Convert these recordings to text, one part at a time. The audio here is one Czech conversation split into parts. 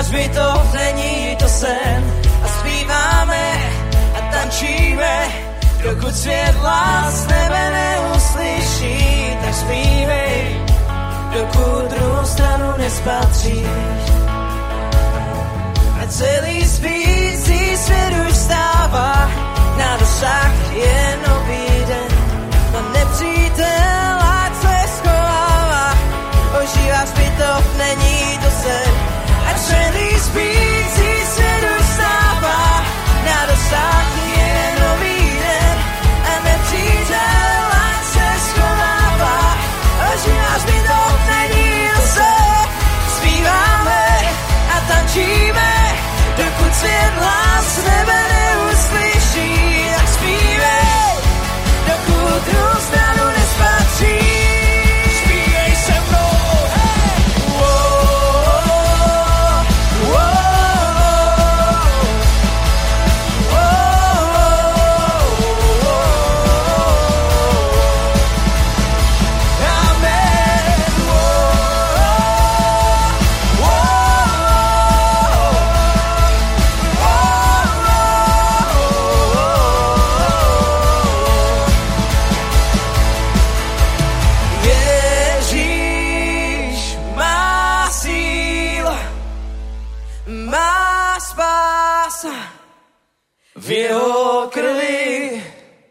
Náš bytov není to sen a zpíváme a tančíme, dokud svět hlas nebe neuslyší, tak zpívej, dokud druhou stranu nespatříš. A celý spící svět už stává, na dosah je nový den. Na nepřítel, ať se schovává, ožívá zbytov, není to sen. A celý spící svět už stává, na dosah je nový den. A nepřítel, ať se schovává, ožívá zbytov, není to sen. Zpíváme a tančíme, dokud svět hlas nebe neuslyší, tak zpívej, dokud druhou stranu nespatří. Zpívej se mnou, hey! V jeho krvi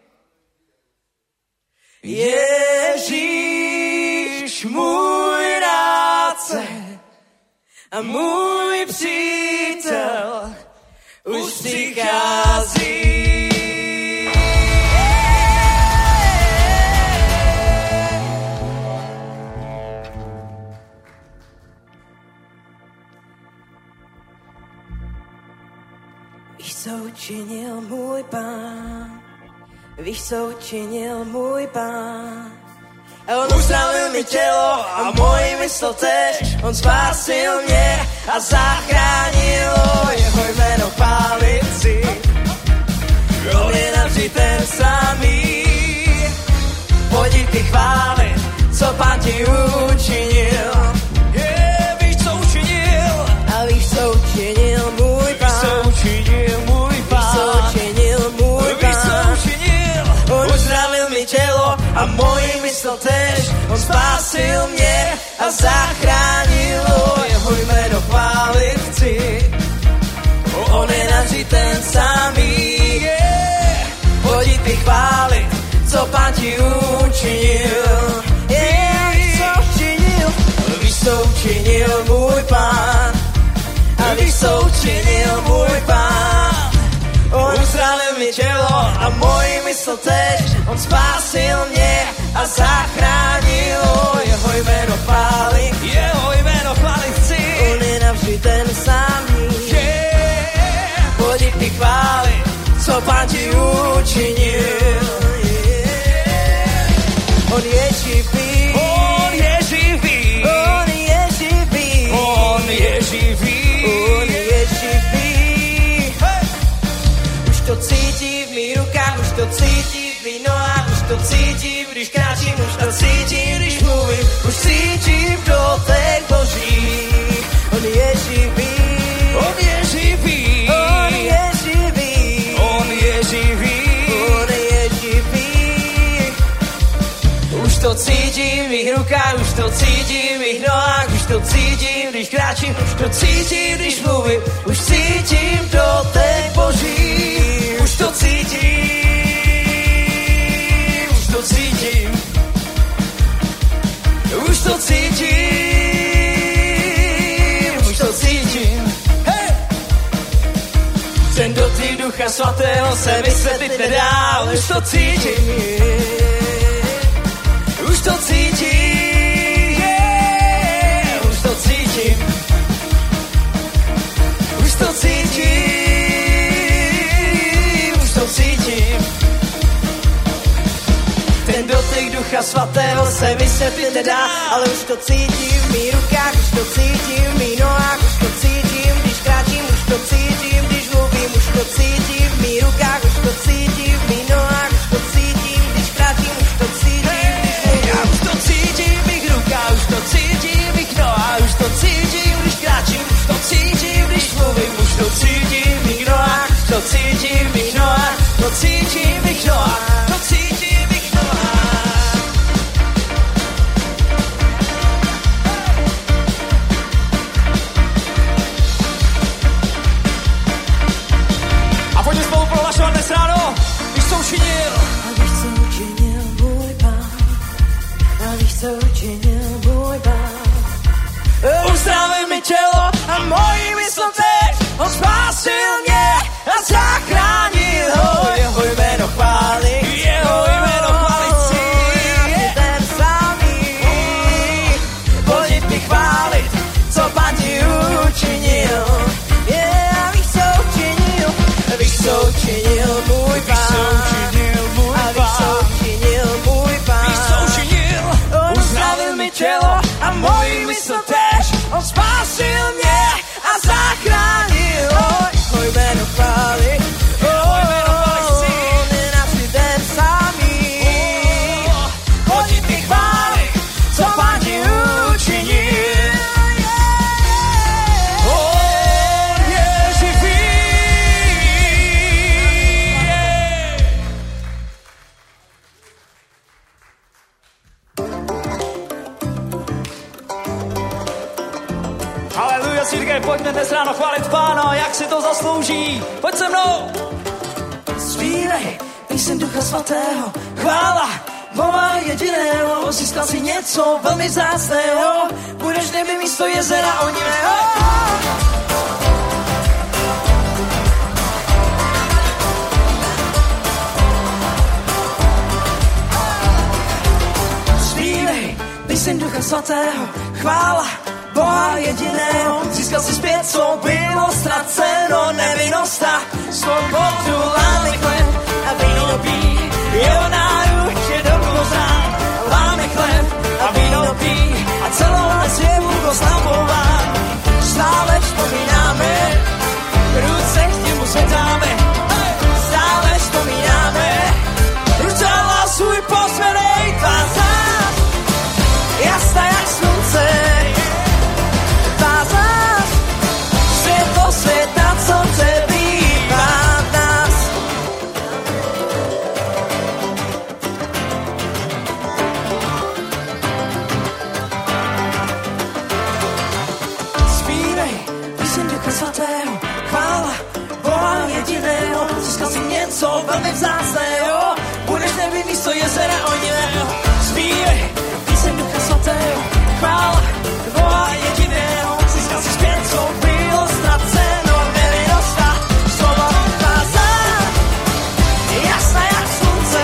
Ježíš můj rádce a můj přítel už přichází. Víš, co učinil můj Pán, víš, co učinil můj Pán. On uzdravil mi tělo a moji mysl tež, on spásil mě a zachránil, jeho jméno chválit chci. On je navždy ten samý, pojď ty chválit, co Pán ti učinil. Víš, co učinil, a víš, co učinil můj Pán. A moji mysl tež, on spásil mě a zachránil, jeho jméno chválit chci. On je navždy ten samý, pojď ty chválit, co Pán ti učinil. Víš, co učinil, víš, co učinil můj Pán. A víš, co učinil můj Pán. On uzdravil mi tělo a moji mysl tež, on spásil mě a zachránil, jeho jméno chválit chci. On je navždy ten samý, pojď ty chválit, co Pán ti učinil. On je živý, on je živý, on je živý, on je živý, on je živý. Už to cítím v mých rukách, už to cítím v mých nohách, už to cítím, když kráčím, už to cítím, když mluvím, už cítím dotek Boží. On je živý, on je živý, on je živý, on je živý, on je živý. Už to cítím v mých rukách, už to cítím v mých nohách, už to cítím, když kráčím, už to cítím, když mluvím, už cítím dotek Boží. Už to cítím, už to cítím, už to cítím, už to cítím. Hey! Ten dotyk Ducha Svatého se vysvětlit nedá, už to cítím, už to cítím, už to cítím, už to cítím. Ten dotyk Ducha Svatého se vysvětlit nedá, ale už to cítím v mých rukách, už to cítím v mých nohách, už to cítím, když kráčím, už to cítím, když mluvím, už to cítím v mých rukách, už to cítím v mých nohách, už to cítím, když kráčím, už to cítím, když mluvím, už to cítím v mých rukách, už to cítím v mých nohách, už to cítím, když kráčím, už to cítím, co učinil můj Pán. Uzdravil mi tělo a moji mysl teď, on spásil mě a zachránil ho. Jeho jméno chválit, jeho jméno chválit si. Je ten samý, pojď mi chválit, co Pán ti učinil. Yeah, víš, co učinil, víš, co učinil můj Pán. A víš, co učinil můj Pán. Víš, co učinil, uzdravil mi tělo a moji mysl tež, on spásil mě a zachránil ho. Jeho jméno chválit, on je navždy ten samý. Pojď mi chválit, co Pán ti učinil. On je živý. Haleluja, církev, pojďme dnes ráno chválit Pána, jak si to zaslouží. Pojď se mnou. Zpívej píseň Ducha Svatého, chvála Boha jediného, získal si něco velmi vzácného, budeš nebe místo jezera onivého. Zpívej píseň Ducha Svatého, chvála Boha jediného, získal si zpět, co bylo ztraceno, nevinnost a svobodu, láme chleb a víno pí, jeho náruč je do koza. Láme chleb a víno pí a celou noc je Bůh oslavován. Stále vzpomínáme, ruce k němu zvedáme, stále vzpomínáme, ruce hlasuj posvedej tvár zář, jasná jak slunce. Světa, co přebývá v nás. Zpívej píseň Ducha Svatého, chvála Boha jediného, získal si něco velmi vzácného, budeš nebe místo jezera onivého. Zpívej píseň Ducha Svatého, chvála Boha jediného, získal si zpět, co bylo ztraceno, nevinnost a svoboda zář, jasná jak slunce,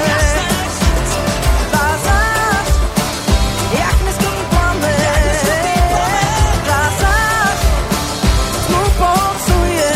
tvá zář, jak neskonný plamen, tvá zář, tmu pohocuje,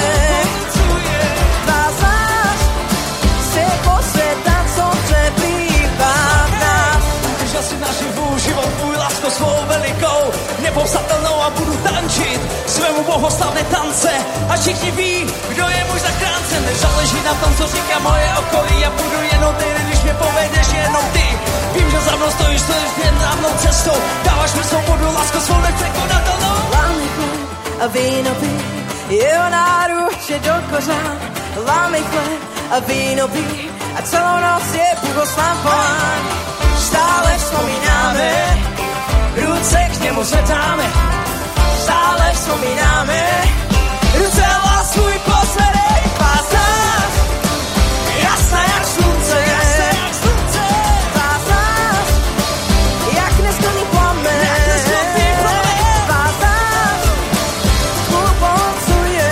tvá zář, světlo světa, co přebývá v nás. Držel si naživu život tvůj lásko svou velikou, nepopsatelnou a budu tančit svému bohoslavné tance. A všichni ví, kdo je můj zachránce. Nezáleží na tom, co říká moje okolí, já budu jenom ty, když mě povedeš jenom ty. Vím, že za mnou stojíš správnou cestou, dáváš mi svobodu, lásko svou nepřekonatelnou. Láme chleb a víno pí, jeho náruč je do kořán. Láme chleb a víno pí a celou noc je Bůh oslavován. Stále vzpomínáme, ruce k němu zvedáme, stále vzpomínáme, ruce hlasuj posvedej tvár zář, jasná jak slunce, tvár zář, jak neskonný plamen, tvár zář, tmu pohocuje,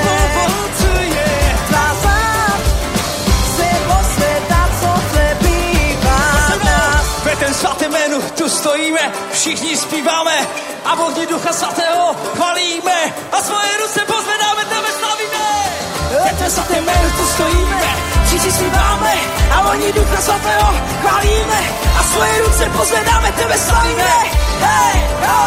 tvár zář, světlo světa, co přebývá v nás. Ve ten svatém jménu tu stojíme, všichni zpíváme a v ohni Ducha Svatého chvalíme a svoje ruce pozvedáme, tebe slavíme. Ve tvém svatém jménu tu stojíme, všichni zpíváme a v ohni Ducha Svatého chvalíme a svoje ruce pozvedáme, tebe slavíme. Hej, ho!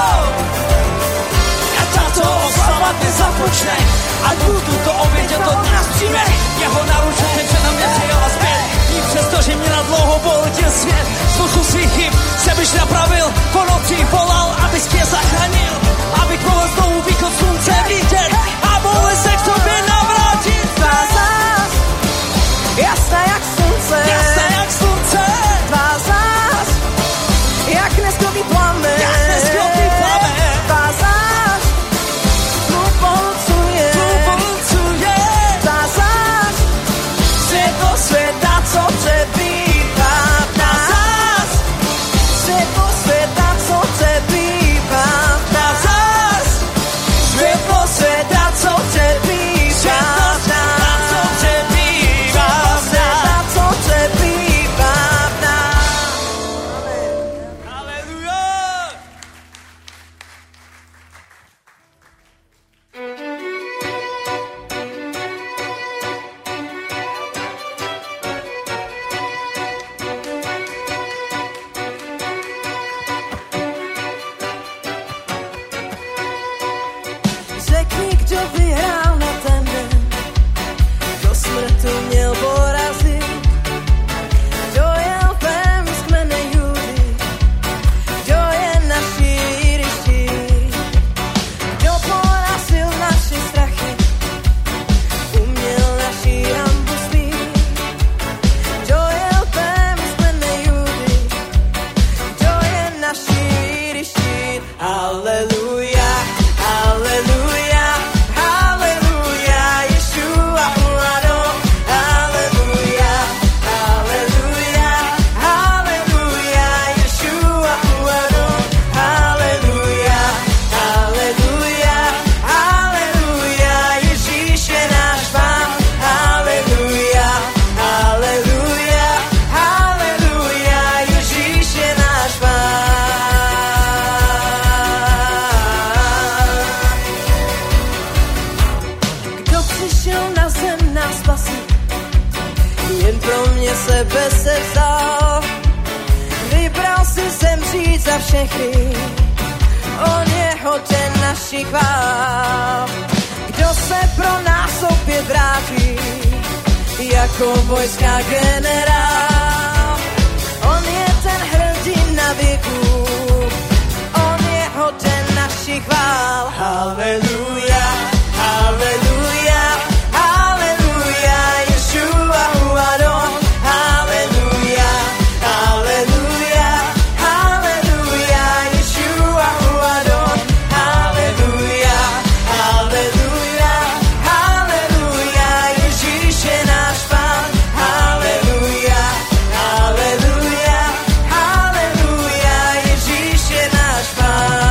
A tato oslava dnes započne a Bůh tuto oběť od nás přijme. Jeho naručení na mě přijala zpět, i přesto, že mě na dlouho boltil svět. Spoustu svých chyb se byš napravil, po noci volal, abys tě zachránil, abych mohl znovu východ slunce vidět a mohl se k tobě navrátit. Tvá zář, jasná jak slunce, tvá zář, jak neskonný plamen, tvá zář, tmu pohocuje, tvá zář, světlo světa, co přebývá v nás, světlo světa, co žít za všechny, on je hoden našich chvál. Kdo se pro nás opět vrátí, jako vojská generál. On je ten hrdina věku, on je hoden našich chvál. Haleluja, haleluja, haleluja, Ješua hu Adon. Haleluja, haleluja, haleluja, Ješua hu Adon. Haleluja, haleluja, haleluja, Ježíš je náš Pán. Haleluja, haleluja, haleluja, Ježíš je náš Pán.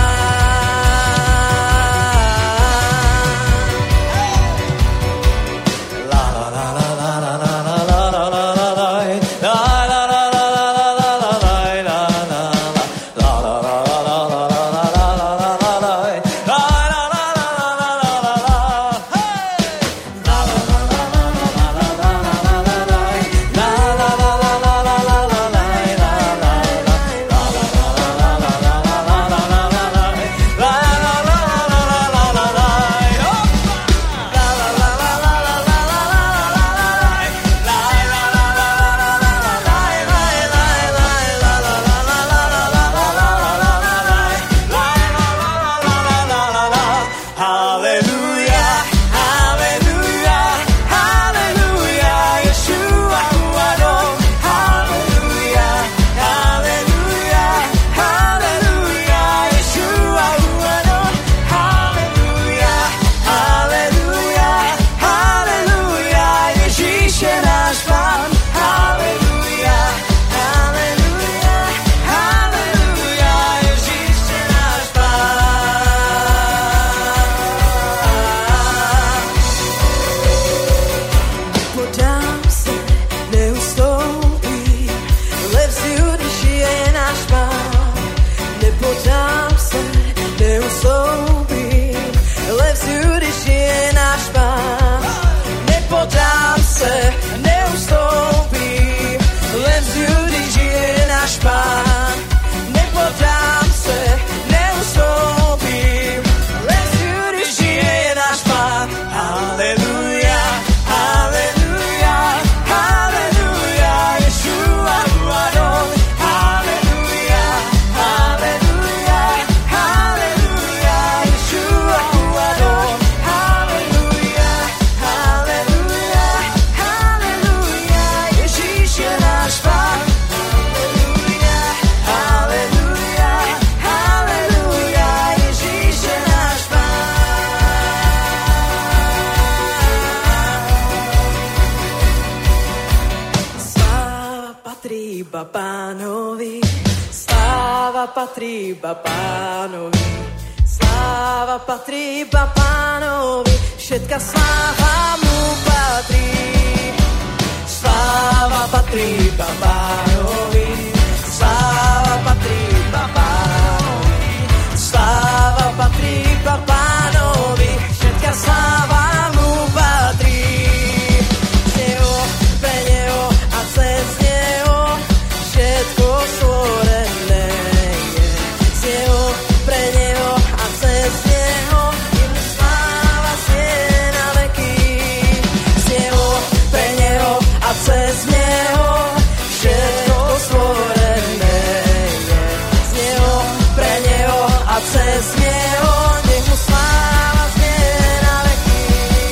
Patří iba Pánovi, sláva patrí iba Pánovi, všetka sláva mu patrí. Sláva patrí iba Pánovi, sláva patrí iba Pánovi, sláva patrí iba Pánovi, všetka sláva mu patrí. Z neho, pre neho a cez neho všetko stvorené. Cez neho všetko stvorené je. Z neho, pre neho a cez neho nech mu sláva znie na veky.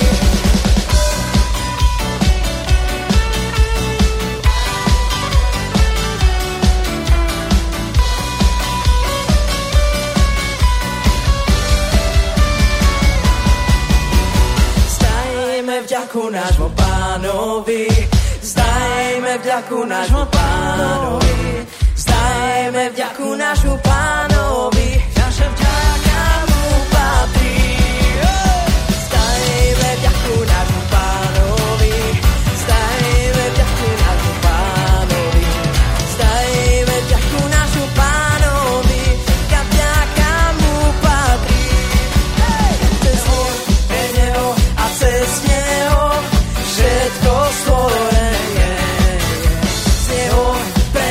Zdajme vďaku nášmu Pánovi, zdajme vďaku nášmu Pánovi, zdajme vďaku nášmu Pánovi, naša vďaka mu patrí. Zdajme vďaku nášmu Pánovi, zdajme vďaku nášmu Pánovi, zdajme vďaku nášmu Pánovi, ka vďaka mu patrí. Cez neho a cez neho všetko stvorené. Z neho, pre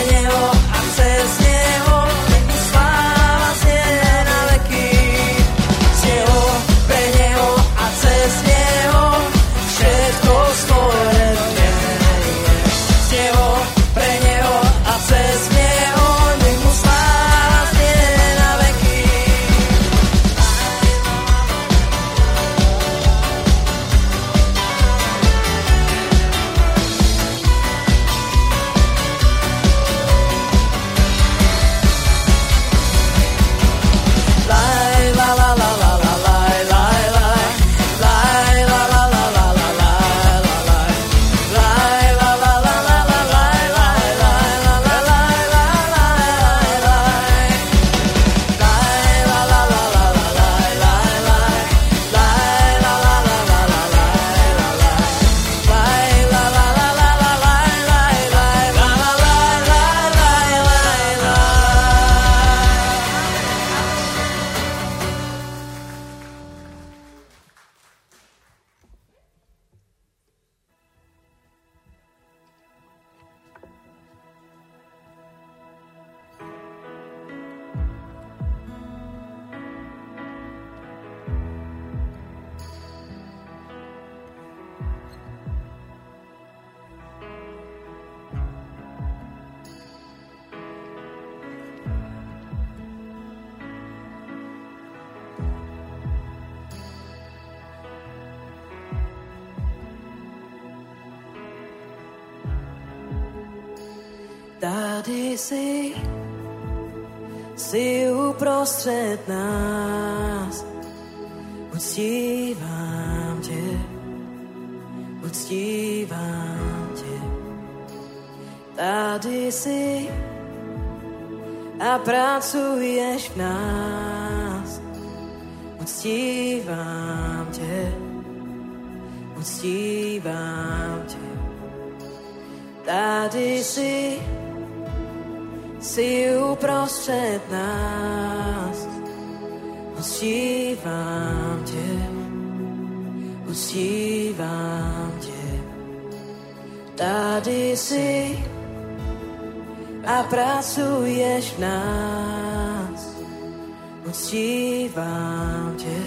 Tady jsi uprostřed nás. Uctívám tě, tady jsi a pracuješ v nás. Uctívám tě, tady jsi uprostřed nás. Uctívám tě, tady jsi a pracuješ v nás. Uctívám tě.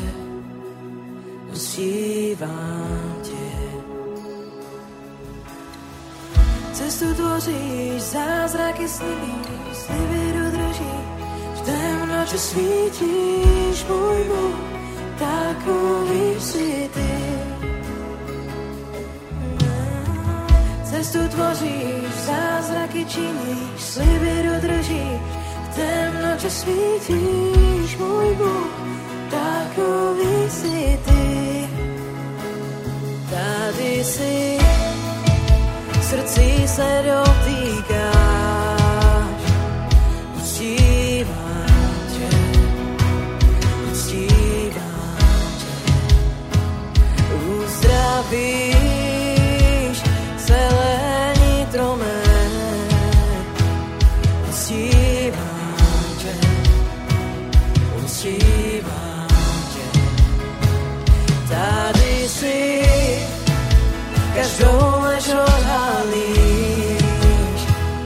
Cestu tvoříš, zázraky slivíš, sliby dodržíš, v temnotě svítíš, můj Bůh, takový jsi ty. Cestu tvoříš, zázraky činíš, sliby dodržíš, v temnotě svítíš, můj Bůh, takový jsi ty. Tady jsi, srdcí se dotýkáš, uctívám tě, uzdravíš celé nitro mé, uctívám tě, tady jsi, každou lež odhalíš,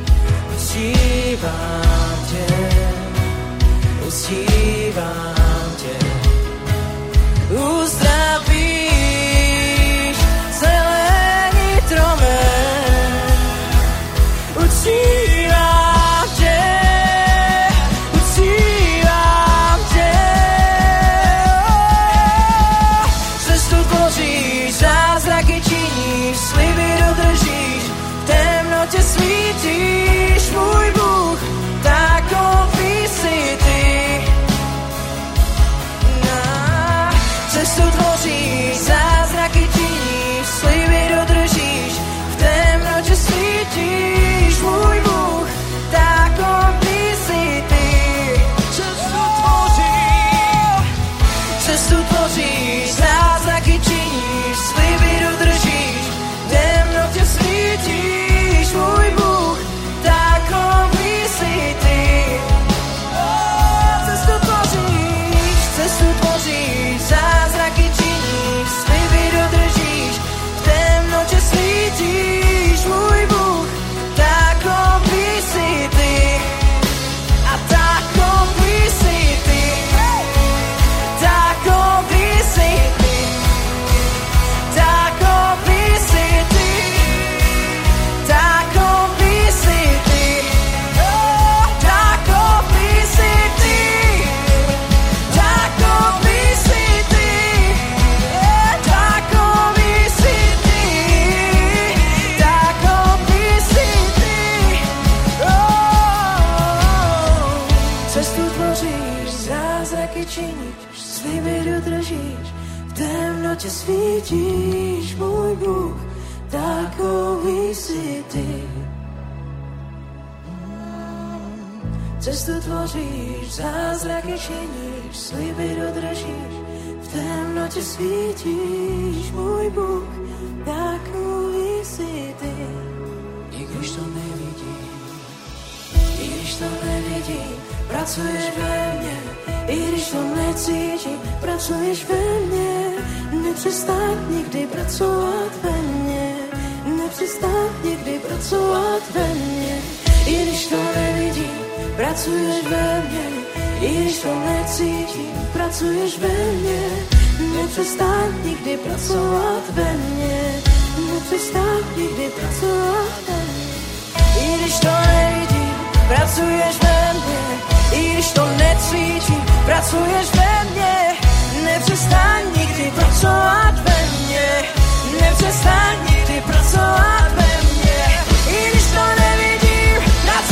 uctívám tě, uzdravíš celé nitro mé, uctívám tě, cestu tvoříš, zázraky činíš, sliby dodržíš, v temnotě svítíš, můj Bůh, takový jsi ty. Cestu tvoříš, zázraky činíš, sliby dodržíš, v temnotě svítíš, můj Bůh, takový jsi ty. Cestu tvoříš, zázraky činíš, sliby dodržíš, v temnotě svítíš, můj Bůh, takový jsi ty. Cestu tvoříš, zázraky činíš, sliby dodržíš, v temnotě svítíš, můj Bůh, takový jsi ty. A takový jsi ty. Takový jsi ty. Takový jsi ty. Takový jsi ty. Takový jsi ty. Takový jsi ty. Takový jsi ty. Takový jsi ty. Cestu tvoříš, zázraky činíš, sliby dodržíš, v temnotě svítíš, můj Bůh, takový jsi ty. Cestu tvoříš, zázraky činíš, sliby dodržíš, v temnotě svítíš, můj Bůh, takový jsi ty. I když to nevidím, pracuješ ve mně, i když to necítím, pracuješ ve mně, nepřestaň nikdy pracovat ve mně, nepřestaň nikdy pracovat ve mně, i když to nevidím, pracuješ ve mně, i když to necítím, pracuješ ve mně, nepřestaň nikdy pracovat ve mně, nepřestaň nikdy pracovat ve mně, i když to nevidím, pracuješ ve mně, i když to necítím, pracuješ ve mně, nepřestaň nikdy pracovat ve mně, nepřestaň nikdy pracovat ve mně, i když to nevidím,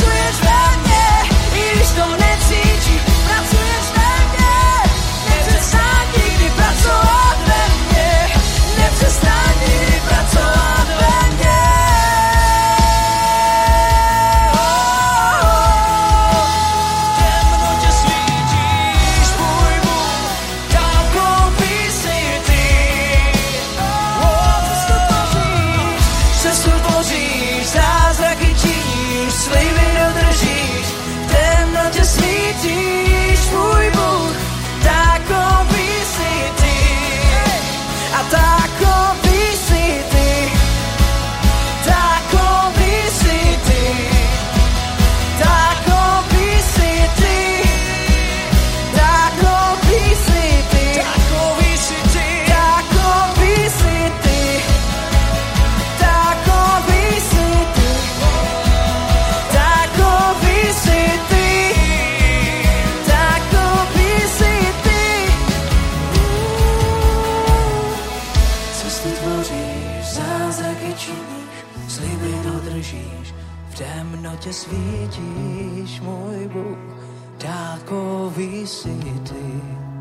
svítíš, můj Bůh, dálkový jsi ty.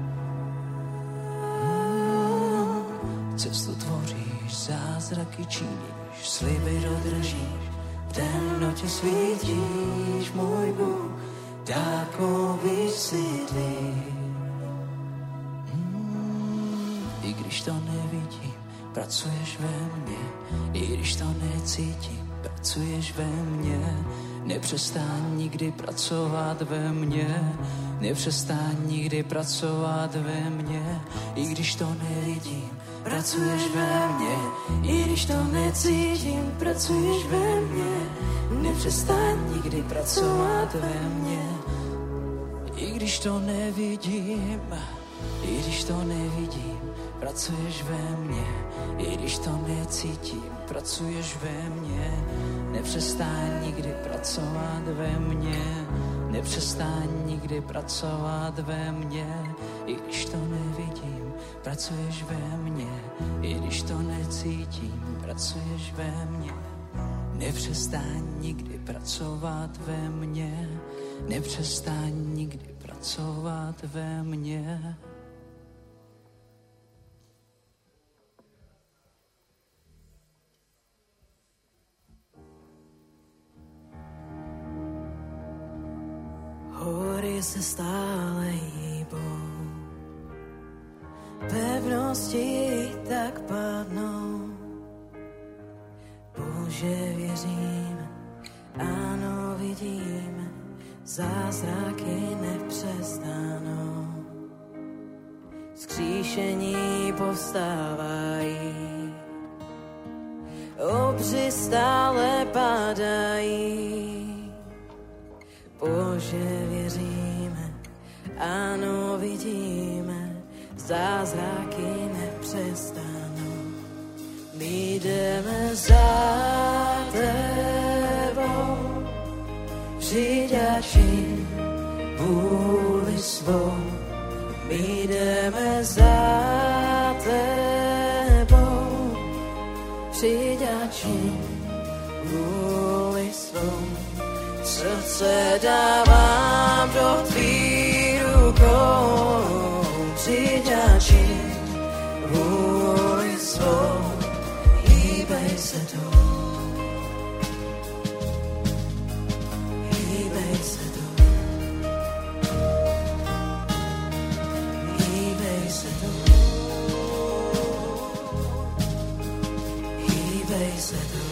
Cestu tvoříš, zázraky činíš, sliby dodržíš, v temnotě svítíš, můj Bůh, dálkový jsi ty. I když to nevidím, pracuješ ve mně, i když to necítím, pracuješ ve mně. Nepřestaň nikdy pracovat ve mně, nepřestaň nikdy pracovat ve mně. I když to nevidím, pracuješ ve mně, i když to necítím, pracuješ ve mně. Nepřestaň nikdy pracovat ve mně. I když to nevidím, i když to nevidím, pracuješ ve mně, i když to necítím, pracuješ ve mně. Nepřestaň nikdy pracovat ve mně, nepřestaň nikdy pracovat ve mně. I když to nevidím, pracuješ ve mně, i když to necítím, pracuješ ve mně. Nepřestaň nikdy pracovat ve mně, nepřestaň nikdy pracovat ve mně. Hory se stále hýbou, pevnosti tak padnou. Bože, věřím, ano, vidím, zázraky nepřestanou. Vzkříšení povstávají, obři stále padají. Bože, věříme, ano, vidíme, zázraky nepřestanou. My jdeme za tebou, přijď a čin vůli svou. My jdeme za tebou, přijď a čin vůli svou. Srdce dávám do tvých rukou, přijď a čin vůli svou. Hýbej se tu, hýbej se tu, hýbej se tu, hýbej se tu.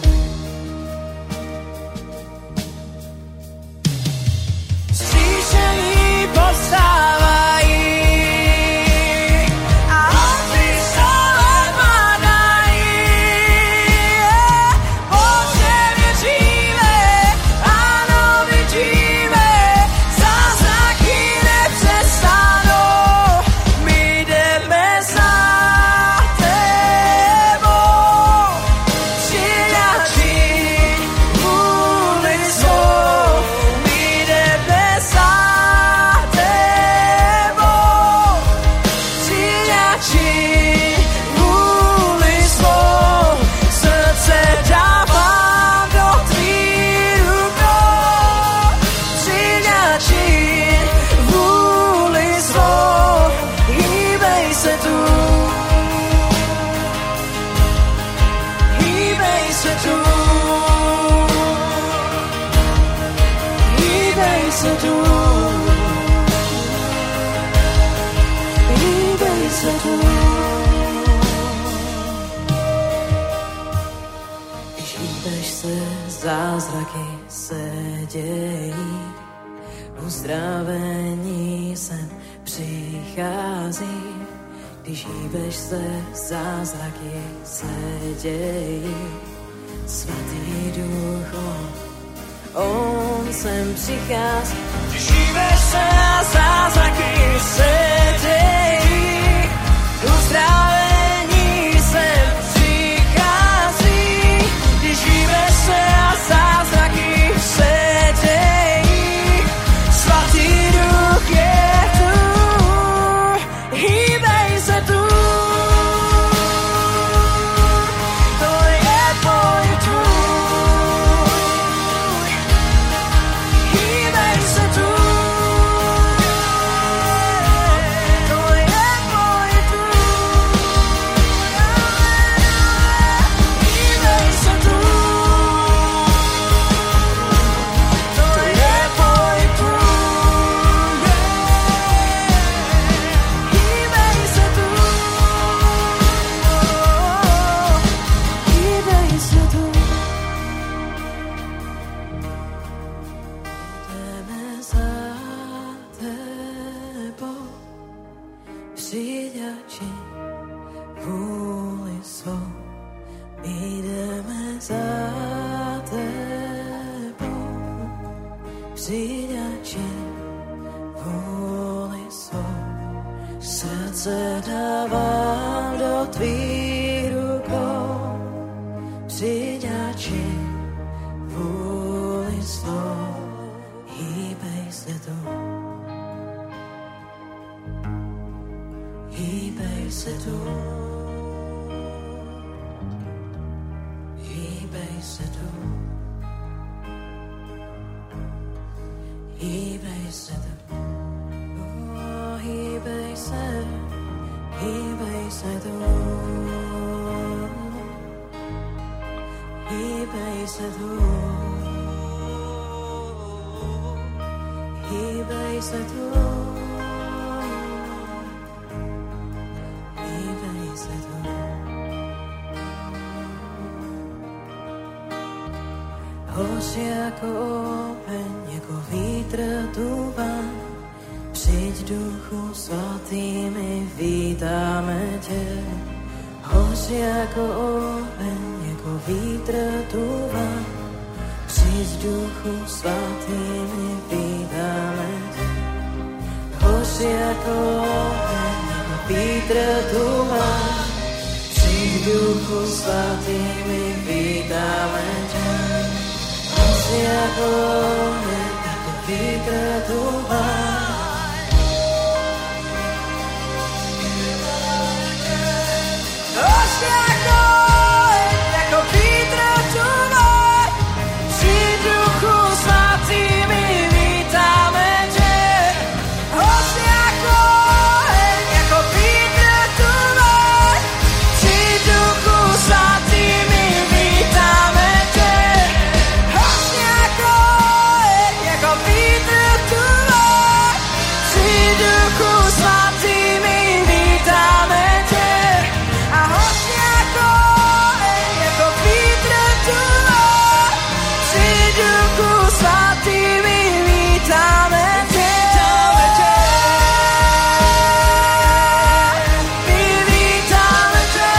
Zázraky se dějí, uzdravení sem přichází. Když hýbeš se, zázraky se dějí. Svatý Duch, on sem přichází. Když hýbeš se, zázraky se dějí, uzdravení sem přichází. Když hýbeš se, zázraky se dějí. Svatý Duch je tu, hýbej se tu. To je tvůj, přijď a čiň vůli svou. Srdce dávám do tvých rukou, přijď a čiň vůli svou. Hýbej se tu, hýbej se tu, hýbej se tu, hýbej se tu, hýbej se, hýbej se tu, hýbej se tu, hýbej se tu, hýbej se tu. Hoř jako oheň, jako vítr duván, přijď Duchu Svatý, my vítáme tě. Hoř jako oheň, jako vítr duván, přijď Duchu Svatý, my vítáme tě. Hoř jako oheň, jako vítr duván, přijď Duchu Svatý, my vítáme tě. Hoř jako oheň, jako vítr duván, hoř jako oheň, jako vítr duván, přijď Duchu Svatý, my vítáme tě. Hoř jako oheň, jako vítr duván, přijď Duchu Svatý, my vítáme tě. Hoř jako oheň, jako vítr duván, přijď Duchu Svatý, my vítáme tě. A hoř jako oheň, jako vítr duván, přijď Duchu Svatý, my vítáme tě. My vítáme tě.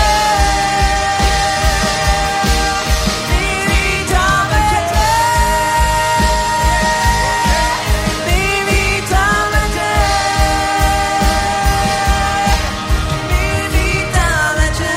My vítáme tě. My vítáme tě. My vítáme tě.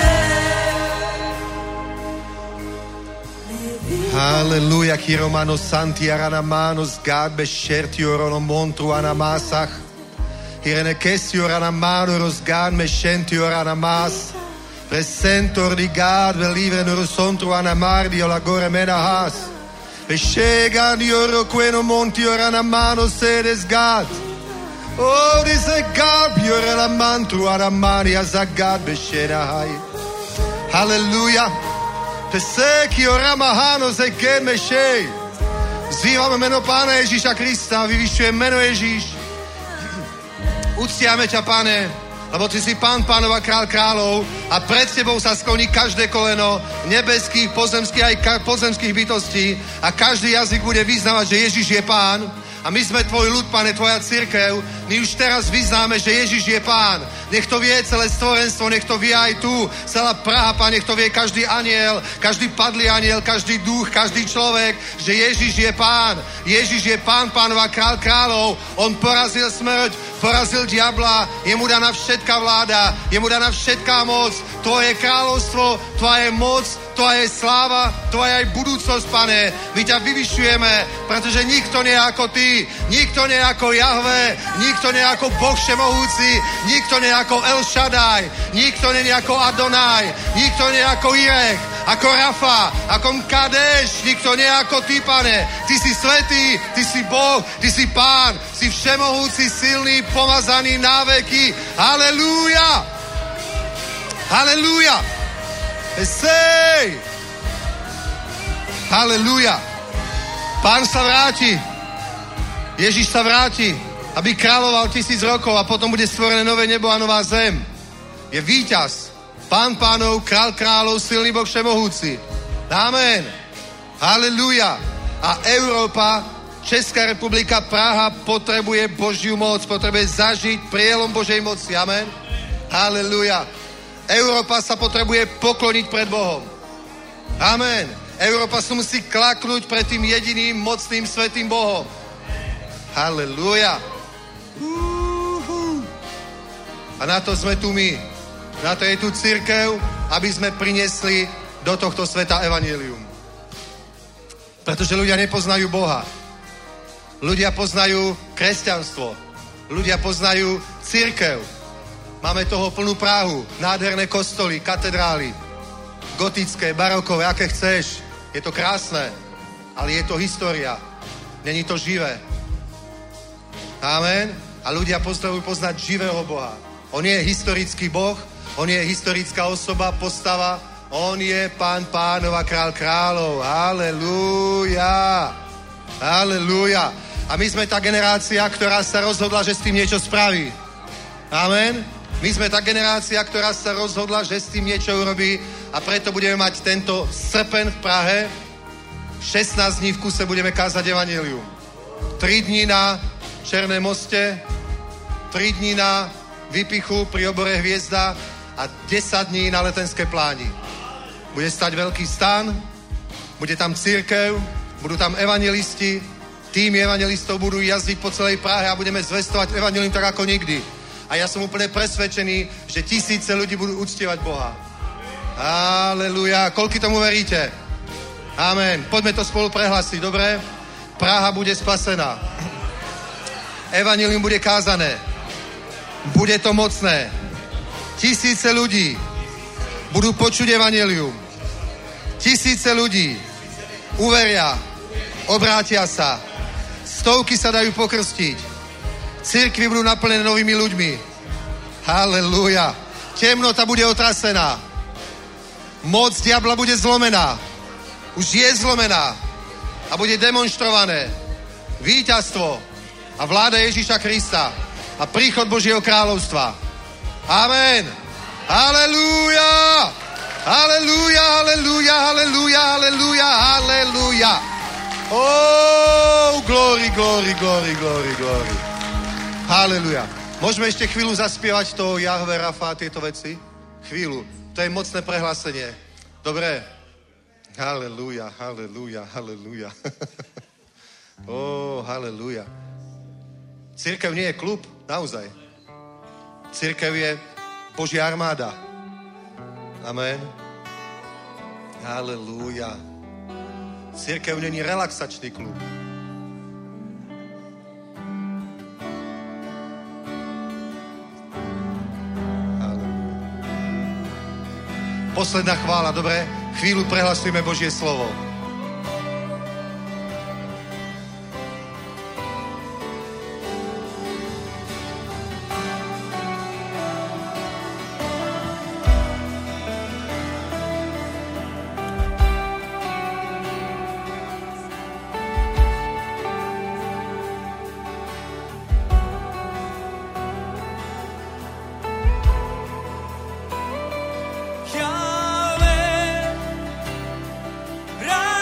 Halleluja, Kiromano Santi Aranamanos, God bescerti orono montru anamasach. Irene Kessi oranamano rosgan mescenti oranamas. Presentor di God, velivre norosontru anamardi o lagore menahas. Bescegan oro queno monti oranamano sedes God. Oh, this is God, biorelamantru anamani azagad bescenahai. Halleluja. Peseki oramahano zegen mešej. Vzývame meno Pána Ježíša Krista, vyvyšujeme meno Ježíš. Uctiame ťa, Pane, lebo ty si Pán pánov a král kráľov a pred tebou sa skloní každé koleno nebeských, pozemských aj pozemských bytostí a každý jazyk bude vyznávať, že Ježíš je Pán. A my sme tvoj ľud, Pane, tvoja cirkev. My už teraz vyznáme, že Ježíš je Pán. Nech to vie celé stvorenstvo, nech to vie aj tu. Celá Praha, Pane, nech to vie každý aniel, každý padlý aniel, každý duch, každý človek, že Ježíš je Pán. Ježíš je Pán pánov a král kráľov. On porazil smrť, porazil diabla, jemu daná všetká vláda, jemu daná všetká moc. Tvoje kráľovstvo, tvoje moc, tvoja je sláva, tvoja je budúcnosť, Pane. My ťa vyvyšujeme, pretože nikto nie je ako ty, nikto nie je ako Jahve, nikto nie je ako Boh všemohúci, nikto nie je ako El Shaddai, nikto nie je ako Adonai, nikto nie je ako Irech, ako Rafa, ako Kadeš, nikto nie je ako ty, Pane. Ty si svätý, ty si Boh, ty si Pán, si všemohúci, silný, pomazaný na veky. Halelúja! Halelúja! Sej! Halelúja! Pán sa vráti. Ježiš sa vráti, aby kráľoval 1000 rokov a potom bude stvorené nové nebo a nová zem. Je víťaz. Pán pánov, král kráľov, silný Boh všemohúci. Amen. Halelúja. A Európa, Česká republika, Praha potrebuje Božiu moc, potrebuje zažiť prielom Božej moci. Amen. Halelúja. Európa sa potrebuje pokloniť pred Bohom. Amen. Európa sa musí klaknúť pred tým jediným, mocným, svätým Bohom. Halelúja. A na to sme tu my. Na to je tu cirkev, aby sme priniesli do tohto sveta evanjelium. Pretože ľudia nepoznajú Boha. Ľudia poznajú kresťanstvo. Ľudia poznajú cirkev. Máme toho plnú Prahu. Nádherné kostoly, katedrály. Gotické, barokové, aké chceš. Je to krásne. Ale je to história. Není to živé. Amen. A ľudia potrebujú poznať živého Boha. On je historický Boh, on je historická osoba, postava, on je Pán pánov a Král kráľov. Halelúja. Halelúja. A my sme tá generácia, ktorá sa rozhodla, že s tým niečo spraví. Amen. My sme tá generácia, ktorá sa rozhodla, že s tým niečo urobí a preto budeme mať tento srpen v Prahe. 16 dní v kuse budeme kázať evanjelium. 3 dní na Černém moste, 3 dní na Vypichu pri obore Hviezda a 10 dní na Letenské pláni. Bude stať veľký stan, bude tam cirkev, budú tam evanjelisti, tým evanjelistov budú jazdiť po celej Prahe a budeme zvestovať evanjelium tak ako nikdy. A ja som úplne presvedčený, že tisíce ľudí budú uctievať Boha. Halelúja. Koľky tomu veríte? Amen. Poďme to spolu prehlásiť, dobre? Praha bude spasená. Evanjelium bude kázané. Bude to mocné. Tisíce ľudí budú počuť evanjelium. Tisíce ľudí uveria, obrátia sa. Stovky sa dajú pokrstiť. Cirkvi budú naplnené novými ľuďmi. Halelúja. Temnota bude otrasená. Moc diabla bude zlomená. Už je zlomená. A bude demonstrované víťazstvo a vláda Ježíša Krista a príchod Božieho kráľovstva. Amen. Halelúja. Halelúja, halelúja, halelúja, halelúja, halelúja. Oh, glory, glory, glory, glory, glory. Halelúja. Môžeme ešte chvíľu zaspievať to Jahve, Rafa, tieto veci? Chvíľu. To je mocné prehlásenie. Dobre. Halelúja, halelúja, halelúja. Oh, halelúja. Cirkev nie je klub, naozaj. Cirkev je Božia armáda. Amen. Halelúja. Cirkev není relaxačný klub. Posledná chvála, dobre? Chvíľu prehlasujeme Božie slovo. Jahve,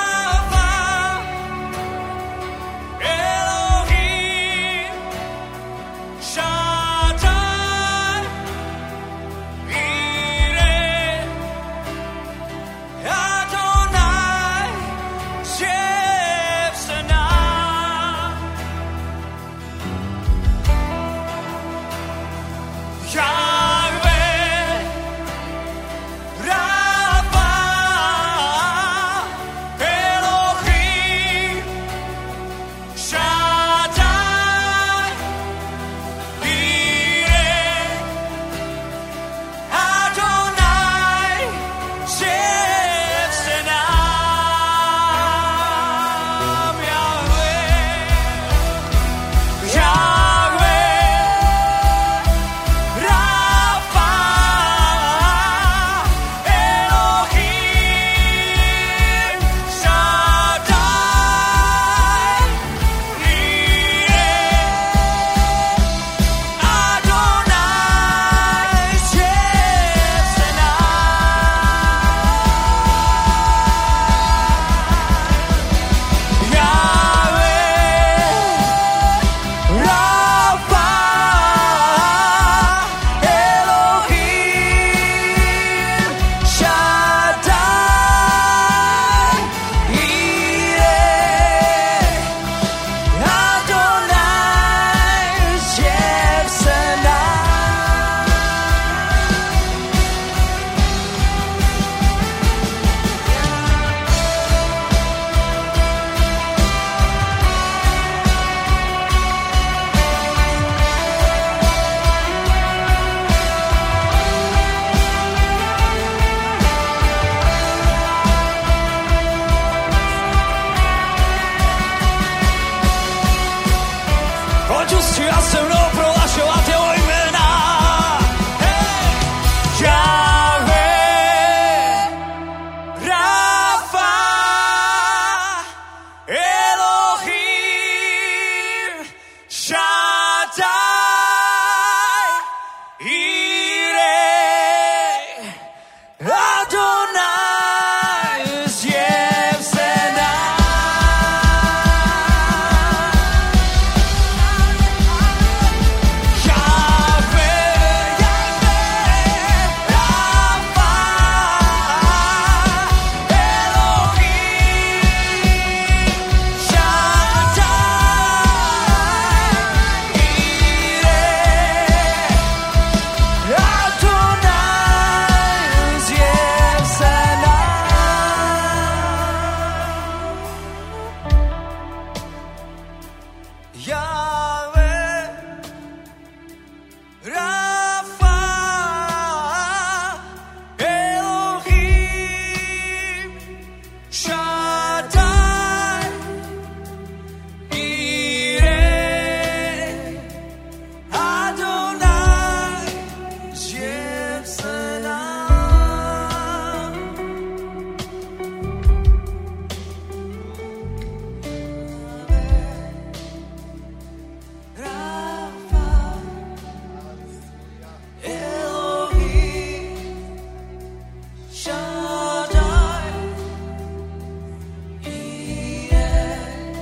očistí a se mnou prohlašovat jeho jména. Hej! Jahve, Rafa, Elohim, Shaddai, Jireh, Adonai, zjev se nám. Jahve, Jahve, Rafa, Elohim, Shaddai, Jireh, Adonai, zjev se nám. Jahve, Rafa, Elohim, Shaddai, Jireh, Adonai, zjev se nám. Rafa, Elohim, Shaddai, Jireh,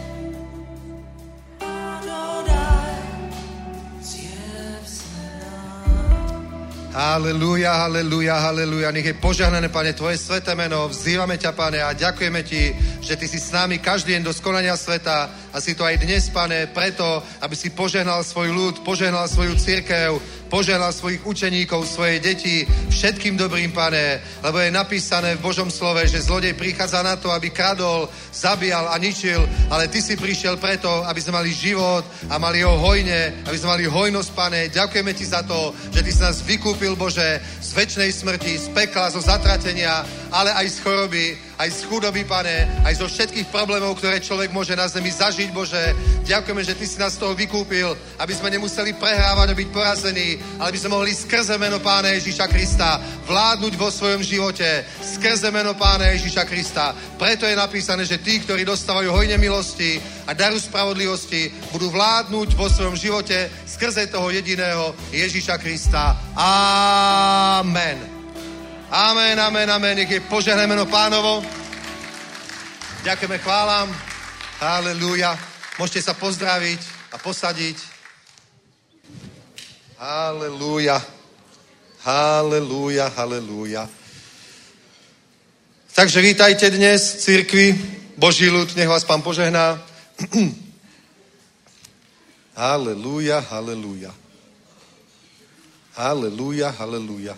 Adonai, zjev se nám. Halelúja, halelúja, halelúja. Nech je požehnané, Pane, Tvoje sveté meno. Vzývame ťa, Pane, a ďakujeme Ti, že Ty si s nami každý deň do skonania sveta a si to aj dnes, Pane, preto, aby si požehnal svoj ľud, požehnal svoju cirkev, požehnal svojich učeníkov, svoje deti, všetkým dobrým, Pane, lebo je napísané v Božom slove, že zlodej prichádza na to, aby kradol, zabíjal a ničil, ale Ty si prišiel preto, aby sme mali život a mali ho hojne, aby sme mali hojnosť, Pane. Ďakujeme Ti za to, že Ty si nás vykúpil, Bože, z večnej smrti, z pekla, zo zatratenia, ale aj z choroby, aj z chudoby, Pane, aj zo všetkých problémov, ktoré človek môže na zemi zažiť, Bože. Ďakujeme, že Ty si nás z toho vykúpil, aby sme nemuseli prehrávať a byť porazení, ale aby sme mohli skrze meno Pána Ježíša Krista vládnuť vo svojom živote, skrze meno Pána Ježíša Krista. Preto je napísané, že tí, ktorí dostávajú hojne milosti a daru spravodlivosti, budú vládnuť vo svojom živote skrze toho jediného Ježíša Krista. Amen. Amen, amen, amen. Nech je požehnané meno Pánovo. Ďakujeme, chválam. Halelúja. Môžete sa pozdraviť a posadiť. Halelúja. Halelúja, halelúja. Takže vítajte dnes v cirkvi. Boží ľud, nech vás Pán požehná. Halelúja, halelúja. Halelúja, halelúja.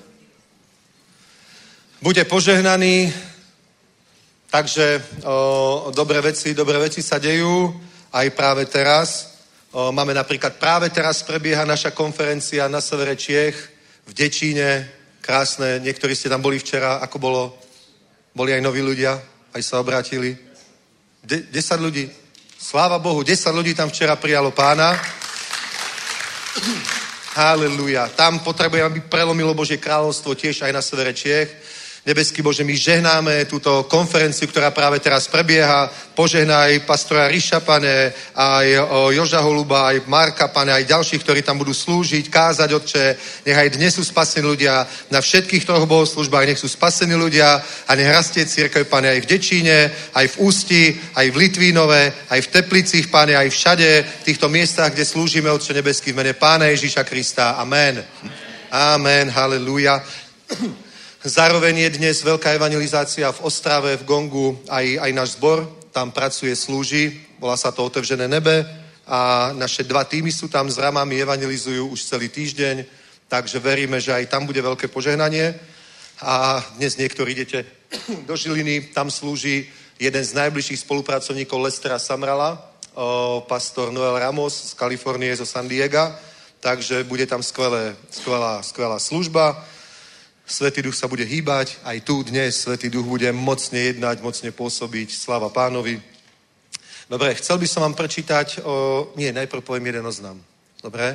Buďte požehnaní, takže dobré veci sa dejú aj práve teraz. Máme napríklad, práve teraz prebieha naša konferencia na severe Čiech, v Dečíne, krásne, niektorí ste tam boli včera, ako bolo? Boli aj noví ľudia, aj sa obrátili. 10 ľudí, sláva Bohu, 10 ľudí tam včera prijalo Pána. Halelúja, tam potrebujeme, aby prelomilo Božie kráľovstvo tiež aj na severe Čiech. Nebeský Bože, my žehnáme túto konferenciu, ktorá práve teraz prebieha. Požehnaj pastora Ríša, Pane, aj Joža Holuba, aj Marka, Pane, aj ďalších, ktorí tam budú slúžiť, kázať, Otče. Nech aj dnes sú spasení ľudia na všetkých troch bohoslúžbách, nech sú spasení ľudia a nech rastie cirkev, Pane, aj v Dečíne, aj v Ústi, aj v Litvínove, aj v Teplicích, Pane, aj všade v týchto miestach, kde slúžime, Otče nebeský, v mene Pána Ježíša Krista. Amen. Amen, halelúja. Zároveň je dnes veľká evangelizácia v Ostrave, v Gongu, aj náš zbor tam pracuje, slúži, volá sa to Otevřené nebe a naše 2 týmy sú tam s ramami, evangelizujú už celý týždeň, takže veríme, že aj tam bude veľké požehnanie a dnes niektorí idete do Žiliny, tam slúži jeden z najbližších spolupracovníkov Lestera Samrala, pastor Noel Ramos z Kalifornie, zo San Diega, takže bude tam skvelá služba. Svätý Duch sa bude hýbať, aj tu dnes Svätý Duch bude mocne jednať, mocne pôsobiť, sláva Pánovi. Dobre, chcel by som vám prečítať, najprv poviem jeden oznam. Dobre?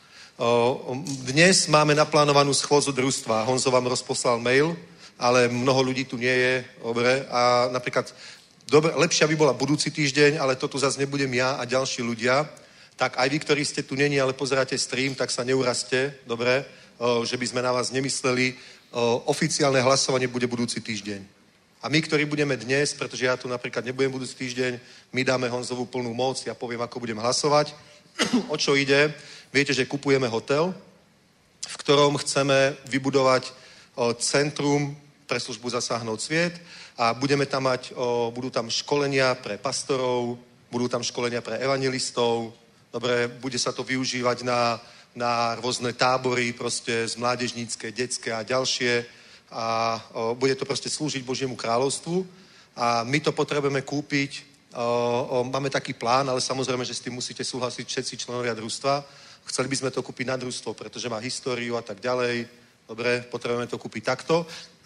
Dnes máme naplánovanú schôdzu družstva. Honzo vám rozposlal mail, ale mnoho ľudí tu nie je. Dobre? A napríklad, lepšia by bola budúci týždeň, ale to tu zase nebudem ja a ďalší ľudia. Tak aj vy, ktorí ste tu není, ale pozeráte stream, tak sa neurazte, dobre? Že by sme na vás nemysleli. Oficiálne hlasovanie bude budúci týždeň. A my, ktorí budeme dnes, pretože ja tu napríklad nebudem budúci týždeň, my dáme Honzovú plnú moc, ja poviem, ako budem hlasovať. O čo ide? Viete, že kupujeme hotel, v ktorom chceme vybudovať centrum pre službu Zasáhnout sviet a budeme tam mať, budú tam školenia pre pastorov, budú tam školenia pre evangelistov, dobre, bude sa to využívať na rôzne tábory, proste z mládežnícke, detské a ďalšie a bude to proste slúžiť Božiemu kráľovstvu a my to potrebujeme kúpiť. Máme taký plán, ale samozrejme, že s tým musíte súhlasiť všetci členovia družstva. Chceli by sme to kúpiť na družstvo, pretože má históriu a tak ďalej. Dobre, potrebujeme to kúpiť takto.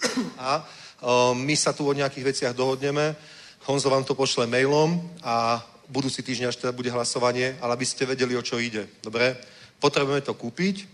A my sa tu o nejakých veciach dohodneme. Honzo vám to pošle mailom a budúci týždeň až teda bude hlasovanie, ale aby ste vedeli, o čo ide. Dobre? Potrebujeme to kúpiť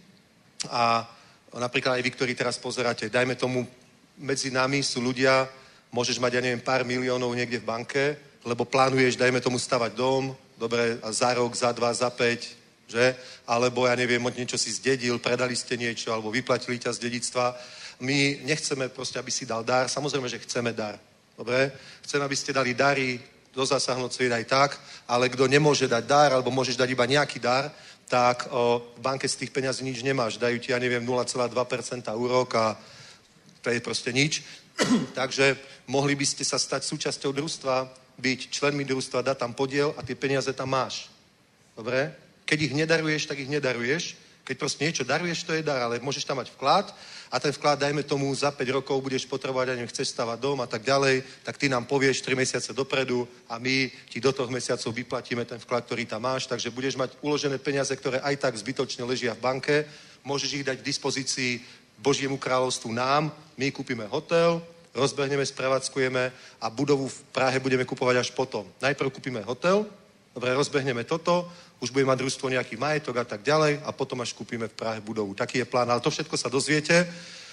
a napríklad aj vy, ktorí teraz pozeráte, dajme tomu, medzi nami sú ľudia, môžeš mať, ja neviem, pár miliónov niekde v banke, lebo plánuješ, dajme tomu, stavať dom, dobre, a za rok, za 2, za 5, že? Alebo, ja neviem, niečo si zdedil, predali ste niečo, alebo vyplatili ťa z dedictva. My nechceme proste, aby si dal dar, samozrejme, že chceme dar, dobre? Chceme, aby ste dali dary, do Zasáhnout sviet aj tak, ale kto nemôže dať dar, alebo môžeš dať iba nejaký dar, tak v banke z tých peňazí nič nemáš. Dajú ti, ja neviem, 0,2% úrok a to je proste nič. Takže mohli by ste sa stať súčasťou družstva, byť členmi družstva, dať tam podiel a tie peniaze tam máš. Dobre? Keď ich nedaruješ, tak ich nedaruješ. Keď proste niečo daruješ, to je dar, ale môžeš tam mať vklad a ten vklad, dajme tomu, za 5 rokov budeš potrebovať, ja neviem, chceš stavať dom a tak ďalej, tak ty nám povieš 3 mesiace dopredu a my ti do 3 mesiacov vyplatíme ten vklad, ktorý tam máš, takže budeš mať uložené peniaze, ktoré aj tak zbytočne ležia v banke, môžeš ich dať k dispozícii Božiemu kráľovstvu nám, my kúpime hotel, rozbehneme, sprevádzkujeme a budovu v Prahe budeme kupovať až potom. Najprv kúpime hotel, dobre, rozbehneme toto, už bude mať družstvo nejaký majetok a tak ďalej a potom až kúpime v Prahe budovu. Taký je plán, ale to všetko sa dozviete.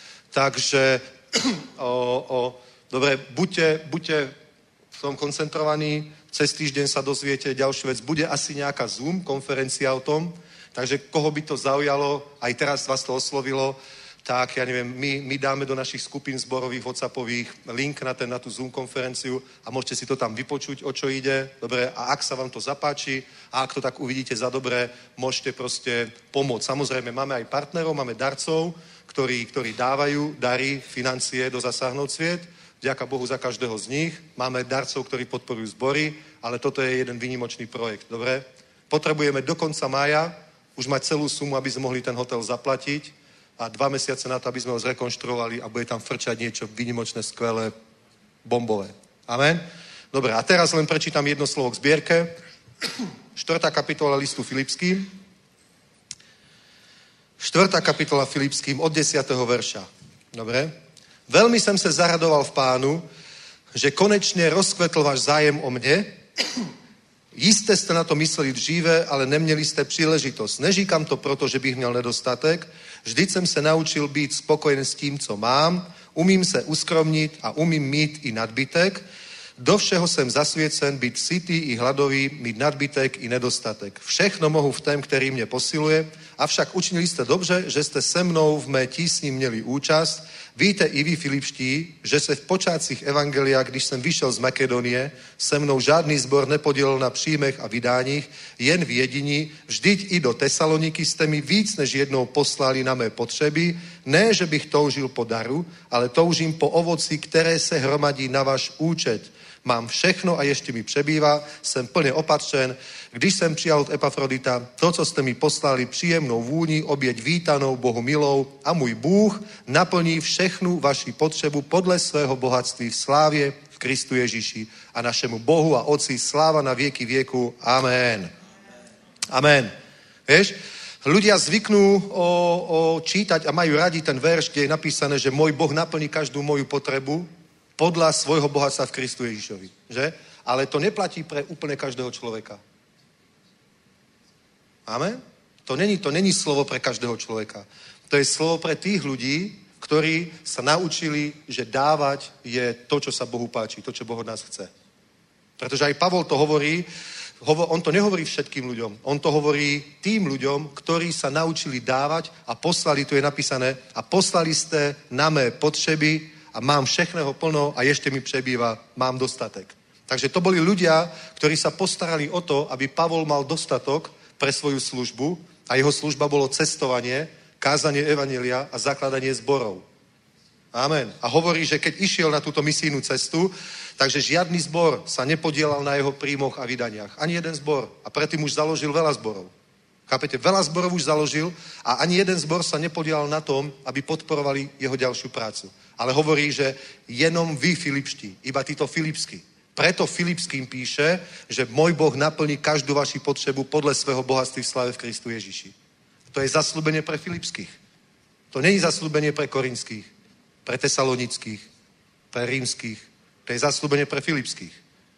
Takže dobre, buďte v tom koncentrovaní, cez týždeň sa dozviete ďalšiu vec. Bude asi nejaká Zoom konferencia o tom, takže koho by to zaujalo, aj teraz vás to oslovilo, tak ja neviem, my dáme do našich skupín zborových, whatsappových link na tú Zoom konferenciu a môžete si to tam vypočuť, o čo ide, dobre, a ak sa vám to zapáči a ak to tak uvidíte za dobré, môžete proste pomôcť. Samozrejme, máme aj partnerov, máme darcov, ktorí dávajú dary, financie do Zasáhnout sviet, vďaka Bohu za každého z nich. Máme darcov, ktorí podporujú zbory, ale toto je jeden výnimočný projekt, dobre? Potrebujeme do konca mája už mať celú sumu, aby sme mohli ten hotel zaplatiť a 2 mesiace na to, aby sme ho zrekonštruovali a bude tam frčať niečo výnimočné, skvelé, bombové. Amen? Dobre, a teraz len prečítam jedno slovo k zbierke. 4. kapitola listu Filipským. 4. kapitola Filipským od 10. verša. Dobre? Veľmi som sa zaradoval v Pánu, že konečne rozkvetl váš zájem o mne. Jisté jste na to mysleli dříve, ale neměli jste příležitost. Neříkám to proto, že bych měl nedostatek. Vždyť jsem se naučil být spokojen s tím, co mám. Umím se uskromnit a umím mít i nadbytek. Do všeho jsem zasvěcen, být sytý i hladový, mít nadbytek i nedostatek. Všechno mohu v tém, který mě posiluje. Avšak učinili jste dobře, že jste se mnou v mé tísni měli účast. Víte i vy, Filipští, že se v počátcích evangelia, když jsem vyšel z Makedonie, se mnou žádný zbor nepodílel na příjmech a vydáních, jen v jediní, vždyť i do Tesaloniky jste mi víc než jednou poslali na mé potřeby, ne, že bych toužil po daru, ale toužím po ovoci, které se hromadí na váš účet. Mám všechno a ještě mi přebývá, jsem plně opatřen. Když jsem přijal od Epafrodita to, co jste mi poslali, příjemnou vůni, oběť vítanou, Bohu milou, a můj Bůh naplní všechnu vaši potřebu podle svého bohatství v slávě v Kristu Ježíši a našemu Bohu a Otci sláva na věky věku. Amen. Amen. Vieš, ľudia zvyknú čítať a majú radi ten verš, kde je napísané, že môj Boh naplní každú moju potrebu podľa svojho bohatstva v Kristu Ježišovi. Že? Ale to neplatí pre úplne každého človeka. Amen? To není slovo pre každého človeka. To je slovo pre tých ľudí, ktorí sa naučili, že dávať je to, čo sa Bohu páči, to, čo Boh od nás chce. Pretože aj Pavol to hovorí, on to nehovorí všetkým ľuďom, on to hovorí tým ľuďom, ktorí sa naučili dávať a poslali, tu je napísané, a poslali ste na mé potřeby a mám všechného plno a ešte mi přebýva, mám dostatek. Takže to boli ľudia, ktorí sa postarali o to, aby Pavol mal dostatok pre svoju službu a jeho služba bolo cestovanie, kázanie evanjelia a zakladanie zborov. Amen. A hovorí, že keď išiel na túto misijnú cestu, takže žiadny zbor sa nepodielal na jeho príjmoch a vydaniach. Ani jeden zbor. A predtým už založil veľa zborov. Chápete? Veľa zborov už založil a ani jeden zbor sa nepodielal na tom, aby podporovali jeho ďalšiu prácu. Ale hovorí, že jenom vy Filipští, iba títo Filipskí. Preto Filipským píše, že môj Boh naplní každú vaši potřebu podle svého bohatství v slave v Kristu Ježiši. To je zasľúbenie pre Filipských. To nie je zasľúbenie pre Korinských, pre Tesalonických, pre Rímskych. To je zasľúbenie pre Filipských.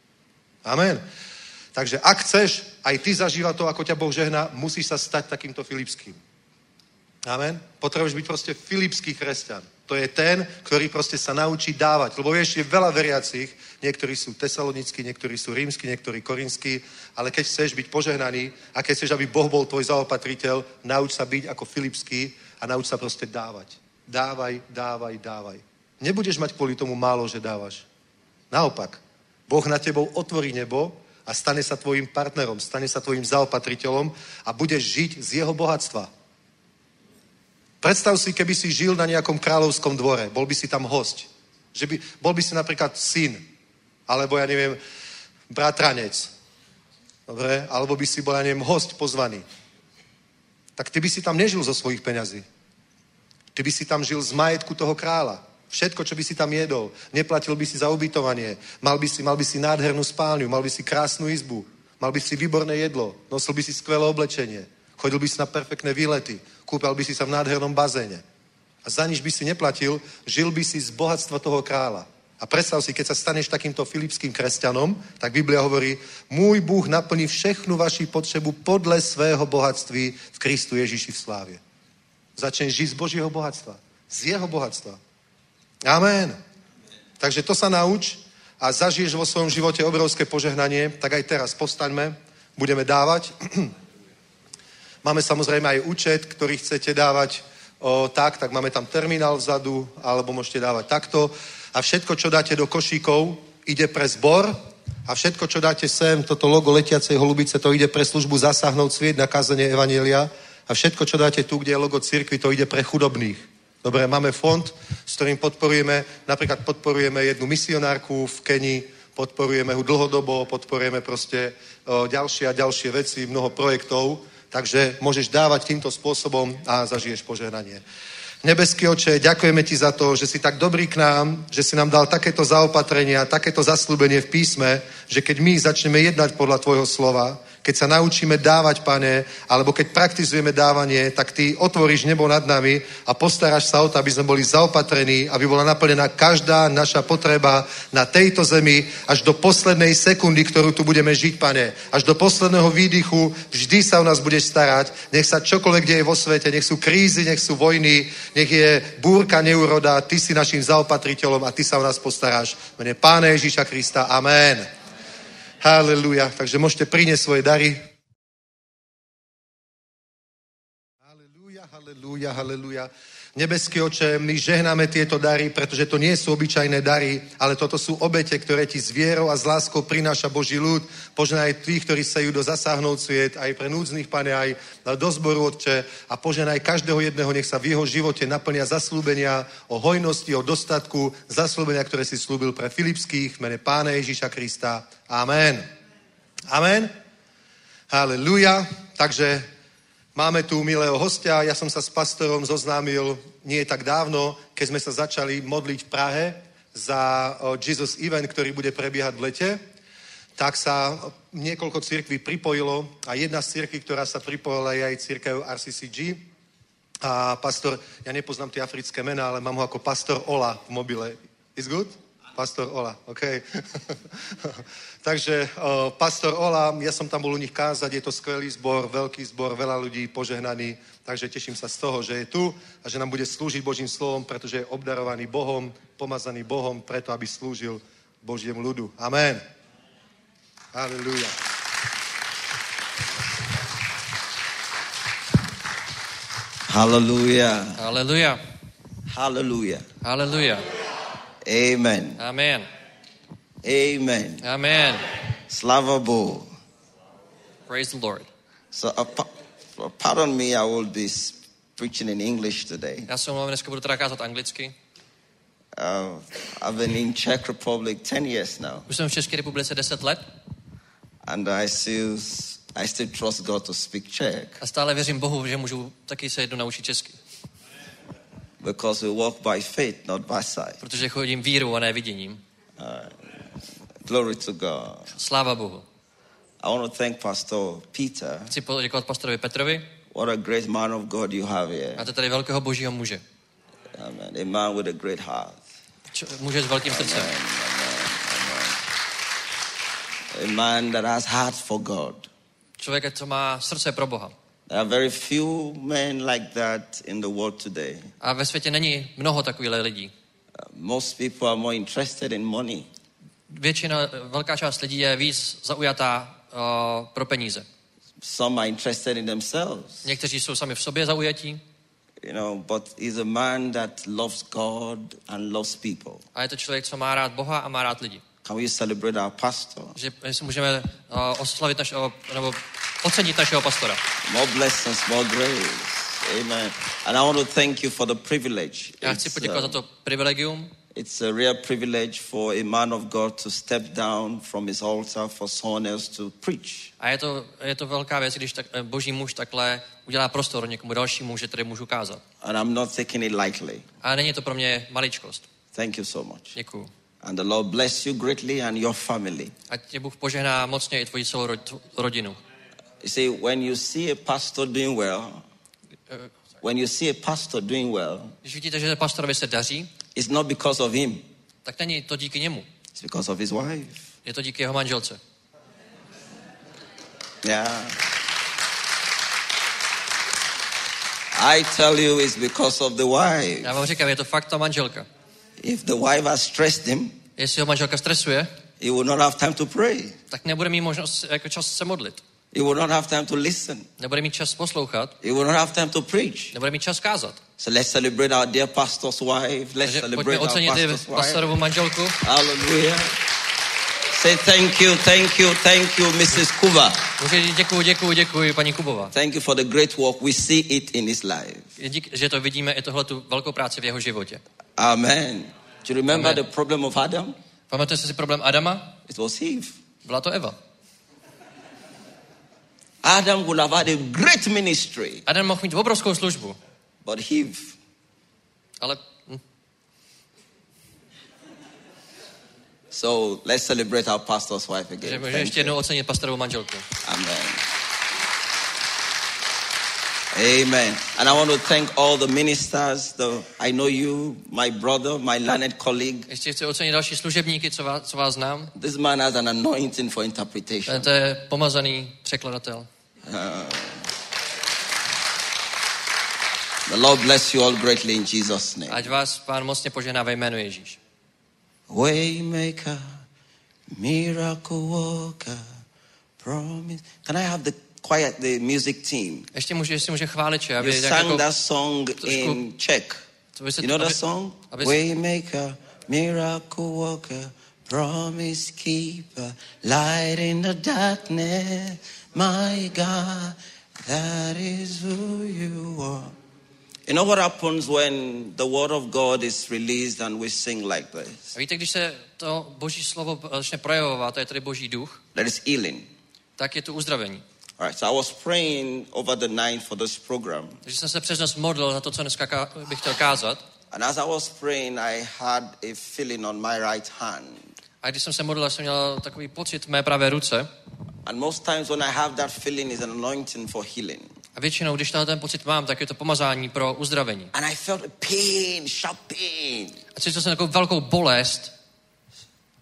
Amen. Takže ak chceš aj ty zažívať to, ako ťa Boh žehná, musíš sa stať takýmto Filipským. Amen. Potrebuješ byť proste filipský kresťan. To je ten, ktorý proste sa naučí dávať. Lebo vieš, je veľa veriacich, niektorí sú tesalonickí, niektorí sú rímski, niektorí korinskí, ale keď chceš byť požehnaný a keď chceš, aby Boh bol tvoj zaopatriteľ, nauč sa byť ako filipský a nauč sa proste dávať. Dávaj, dávaj, dávaj. Nebudeš mať kvôli tomu málo, že dávaš. Naopak, Boh na tebou otvorí nebo a stane sa tvojim partnerom, stane sa tvojim zaopatriteľom a budeš žiť z jeho bohatstva. Predstav si, keby si žil na nejakom kráľovskom dvore, bol by si tam hosť. Bol by si napríklad syn, alebo ja neviem, bratranec. Dobre? Alebo by si bol, ja neviem, hosť pozvaný. Tak ty by si tam nežil zo svojich peňazí. Ty by si tam žil z majetku toho kráľa. Všetko, čo by si tam jedol. Neplatil by si za ubytovanie. Mal by si nádhernú spálňu, mal by si krásnu izbu. Mal by si výborné jedlo. Nosil by si skvelé oblečenie. Chodil by si na perfektné výlety. Kúpal by si sa v nádhernom bazéne. A za nič by si neplatil, žil by si z bohatstva toho kráľa. A predstav si, keď sa staneš takýmto filipským kresťanom, tak Biblia hovorí, môj Bůh naplní všechnu vaši potřebu podle svého bohatství v Kristu Ježiši v slávě. Začneš žiť z Božího bohatstva. Z jeho bohatstva. Amen. Takže to sa nauč a zažiješ vo svojom živote obrovské požehnanie, tak aj teraz postaňme, budeme dávať. Máme samozrejme aj účet, ktorý chcete dávať tak máme tam terminál vzadu, alebo môžete dávať takto. A všetko, čo dáte do košíkov, ide pre zbor. A všetko, čo dáte sem, toto logo letiacej holubice, to ide pre službu Zasáhnout svět na kázanie evanjelia. A všetko, čo dáte tu, kde je logo cirkvi, to ide pre chudobných. Dobre, máme fond, s ktorým podporujeme, napríklad podporujeme jednu misionárku v Kenii, podporujeme ho dlhodobo, podporujeme proste ďalšie a ďalšie veci, mnoho projektov. Takže môžeš dávať týmto spôsobom a zažiješ požehnanie. Nebeský Oče, ďakujeme ti za to, že si tak dobrý k nám, že si nám dal takéto zaopatrenia, takéto zasľúbenie v písme, že keď my začneme jednať podľa tvojho slova, keď sa naučíme dávať, Pane, alebo keď praktizujeme dávanie, tak ty otvoríš nebo nad nami a postaráš sa o to, aby sme boli zaopatrení, aby bola naplnená každá naša potreba na tejto zemi až do poslednej sekundy, ktorú tu budeme žiť, Pane. Až do posledného výdychu vždy sa o nás budeš starať. Nech sa čokoľvek deje vo svete, nech sú krízy, nech sú vojny, nech je búrka, neúroda, ty si našim zaopatriteľom a ty sa o nás postaráš. V mene Pána Ježíša Krista. Amen. Halelúja. Takže môžete priniesť svoje dary. Halelúja, halelúja, halelúja. Nebeský Oče, my žehnáme tieto dary, pretože to nie sú obyčajné dary, ale toto sú obete, ktoré ti s vierou a s láskou prináša Boží ľud. Požehnaj tých, ktorí sa idú Zasáhnout svět, aj pre núdznych, Pane, aj do zboru, Otče, a požehnaj každého jedného, nech sa v jeho živote naplnia zaslúbenia o hojnosti, o dostatku, zaslúbenia, ktoré si slúbil pre Filipských, v mene Pána Ježíša Krista. Amen. Amen. Halelúja. Takže máme tu milého hostia, ja som sa s pastorom zoznámil nie tak dávno, keď sme sa začali modliť v Prahe za Jesus Event, ktorý bude prebiehať v lete, tak sa niekoľko cirkví pripojilo a jedna z cirkví, ktorá sa pripojila, je aj cirkev RCCG. A pastor, ja nepoznám tie africké mená, ale mám ho ako pastor Ola v mobile. Is good? Pastor Ola, OK. Takže Pastor Ola, ja som tam bol u nich kázať, je to skvelý zbor, veľký zbor, veľa ľudí, požehnaný, takže teším sa z toho, že je tu a že nám bude slúžiť Božím slovom, pretože je obdarovaný Bohom, pomazaný Bohom, preto, aby slúžil Božiemu ľudu. Amen. Halleluja. Hallelujah. Haleluja. Hallelujah. Haleluja. Amen. Amen. Amen. Amen. Slava Bohu. Praise the Lord. So, pardon me, I will be preaching in English today. Já se omlouvám, dneska budu teda kázat anglicky. I've been in Czech Republic 10 years now. Už jsem v České republice 10 let. And I still trust God to speak Czech. A stále věřím Bohu, že můžu taky se jednou naučit česky. Because we walk by faith, not by sight. Protože chodím vírou a ne viděním. Glory to God. Sláva Bohu. I want to thank Pastor Peter. Chci poděkovat pastorovi Petrovi. What a great man of God you have here. Máte tady velkého božího muže. Amen. A man with a great heart. Muže s velkým srdcem. A man that has heart for God. Člověk, co má srdce pro Boha. There are very few men like that in the world today. A ve světě není mnoho takových lidí. Most people are more interested in money. Velká část lidí je víc zaujatá pro peníze. Some are interested in themselves. Někteří jsou sami v sobě zaujatí. You know, but he's a man that loves God and loves people. A je to člověk, co má rád Boha a má rád lidi. Can we celebrate our pastor? Že si můžeme oslavit nebo ocenit našeho pastora. More blessings, more grace. Amen. And I want to thank you for the privilege. Já chci poděkovat za to privilegium. It's a real privilege for a man of God to step down from his altar for someone else to preach. A je to velká věc, když boží muž takhle udělá prostor někomu dalšímu, že tady můžu kázat. And I'm not taking it lightly. A není to pro mě maličkost. Thank you so much. Děkuju. And the Lord bless you greatly and your family. Ať tě Bůh požehná mocně i tvoji celou rodinu. You see, when you see a pastor doing well, Když vidíte, že pastorovi se daří, it's not because of him. tak není to díky němu. It's because of his wife. Je to díky jeho manželce. Yeah. I tell you it's because of the wife. Já vám říkám, je to fakt ta manželka. If the wife has stressed him, jestli ho manželka stresuje, he will not have time to pray. Tak nebude mít možnost jako čas se modlit. He will not have time to listen. Nebude mít čas poslouchat. He will not have time to preach. Nebude mít čas kázat. So let's celebrate our dear pastor's wife. Let's celebrate our pastor's wife. Pastorovu manželku. Hallelujah. Say thank you, Mrs. Kuba. Děkuji, paní Kubová. Thank you for the great work. We see it in his life. Díky, že to vidíme i tohletu velkou práci v jeho životě. Amen. Do you remember the problem of Adam? Pamatujete si problém Adama? It was Eve. Byla to Eva. Adam would have had a great ministry. Adam mohl mít obrovskou službu. But Eve. Ale So let's celebrate our pastor's wife again. Že může ještě jednou ocenit pastorovou manželku. Amen. Amen. And I want to thank all the ministers. I know you, my brother, my learned colleague. Ještě chci ocenit další služebníky, co vás znám. This man has an anointing for interpretation. To je pomazaný překladatel. The Lord bless you all greatly in Jesus' name. Ať vás Pán mocně požehná ve jménu Ježíš. Waymaker, miracle worker, promise. Can I have the music team? Ještě může chváliče, aby you sang that song in Czech. You know that song? Waymaker, miracle worker, promise keeper, light in the darkness, my God, that is who you are. You know what happens when the word of God is released and we sing like this? A víte, když se to Boží slovo začne projevovat, to je tedy Boží duch, that is healing. Tak je to uzdravení. All right, so I was praying over the night for this program. Takže jsem se přes noc modlil za to, co dneska bych chtěl kázat. And as I was praying, I had a feeling on my right hand. A když jsem se modlil, jsem měl takový pocit v mé pravé ruce. And most times when I have that feeling is an anointing for healing. A většinou, když ten pocit mám, tak je to pomazání pro uzdravení. And I felt a pain, sharp pain. A cítil jsem takovou velkou bolest.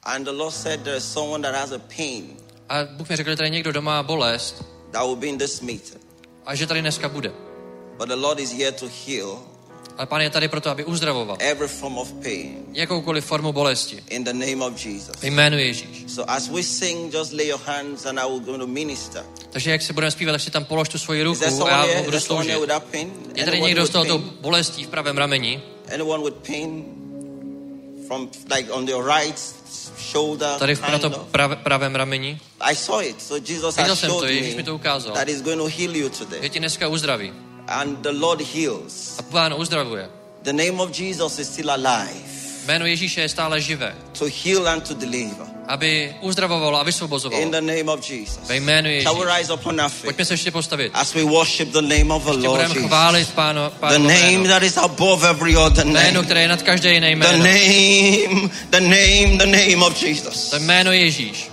And the Lord said there is someone that has a pain. A Bůh mi řekl, že tady někdo doma má bolest. That will be in this meeting. A že tady dneska bude. But the Lord is here to heal. Ale Pán je tady proto, aby uzdravoval. Every form of pain. Jakoukoliv formu bolesti. In the name of Jesus. V jménu Ježíš. So as we sing, just lay your hands and I will go to minister. Takže jak se budeme zpívat, tak si tam polož tu svoji ruku a já budu sloužit. Je tady někdo z tohoto bolestí v pravém rameni? Anyone with pain from like on your right shoulder? Tady na tom pravém rameni? I saw it. So Jesus has showed me that he's going to heal you today. Že ti dneska uzdraví. And the Lord heals. A Pán uzdravuje. The name of Jesus is still alive. Jméno Ježíše je stále živé. To heal and to deliver. Aby uzdravovalo a vysvobozovalo. In the name of Jesus. Ve jménu Ježíše. Shall we rise upon our feet? Pojďme se ještě postavit. As we worship the name of the Lord Jesus. Budeme chválit Pánu the name that is above every other name. Jméno, které je nad každé jiné jméno. The name of Jesus. To jméno Ježíš.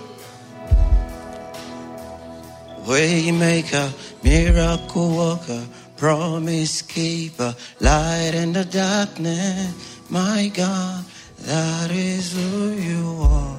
Waymaker, miracle worker, promise keeper, light in the darkness, my God, that is who you are.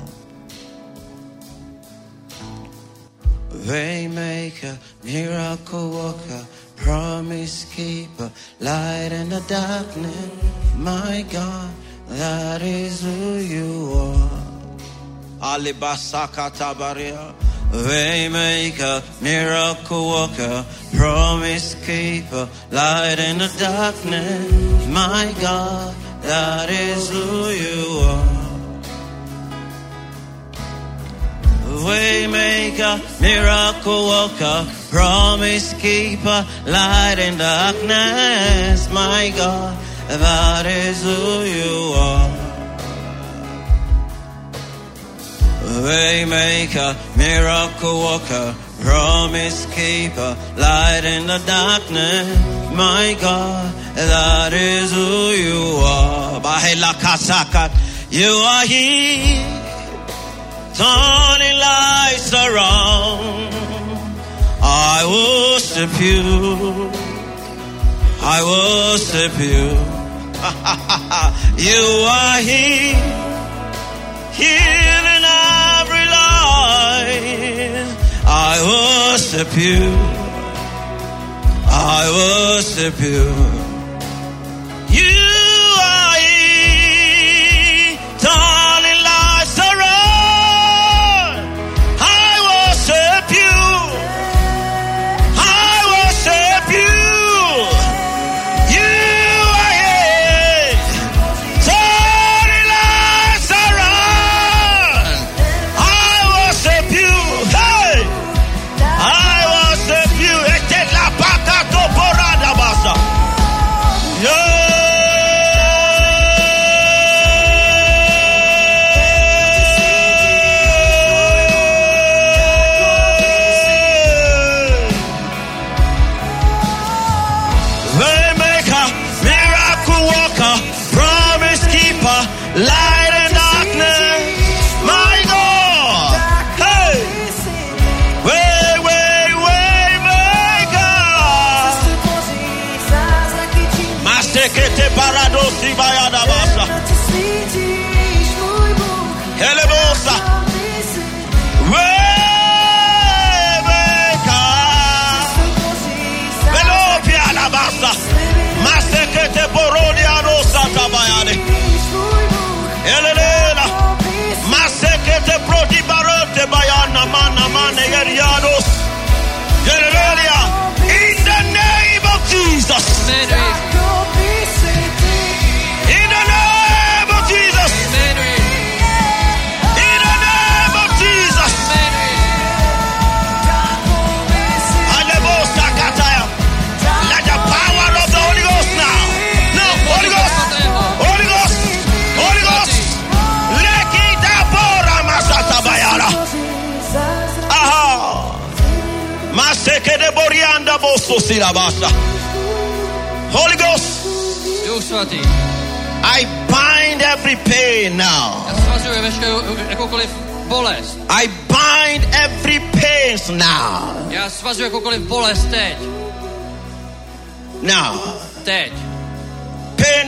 Waymaker, miracle worker, promise keeper, light in the darkness, my God, that is who you are. Alibasaka tabaria. Waymaker, miracle worker, promise keeper, light in the darkness, my God, that is who you are. Waymaker, miracle worker, promise keeper, light in darkness, my God, that is who you are. Waymaker, miracle worker, promise keeper, light in the darkness, my God, that is who you are. Bahela kasakat, you are here, turning lights around. I worship you, I worship you. You are here, healing every life. I worship you, I worship you. You are here, turning lights around. I worship you, I worship you. You are here, turning lights around. I worship you, hey, I worship you. Ete la baka to porada basa. Yeah. Waymaker, miracle worker, promise keeper, light in darkness, my God. Hey, waymaker. Masekete paradosi bayada basa. Helebosa. Waymaker. Velopia la basa. Masekete borodia rosa tabayade. Elelela. Masekete prodi barote bayana mana mane yeriados. Elelela. In the name of Jesus. In the name of Jesus. In the name of Jesus. Alebosa kataya. Let the power of the Holy Ghost now. No, Holy Ghost. Holy Ghost. Holy Ghost. Lekita bora masata bayara. Aha. Maseke de borianda boso silabasa. Holy Ghost. Duch svatý. I bind every pain now. Já svazuji veškerou jakoukoliv bolest. I bind every pain now. Já svazuji jakoukoliv bolest teď. Now. Teď. Pains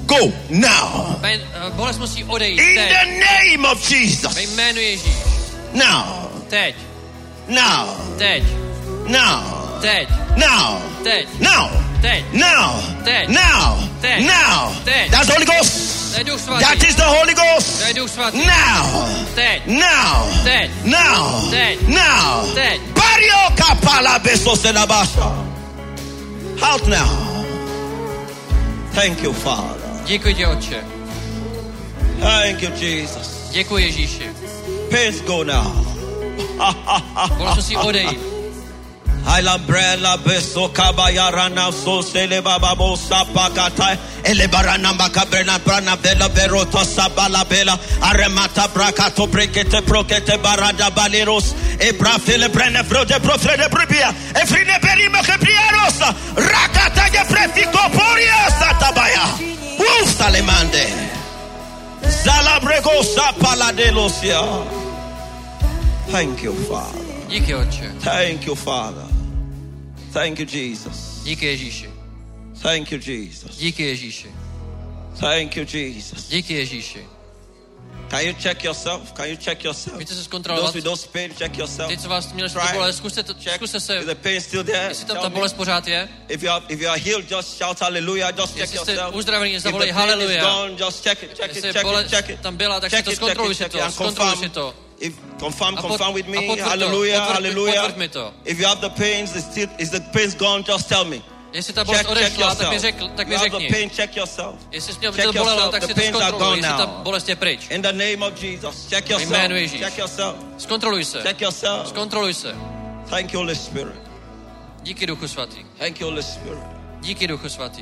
Go now. Bolest musí odejít. In the name of Jesus. Ve jménu Ježíš. Now. Teď. Now. Teď. Now. Teď. Now. Teď. Now. Teď. Now. Teď. Now. Teď. Now. Teď. That's the Holy Ghost. To je Duch Svatý. That is the Holy Ghost. To je Duch Svatý. Now. Teď. Now. Teď. Now. Teď. Now. Teď. Barrio kapala beso senabasha. Out now. Thank you, Father. Děkuji ti, Otče. Thank you, Jesus. Děkuji, Ježíši. Pains go now. Bolest musí odejít. Haila brella beso kabayarana so sele baba bosa pakata elebarana makabrena brana bella berota sabala bella aremata brakato brekete prokete barada baleros e brafele brene frode profrede pribia e frine perime kepriaros rakata ge prefiko poria satabaya salemande zalabrego sapaladelosia. Thank you, Father. Díky, Otče. Thank you, Father. Thank you, Jesus. Díky, Ježíši. Thank you, Jesus. Díky, Ježíši. Thank you, Jesus. Díky, Ježíši. Can you check yourself? Can you check yourself? Můžete se zkontrolovat. Those with those pain, check yourself. Ty, co vás měli tu bolest, zkuste se, Is the pain still there? jestli tam ta bolest pořád je. If you are healed, just shout hallelujah. Just check Jestli jste yourself. uzdravený, zavolej If the pain is haleluja. gone, just check it, check it, Jestli check bolest it, check it. tam byla, tak si to zkontroluj si to. And Zkontroluj si to. If confirm with A me, potvrď to, hallelujah, hallelujah. potvrď mi to. If you have the pains, is the pains gone? Just tell me. Jestli ta bolest odešla, tak mi řekni. The pain, check yourself. Jestli jsi měl to bolelo, tak si to zkontroluj, jestli ta bolest je pryč. In the name of Jesus, check yourself. Jménu Ježíš. Check yourself. Zkontroluj se. Check yourself. Zkontroluj se. Thank you, Holy Spirit. Díky, Duchu Svatý. Thank you, Holy Spirit. Díky, Duchu Svatý.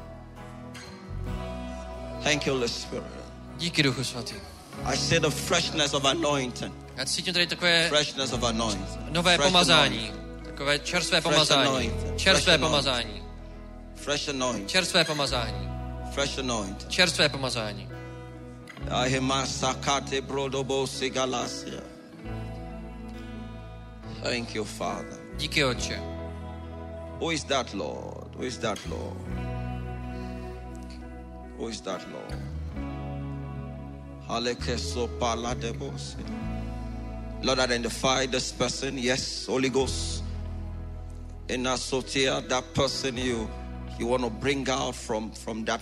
Thank you, Holy Spirit. Díky, Duchu Svatý. I see the freshness of anointing. Já cítím tady takové Freshness of anointing. nové pomazání. Takové čerstvé pomazání. Čerstvé pomazání. Fresh anointing. Čerstvé pomazání. Fresh anointing. Čerstvé pomazání. Thank you, Father. Díky, Otče. Who is that, Lord? Who is that, Lord? Who is that, Lord? Lord, identify this person. Yes, Holy Ghost. In Asotia, that person you want to bring out from that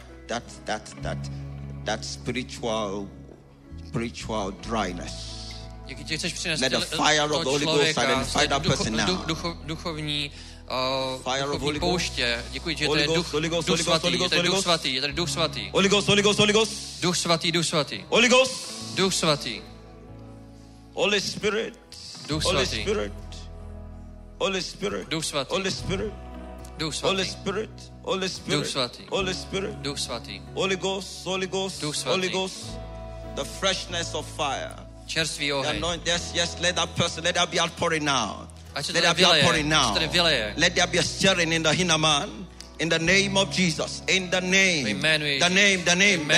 spiritual dryness. Let the fire of the Holy Ghost identify that person now. Duchovní pouště. Děkuji, že to je Duch Svatý. Je tady Duch Svatý. Je tady Duch Svatý. Holy Ghost, Holy Ghost, Holy Ghost. Duch Svatý, Duch Svatý. Holy Ghost. Duch Svatý. Holy Spirit. Duch Holy Svatý. Spirit. Holy Spirit. Duch Svatý. Holy Spirit. Duch Holy Svatý. Spirit. Holy Spirit. Duch Svatý. Holy Spirit. Duch Svatý. Holy Ghost. Holy Ghost. Duch Svatý. Holy Ghost. The freshness of fire. Čerstvý The oheň. yes, let that person, let that be outpouring now. Ať se Let to that be outpouring vyleje. now. Tady vyleje. Let there be a stirring in the inner man. In the name of Jesus. In the name. Jménu Ježíš. The name of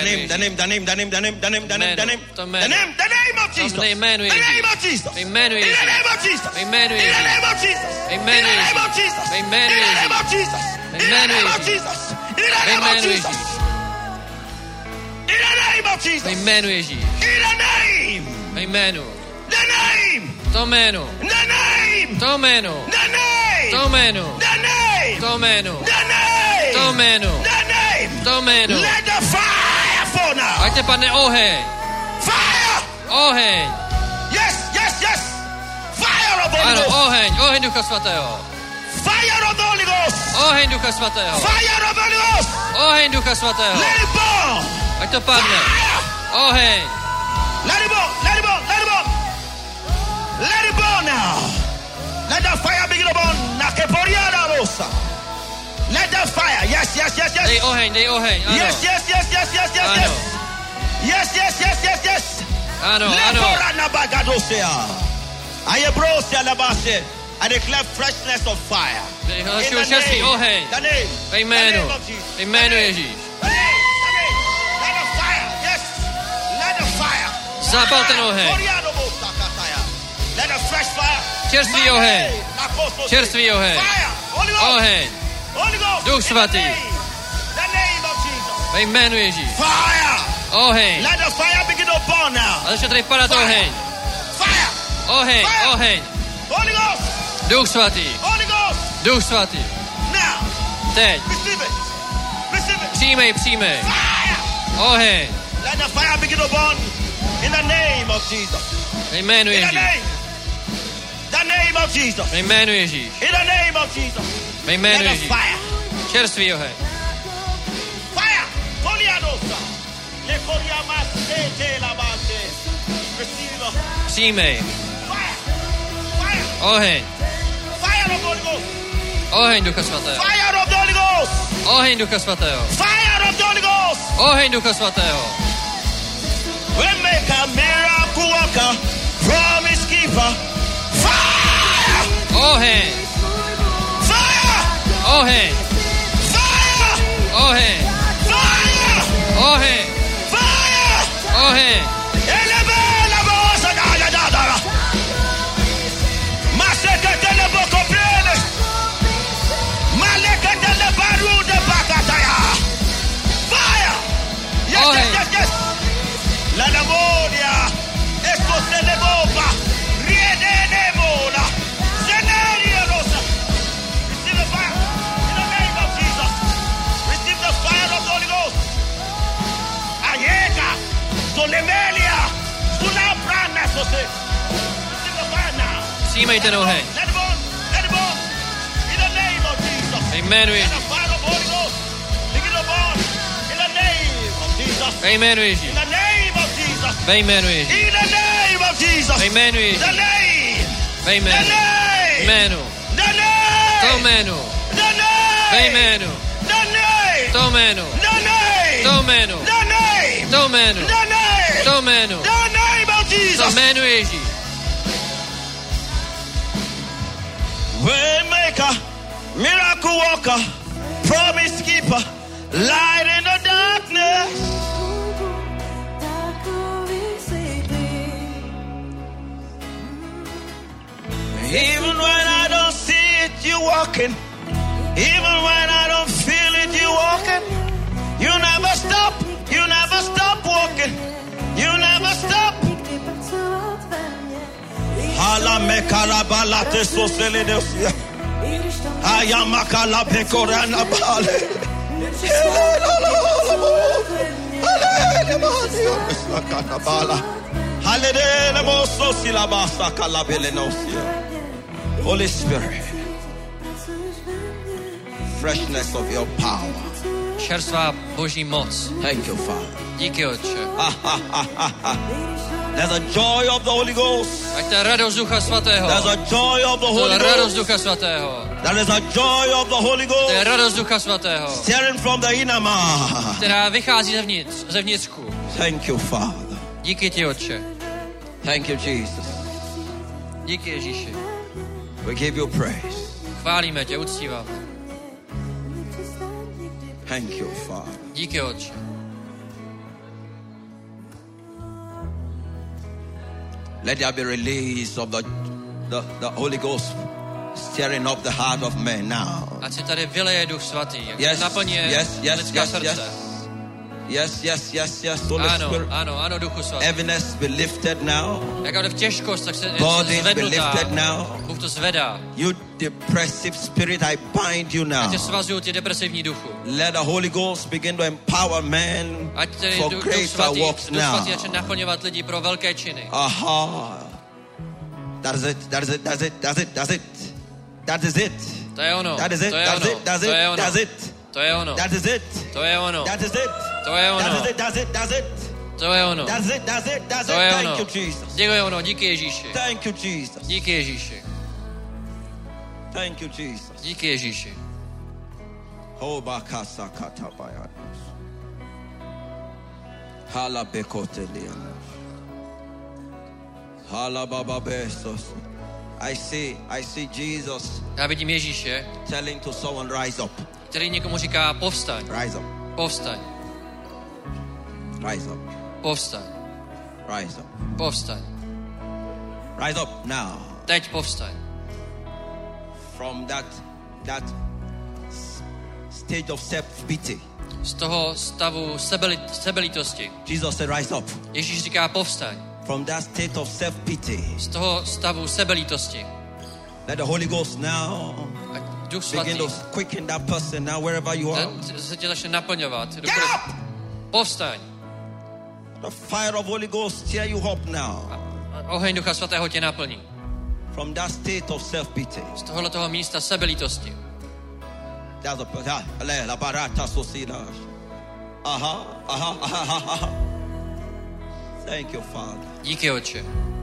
Jesus. The Jménu name Ježíš. of Jesus. Jménu In the Ježíš. name of Jesus. Jménu In the Ježíš. name of Jesus. Jménu In the name of Ježíš. Jesus. Jménu In the name Ježíš. of Jesus. In the Jménu name of Ježíš. Jesus. In the name of Jménu Jesus. Ježíš. In the name of Jesus. Jménu Ježíš. In the name. Jménu. The name. To jménu. The name. To jménu. The name. To jménu. The name. To jménu. The name. To jménu. The name. To jménu. Let the fire fall now. Ať te padne oheň. Fire. Oheň. Yes, yes, yes. Fire of the Holy Ano, Ghost. oheň. Oheň Ducha Svatého. Fire of the Holy Ghost. Oheň Ducha Svatého. Fire of the Holy Ghost. Oheň Ducha Svatého. Let it burn. Ať to padne. Fire. Oheň. Let it burn. Let it burn. Let it burn. Let it burn now. Let the fire begin to burn. Nakeporiada rosa. Let the fire. Yes, yes, yes, yes. Dej oheň, dej oheň. Ano. Yes, yes, yes, yes, yes, yes, Ano. yes. Yes, yes, yes, yes, yes. Ano, ano. Leporana bagadosea. Ayebrosia labase. I declare freshness of fire. Dej In the další čerstvý name. oheň. The name. Ve jménu. The name of Jesus. Ve jménu The name. Ježíš. The name. The name. Let the fire. Yes. Let the fire. Zapal ten oheň. Oriado bosakataya. Let the fresh fire. Čerstvý My oheň. name. Apostle. Čerstvý oheň. Fire. Holy Ghost. Oheň. Holy Ghost. Duch In the Svatý. name. The name of Jesus. Ve Ve jménu Ježíš. Fire. Oheň. Let the fire begin to burn now. A začne tady padat oheň. Fire. Oheň, Fire. oheň. Holy Ghost. Duch svatý. Holy Ghost. Duch svatý. Now. Teď. Receive it. Receive it. Přijmej, přijmej. Fire. Oheň. Let the fire begin to burn in the name of Jesus. Ve jménu In the Ježíš. name. The name of Jesus. Ve jménu Ježíš. In the name of Jesus. Ve jménu Let the Ježíš. fire. Čerstvý oheň. Fire. Poliadosa. Le coriamaste te la base. Receive. Přijmej. Fire. Fire. Oheň. Fire of the Holy Ghost. Oheň Ducha svatého. Fire of the Holy Ghost. Oheň Ducha svatého. Fire of the Holy Ghost. Oheň Ducha svatého. Waymaker, miracle worker, promise keeper. Fire! Oheň. Fire! Oheň. Fire! Oheň. Fire! Oheň. Fire! Oheň. Elebe la bosa da da da. Maseke tele boko plene. Maleke tele baru de bakataya. Fire! Yes, Oheň. yes, yes, yes. La Namonia, esto se le bomba, riede de mola, Zenaria Rosa. Receive the fire in the name of Jesus. Receive the fire of the Holy Ghost. Ayeka, Solemelia, Sulabrana, Sose. Receive the fire now. Přijmej ten oheň. Let it burn, let it burn. In the name of Jesus. Ve jménu Let Ježíš. the fire of the Holy Ghost begin to burn. In the name of Jesus. Ve jménu Ježíš. In the name of Jesus. Ve jménu Ježíš. In the name of Jesus. Ve jménu Ježíš. The name. Ve The jménu. name. Jménu. The name. To jménu. The name. Ve jménu. The name. To jménu. The name. To jménu. The name. To jménu. The name. To jménu. The name of To Jesus. jménu Ježíš. Waymaker, miracle worker, promise keeper, light in the darkness. Even when I don't see it, you walking. Even when I don't feel it, you walking. You never stop. You never stop walking. You never stop. Hala mekala balate sosele deosia. Ayamakala pekorana bale. Holy Spirit, freshness of your power. Čerstvá boží moc. Thank you, Father. Díky, Otče. There's a joy of the Holy Ghost. Ať ta radost Ducha svatého. There's a joy of the Holy To je radost Ghost. Ducha svatého. There is a joy of the Holy To je Ghost. radost Ducha svatého, Stirring from the inner man. která vychází zevnitřku. Thank you, Father. Díky ti, Otče. Thank you, Jesus. Díky, Ježíši. We give you praise. Chválíme tě, uctíváme. Thank you, Father. Díky, Otče. Let there be release of the Holy Ghost stirring up the heart of man now. Ať se tady vyleje Duch svatý, jak Yes, naplně yes, lidská srdce. Yes, Holy Ano, Spirit. ano, Duchu svatý. Heaviness be lifted now. Jaká v těžkost, tak se Bodies be zvednutá. lifted now. Bůh to zvedá. You depressive spirit, I bind you Já now. tě svazuju, ty depresivní duchu. Let the Holy Ghost begin to empower man Ať tedy for Duch greater svatý, works Duch now. svatý začne naplňovat lidi pro velké činy. Aha. That is it. To je ono, That is it. to je That's ono, it. That's to je it. ono, That's it. to je ono, That is it. to je ono, That is it. to je ono, That's it. That's it. That's it. to je ono, That's it. That's it. That's to it. je Thank ono. you, Jesus. Děkuji ono, díky Ježíši. Thank you, Jesus. Díky Ježíši. Thank you, Jesus. Díky Ježíši. Hobakasa katabayanos. Hala bekotelianos. Hala baba besos. I see Jesus Já vidím Ježíše, telling to someone, rise up. který někomu říká povstaň, Rise up. povstaň, Rise up. povstaň, Rise up. povstaň. Rise up now. Teď povstaň. From that stage of self-pity. Z toho stavu sebelítosti. Jesus said, rise up. Ježíš říká, povstaň. From that state of self-pity. Z toho stavu sebelítosti. Let the Holy Ghost now Duch Svatý begin to quicken that person now wherever you are. se tě začne naplňovat. Povstaň. The fire of Holy Ghost tear you up now. Oheň Ducha Svatého tě naplní. From that state of self-pity. Z tohoto místa sebelítosti. That's a la barata socida. Aha. Thank you, Father. Díky, Otče.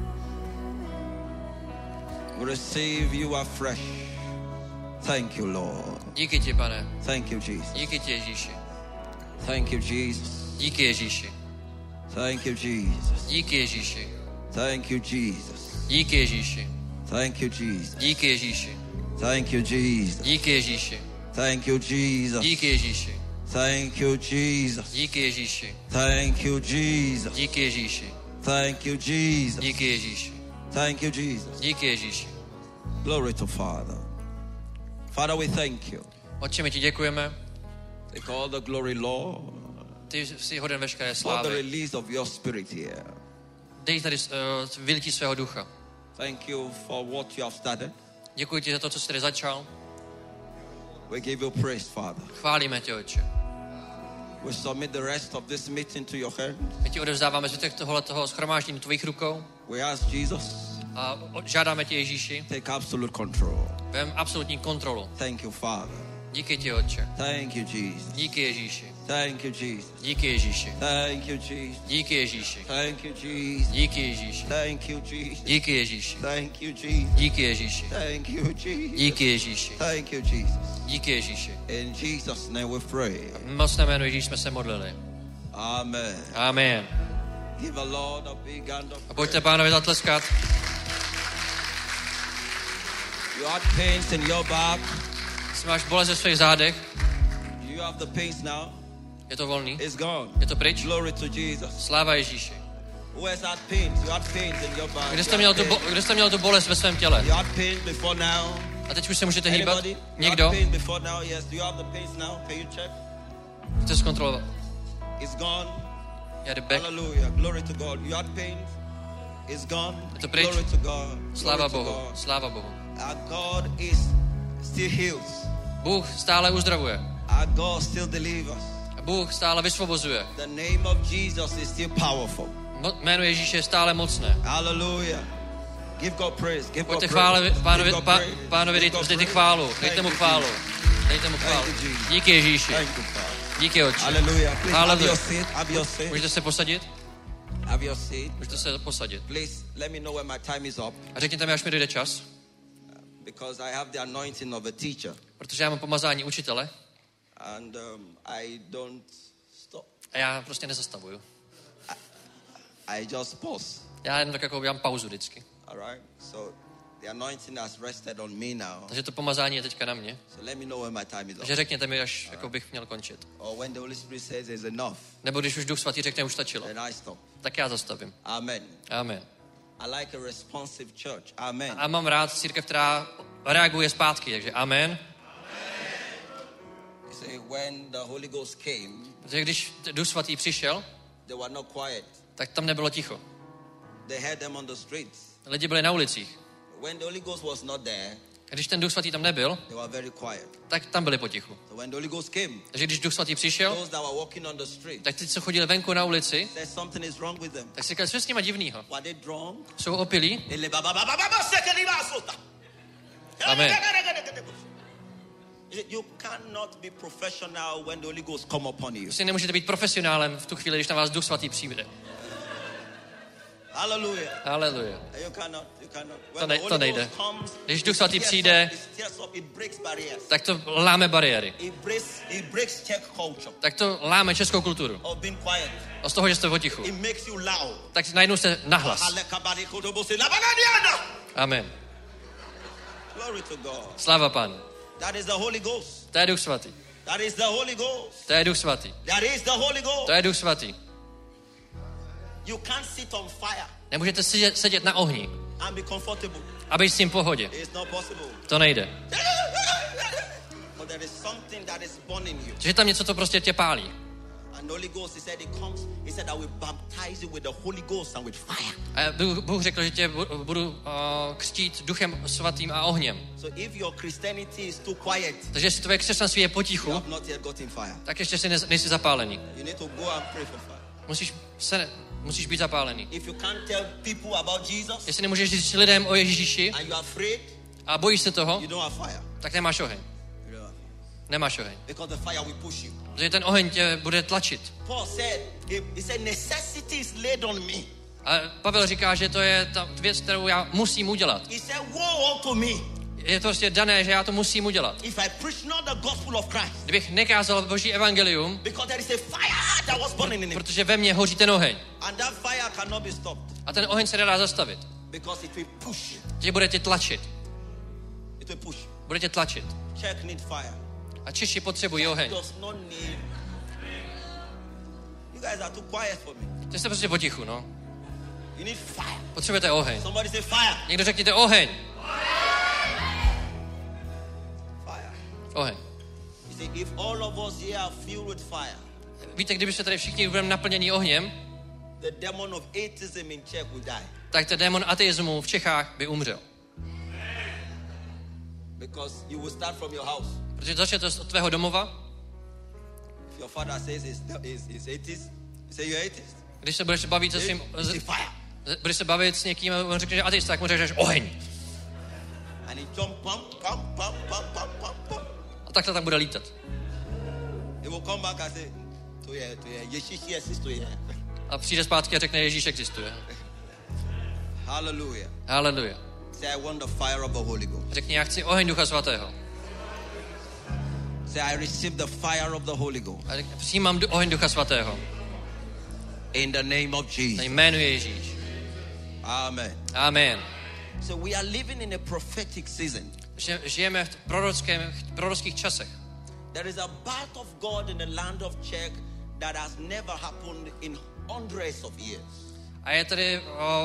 We receive you afresh. Thank you, Lord. Díky ti, Pane. Thank you, Jesus. Díky ti, Ježíši. Thank you, Jesus. Díky, Ježíši. Thank you, Jesus. Díky, Ježíši. Thank you, Jesus. Díky, Ježíši. Thank you, Jesus. Díky, Ježíši. Thank you, Jesus. Díky, Ježíši. Thank you, Jesus. Díky, Ježíši. Thank you, Jesus. Díky, Ježíši. Thank you, Jesus. Díky, Ježíši. Thank you, Jesus. Díky, Ježíši. Thank you, Jesus. Díky, Ježíši. Glory to Father. Father, we thank you. Otče, my ti děkujeme. Take all the glory, Lord. Ty jsi hoden veškeré For the slávy. release of your spirit here. Dej tady vylití svého ducha. Thank you for what you have started. Děkuji ti za to, co jsi tady začal. We give you praise, Father. Chválíme tě, Otče. We submit the rest of this meeting to your hands. My ti odevzdáváme zbytek tohoto shromáždění do tvých rukou We ask Jesus, a žádáme tě, Ježíši, take absolute control. vem absolutní kontrolu. Thank you, Father. Díky ti, Otče. Thank you, Jesus. Díky, Ježíši. Thank you, Jesus. Díky, Ježíši. Thank you, Jesus. Díky, Ježíši. Thank you, Jesus. Díky, Ježíši. Thank you, Jesus. Díky, Ježíši. Thank you, Jesus. Díky, Ježíši. Thank you, Jesus. Díky, Ježíši. Thank you, Jesus. Díky, Ježíši. In Jesus' name we pray. Mocné jméno Ježíš jsme se modlili. Amen. Amen. Give a Lord a big hand of A pojďte Pánovi zatleskat. You had pains in your back. Jestli máš bolest ve svých zádech, You have the pains now. je to volný. It's gone. Je to pryč. Glory to Jesus. Sláva Ježíši. Who has had pains? You had pains in your back. Kde jste měl tu bolest ve svém těle? You had pains before now. A teď už se můžete hýbat? Anybody? You Někdo? had pains before now? Yes. Do you have the pains now? Can you check? Chce zkontrolovat. It's gone. Já jde back. Hallelujah. Glory to God. You had pains. It's gone. Je to pryč. Glory to God. Sláva Glory to Bohu. God. Sláva Bohu. Our God is still heals. Bůh stále uzdravuje. Our God still delivers. A Bůh stále vysvobozuje. The name of Jesus is still powerful. Jméno Ježíše je stále mocné. Hallelujah. Give God praise. Give God Pojďte praise. pánovi, Give God praise. pánovi Give God dejte praise. chválu. Thank Dejte mu you, chválu. Jesus. Dejte mu chválu. Thank you, Jesus. Díky Ježíši. Thank you, Father. Díky, Otče. Hallelujah. Please have Hallelujah. your seat. Have your seat. Můžete se posadit? Have your seat. Můžete se posadit. Please let me know when my time is up, A řekněte mi, až mi dojde čas, because I have the anointing of a teacher, protože já mám pomazání učitele and I don't stop. a já prostě nezastavuju. I just pause. Já jenom tak jako udělám pauzu vždycky. All right. So the anointing has rested on me now. Takže to pomazání je teďka na mě. So let me know when my time is up, Takže řekněte mi, až jako bych měl končit. or when the Holy Spirit says it's enough, Nebo když už Duch Svatý řekne, už stačilo, then I stop. tak já zastavím. Amen. Amen. I like a responsive church. Amen. A mám rád církev, která reaguje zpátky, takže amen. You see, when the Holy Ghost came, Protože když Duch Svatý přišel, they were not quiet. tak tam nebylo ticho. They heard them on the streets. Lidi byli na ulicích. When the Holy Ghost was not there, A když ten Duch Svatý tam nebyl, they were very quiet. tak tam byli potichu. So when the Holy Ghost came, Takže když Duch Svatý přišel, those that were walking on the street, tak ty, co chodili venku na ulici, said something is wrong with them. tak si říkali, co je s nima divnýho? Were they drunk? Jsou opilí? Amen. You cannot be professional when the Holy Ghost come upon you. Prostě nemůžete být profesionálem v tu chvíli, když na vás Duch Svatý přijde. Hallelujah. Haleluja. You cannot. To nejde. Když Duch Svatý přijde, tak to láme bariéry. It breaks Czech culture Tak to láme českou kulturu. of being quiet. A z toho, že jste potichu. It makes you loud. Tak najednou jste nahlas. Amen. Glory to God. Sláva Pánu. That is the Holy Ghost. To je Duch Svatý. That is the Holy Ghost. To je Duch Svatý. That is the Holy Ghost. To je Duch Svatý. You can't sit on fire Nemůžete sedět na ohni and be comfortable. a být s tím v pohodě. It's not possible. To nejde. Že je tam něco, co prostě tě pálí. And the Holy Ghost, he said I will baptize you with the Holy Ghost and with fire. A Bůh řekl, že tě budu křtít duchem svatým a ohněm. So if your Christianity is too quiet, takže jestli tvoje křesťanství je potichu, you have not yet gotten fire. Tak ještě si nejsi zapálený. You need to go and pray for fire. Musíš být zapálený. If you can't tell people about Jesus, jestli nemůžeš říct lidem o Ježíši and you are afraid, a bojíš se toho, you don't have fire. Tak nemáš oheň. Nemáš oheň. Because the fire will push you. Protože ten oheň tě bude tlačit. Paul said, he said necessity is laid on me. A Pavel říká, že to je ta věc, kterou já musím udělat. He said, woe unto me. Je to prostě dané, že já to musím udělat. If I preach not the gospel of Christ. Kdybych nekázal Boží evangelium, because there is a fire that was burning in him. Protože ve mně hoří ten oheň. And that fire cannot be stopped. A ten oheň se nedá zastavit. Because it will push. Že bude tě tlačit. It will push. Bude tě tlačit. Czech need fire. A Češi potřebují oheň. Does not need. You guys are too quiet for me. Ty jste prostě potichu, no. You need fire. Potřebujete oheň. Somebody say fire. Někdo řekněte oheň. Fire. Oheň. You see, if all of us here are filled with fire. Víte, kdyby se tady všichni budeme naplněni ohněm, the demon of atheism in Czech will die. Tak ten démon ateismu v Čechách by umřel. Because you will start from your house. Protože začne to od tvého domova. If your father says he's atheist, you say you're atheist. Když se budeš bavit se svým, budeš se bavit s někým a on řekne, že ateista, tak mu řekneš oheň. And he jump, pum. A takhle tam bude lítat. He will come back and say, to je, Ježíš existuje. A přijde zpátky a řekne, Ježíš existuje. Hallelujah. Hallelujah. Say, I want the fire of the Holy Ghost. Řekni, já chci oheň Ducha Svatého. Say, I receive the fire of the Holy Ghost. A přijímám oheň Ducha Svatého. In the name of Jesus. Na jménu Ježíš. Amen. Amen. So we are living in a prophetic season. Žijeme v prorockých časech. There is a birth of God in the land of Czech that has never happened in hundreds of years. A je tady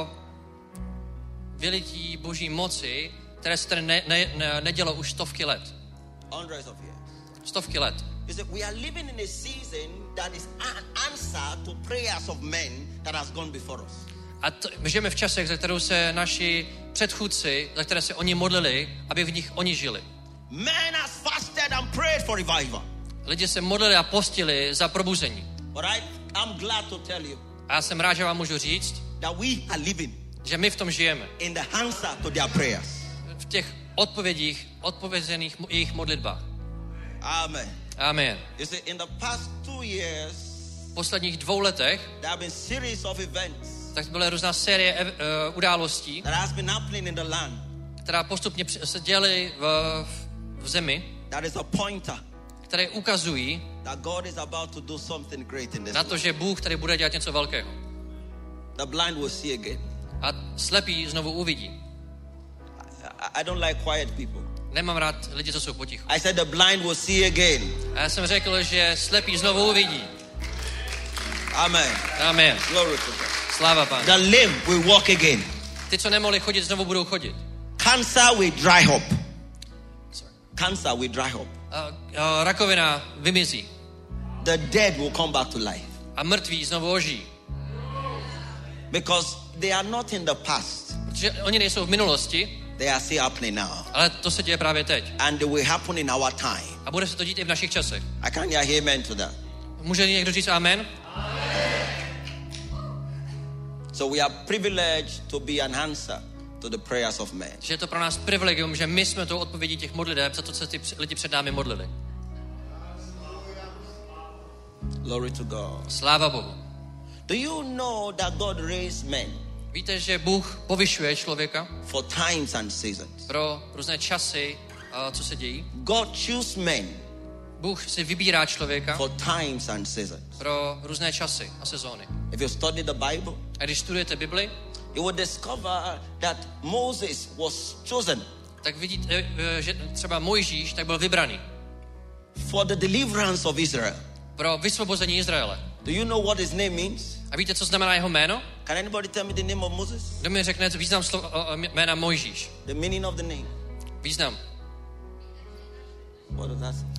vylití Boží moci, které se tady nedělo už stovky let. Hundreds of years. Stovky let. We are living in a season that is an answer to prayers of men that has gone before us. A my žijeme v časech, za kterou se naši předchůdci, za které se oni modlili, aby v nich oni žili. Man has fasted and prayed for revival. Lidi se modlili a postili za probuzení. But I'm glad to tell you. A já jsem rád, že vám můžu říct, that we are living. Že my v tom žijeme. In the answer to their prayers. V těch odpovězených jejich modlitbách. Amen. Amen. You see, in the past 2 years, v posledních 2 letech, there have been series of events. Tak byla různá série událostí, that has been happening in the land. Která postupně se děly v zemi. That is a pointer. Které ukazují that God is about to do something great in this na to, že Bůh tady bude dělat něco velkého. The blind will see again. A slepí znovu uvidí. I don't like quiet people. Nemám rád lidi, co jsou potichu. I said the blind will see again. A já jsem řekl, že slepí znovu uvidí. Amen. Amen. Glory to God. Sláva Pánu. The lame will walk again. Ty, co nemohli chodit, znovu budou chodit. Cancer will dry up. Cancer will dry up. Rakovina vymizí. The dead will come back to life. A mrtví znovu ožijí. Because they are not in the past. Protože oni nejsou v minulosti. They are still happening now. Ale to se děje právě teď. And they will happen in our time. A bude se to dít i v našich časech. I can't hear amen to that. Může někdo říct amen? So we are privileged to be an answer to the prayers of men. Že je to pro nás privilegium, že my jsme tou odpovědí těch modliteb, za to, co ty lidi před námi modlili. Glory to God. Sláva Bohu. Do you know that God raised men? Víte, že Bůh povyšuje člověka? For times and seasons. Pro různé časy, co se dějí. God choose men. Bůh si vybírá člověka. For times and seasons. Pro různé časy a sezóny. If you study the Bible, a když studujete Bibli, you will discover that Moses was chosen. Tak vidíte, že třeba Mojžíš tak byl vybraný. For the deliverance of Israel. Pro vysvobození Izraele. Do you know what his name means? A víte, co znamená jeho jméno? Can anybody tell me the name of Moses? Kdo mi řekne význam jména Mojžíš? The meaning of the name. Význam. What does that say?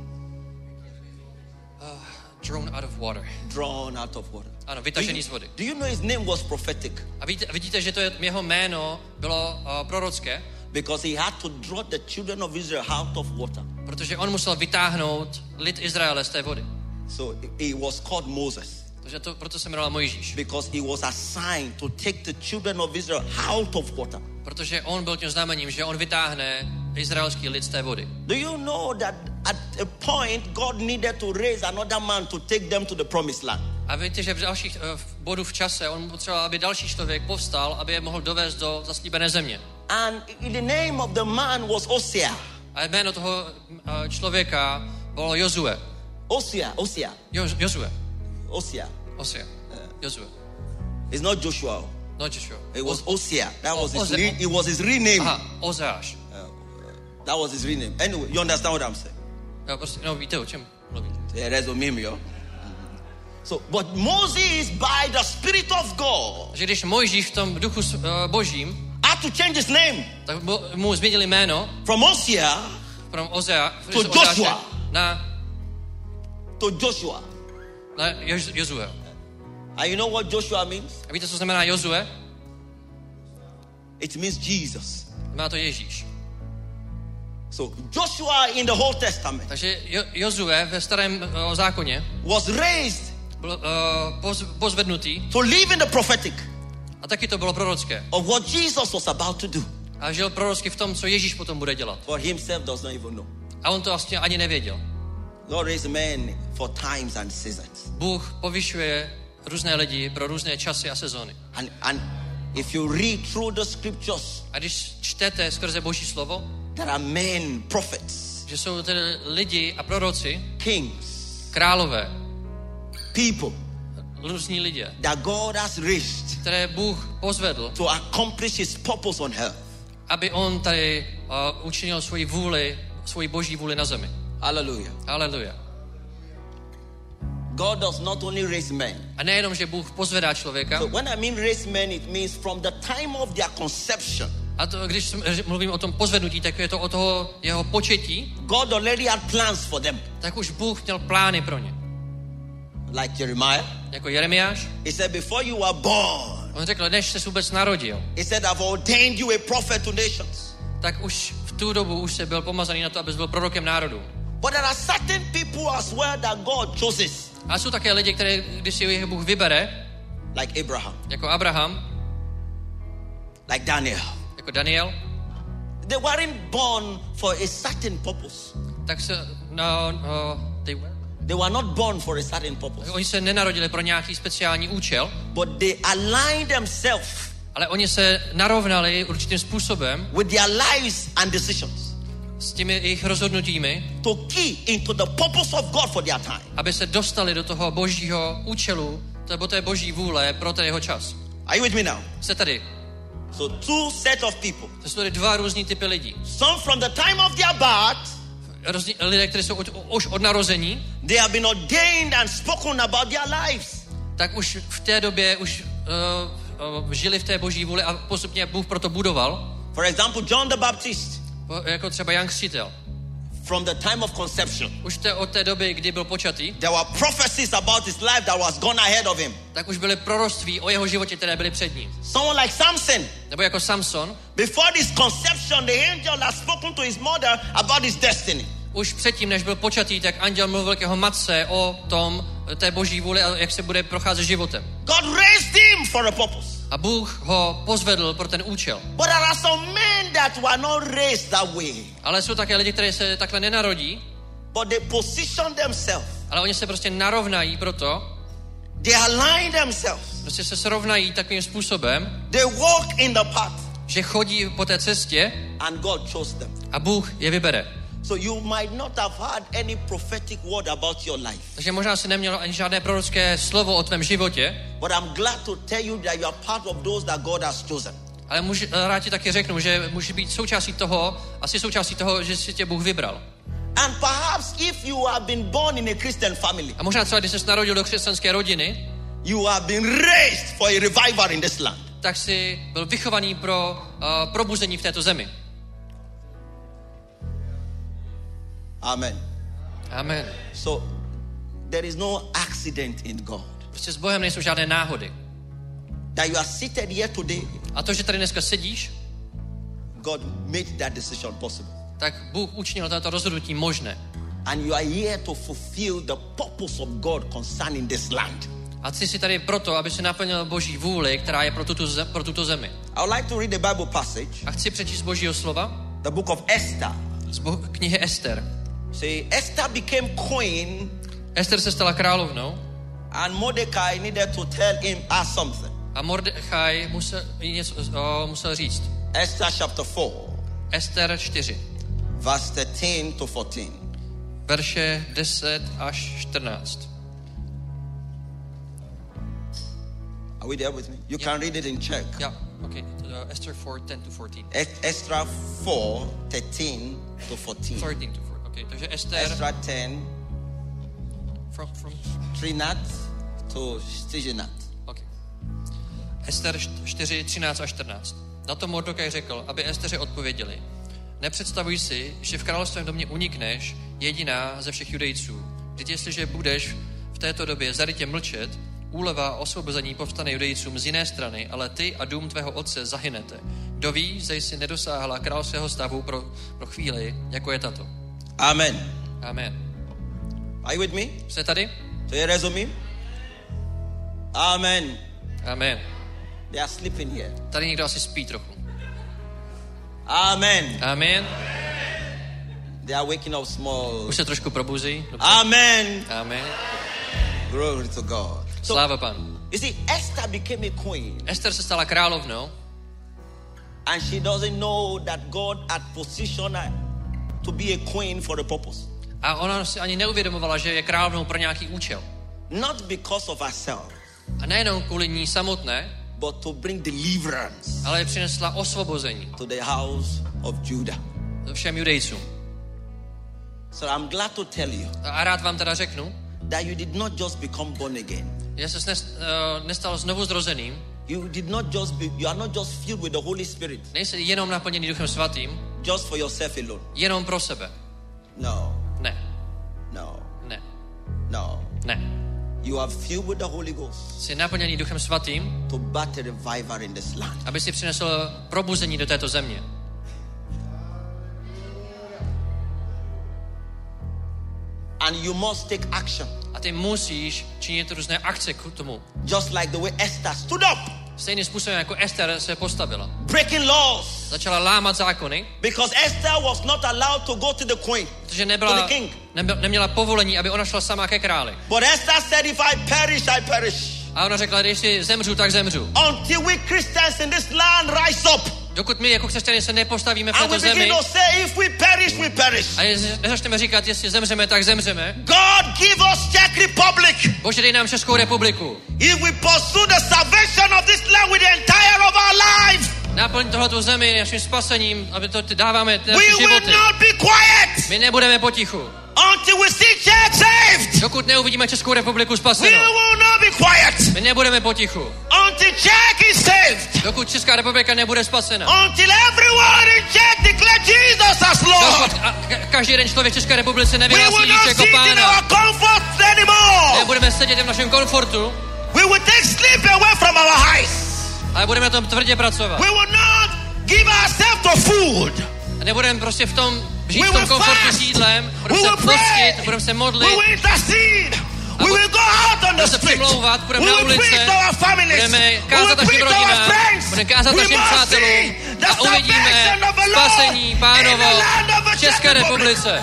Drawn out of water. Drawn out of water. Ano, vytažený z vody. Do you know his name was prophetic? A vidíte, že to jeho jméno bylo prorocké? Because he had to draw the children of Israel out of water. Protože on musel vytáhnout lid Izraele z té vody. So he was called Moses. Takže proto se jmenoval Mojžíš. Because he was assigned to take the children of Israel out of water. Protože on byl tím znamením, že on vytáhne izraelský lid z té vody. Do you know that at a point God needed to raise another man to take them to the promised land? A víte, že v dalších bodů v čase on potřeboval, aby další člověk povstal, aby je mohl dovést do zaslíbené země. And the name of the man was Hosea. A jméno toho člověka bylo Jozue. Hosea. Jozue. Hosea. Jozue. It's not Joshua. Not Joshua. It was Hosea. That was his real name. Aha, Ozeáš. That was his real name. Anyway, you understand what I'm saying? Jo, prostě, no víte, o čem mluvím. Yeah, that's what meme, yo. So, but Moses, by the Spirit of God, že když Mojžíš v tom duchu božím had to change his name. Tak mu změnili jméno from Hosea to Joshua. To Joshua. Na Jozue. And you know what Joshua means? A víte, co znamená Jozue? It means Jesus. Znamená to Ježíš. So Joshua in the Old Testament. Takže Jozue ve starém zákoně was raised, byl pozvednutý to live in the prophetic. A taky to bylo prorocké. Of what Jesus was about to do. A žil prorocky v tom, co Ježíš potom bude dělat. For himself does not even know. A on to vlastně ani nevěděl. God raised men for times and seasons. Bůh povyšuje různé lidi pro různé časy a sezóny. And if you read through the scriptures, a když čtete skrze Boží slovo, there are men, prophets, že jsou tedy lidi a proroci, kings, králové, people, různí lidé, that God has raised, které Bůh pozvedl, to accomplish his purpose on earth. Aby on tady učinil svoji boží vůli na zemi. Hallelujah. Hallelujah. God does not only raise men. A nejenom, že Bůh pozvedá člověka. So when I mean raise men, it means from the time of their conception. A to, když mluvím o tom pozvednutí, tak je to o toho jeho početí. God already had plans for them. Tak už Bůh měl plány pro ně. Like Jeremiah. Jako Jeremiáš. He said, before you were born. On řekl, než se vůbec narodil. He said, I've ordained you a prophet to nations. Tak už v tu dobu už se byl pomazaný na to, abys byl prorokem národů. But there are certain people as well that God chooses. A jsou také lidi, které, když si jich Bůh vybere, like Abraham. Jako Abraham. Like Daniel. Jako Daniel. They weren't born for a certain purpose. Tak se, they were not born for a certain purpose. Oni se nenarodili pro nějaký speciální účel. But they aligned themselves. Ale oni se narovnali určitým způsobem. With their lives and decisions. S těmi jejich rozhodnutími. To key into the purpose of God for their time. Aby se dostali do toho božího účelu, nebo té boží vůle pro ten jeho čas. Are you with me now? Jste tady. So two set of people. To jsou tady dva různý typy lidí. Some from the time of their birth. Lidé, kteří jsou už od narození. They have been ordained and spoken about their lives. Tak už v té době už žili v té boží vůli a postupně Bůh proto budoval. For example, John the Baptist. Jako třeba Jan Křtitel. From the time of conception. Už od té doby, kdy byl počatý. There were prophecies about his life that was gone ahead of him. Tak už byly proroctví o jeho životě, které byly před ním. Someone like Samson. Nebo jako Samson. Before this conception, the angel had spoken to his mother about his destiny. Už předtím, než byl počatý, tak anděl mluvil k jeho matce o tom, té boží vůli a jak se bude procházet životem. God raised him for a purpose. A Bůh ho pozvedl pro ten účel. But there are some men that were not raised that way. Ale jsou také lidi, kteří se takhle nenarodí. But they position themselves. Ale oni se prostě narovnají proto. They align themselves. Prostě se srovnají takovým způsobem. They walk in the path. Že chodí po té cestě. And God chose them. A Bůh je vybere. So you might not have had any prophetic word about your life. Takže možná jsi neměl ani žádné prorocké slovo o tvém životě. But I'm glad to tell you that you are part of those that God has chosen. Ale rád ti taky řeknu, že může být součástí toho, že si tě Bůh vybral. And perhaps if you have been born in a Christian family. A možná třeba, když jsi narodil do křesťanské rodiny. You have been raised for a revival in this land. Tak jsi byl vychovaný pro probuzení v této zemi. Amen. Amen. So there is no accident in God. Prostě s Bohem nejsou žádné náhody. That you are seated here today. A to, že tady dneska sedíš, God made that decision possible. tak Bůh učinil toto rozhodnutí možné. And you are here to fulfill the purpose of God concerning this land. A ty jsi tady proto, aby si naplnil Boží vůli, která je pro tuto zemi. I would like to read the Bible passage. A chci přečíst z Božího slova. The book of Esther. Z knihy Ester. See, Esther became queen. Ester se stala královnou. And Mordecai needed to tell him something. A Mordechaj musel říct. Esther chapter 4. Ester 4. Verse 13 to 14. Verše 10 až 14. Are we there with me? You can read it in Czech. Yeah, okay. Esther 4, 10 to 14. Esther 4, 13 to 14. 13 to 14. Okay, takže Ester. Esther 10. From 13 to 14. Okay. Ester 4, 13 a 14. Na to Mordokaj řekl, aby Esteře odpověděli. Nepředstavuj si, že v královském domě unikneš jediná ze všech Judejců. Vždyť jestliže budeš v této době zarytě mlčet, úleva a osvobození povstane Judejcům z jiné strany, ale ty a dům tvého otce zahynete. Kdo ví, zda jsi nedosáhla královského stavu pro chvíli, jako je tato. Amen. Amen. Are you with me? Jste tady? So you resume? Amen. Amen. They are sleeping here. Tady někdo asi spí trochu. Amen. Amen. They are waking up small. Už se trošku probuzí. Dobře. Amen. Amen. Glory to God. Sláva Pánu. You see, Esther became a queen. Ester se stala královnou. And she doesn't know that God had positioned her to be a queen for a purpose. A ona si ani neuvědomovala, že je královnou pro nějaký účel. Not because of herself. A nejenom kvůli ní samotné, but to bring deliverance. Ale přinesla osvobození. To the house of Judah. Všem Judejcům. So I'm glad to tell you. A rád vám teda řeknu, that you did not just become born again. Že se nestal znovu zrozeným. You are not just filled with the Holy Spirit. Nejsi jenom naplněný Duchem Svatým. Just for yourself alone. Jenom pro sebe. No. Ne. No. Ne. No. Ne. You are filled with the Holy Ghost. Jsi naplněný Duchem Svatým. To birth a revival in this land. Aby si přinesl probuzení do této země. And you must take action. A ty musíš činit různé akce k tomu. Just like the way Esther stood up. Stejným způsobem jako Ester se postavila. Breaking laws. Začala lámat zákony. Because Esther was not allowed to go to the queen. Protože neměla povolení, aby ona šla sama ke králi. But Esther said, if I perish, I perish. A ona řekla, když si zemřu, tak zemřu. Until we Christians in this land rise up. Dokud my jako křesťané se nepostavíme v této zemi. A nezačneme říkat, jestli zemřeme, tak zemřeme. God give us Czech Republic. Bože, dej nám Českou republiku. If we pursue the salvation of this land with the entire of our life. Naplň tohoto zemi naším spasením, aby to dáváme naše životy. We will not be quiet. My nebudeme potichu. Until we see Czech saved. Dokud neuvidíme Českou republiku spasenou. We will not be quiet. My nebudeme potichu. Until Czech is saved. Dokud Česká republika nebude spasena. Until everyone in Czech declare Jesus as Lord. Každý jeden člověk v České republice nevyhlásí Ježíše jako Pána. Nebudeme sedět v našem komfortu. We will take sleep away from our eyes. Ale budeme na tom tvrdě pracovat. We will not give ourselves to food. A nebudeme prostě žít v tom komfortu s jídlem. Budeme se postit, budeme se modlit. We will intercede. We will go out on the street. Přimlouvat, budeme na ulici, budeme kázat našim rodinám, budeme kázat našim přátelům a uvidíme spasení Pánovo v České republice.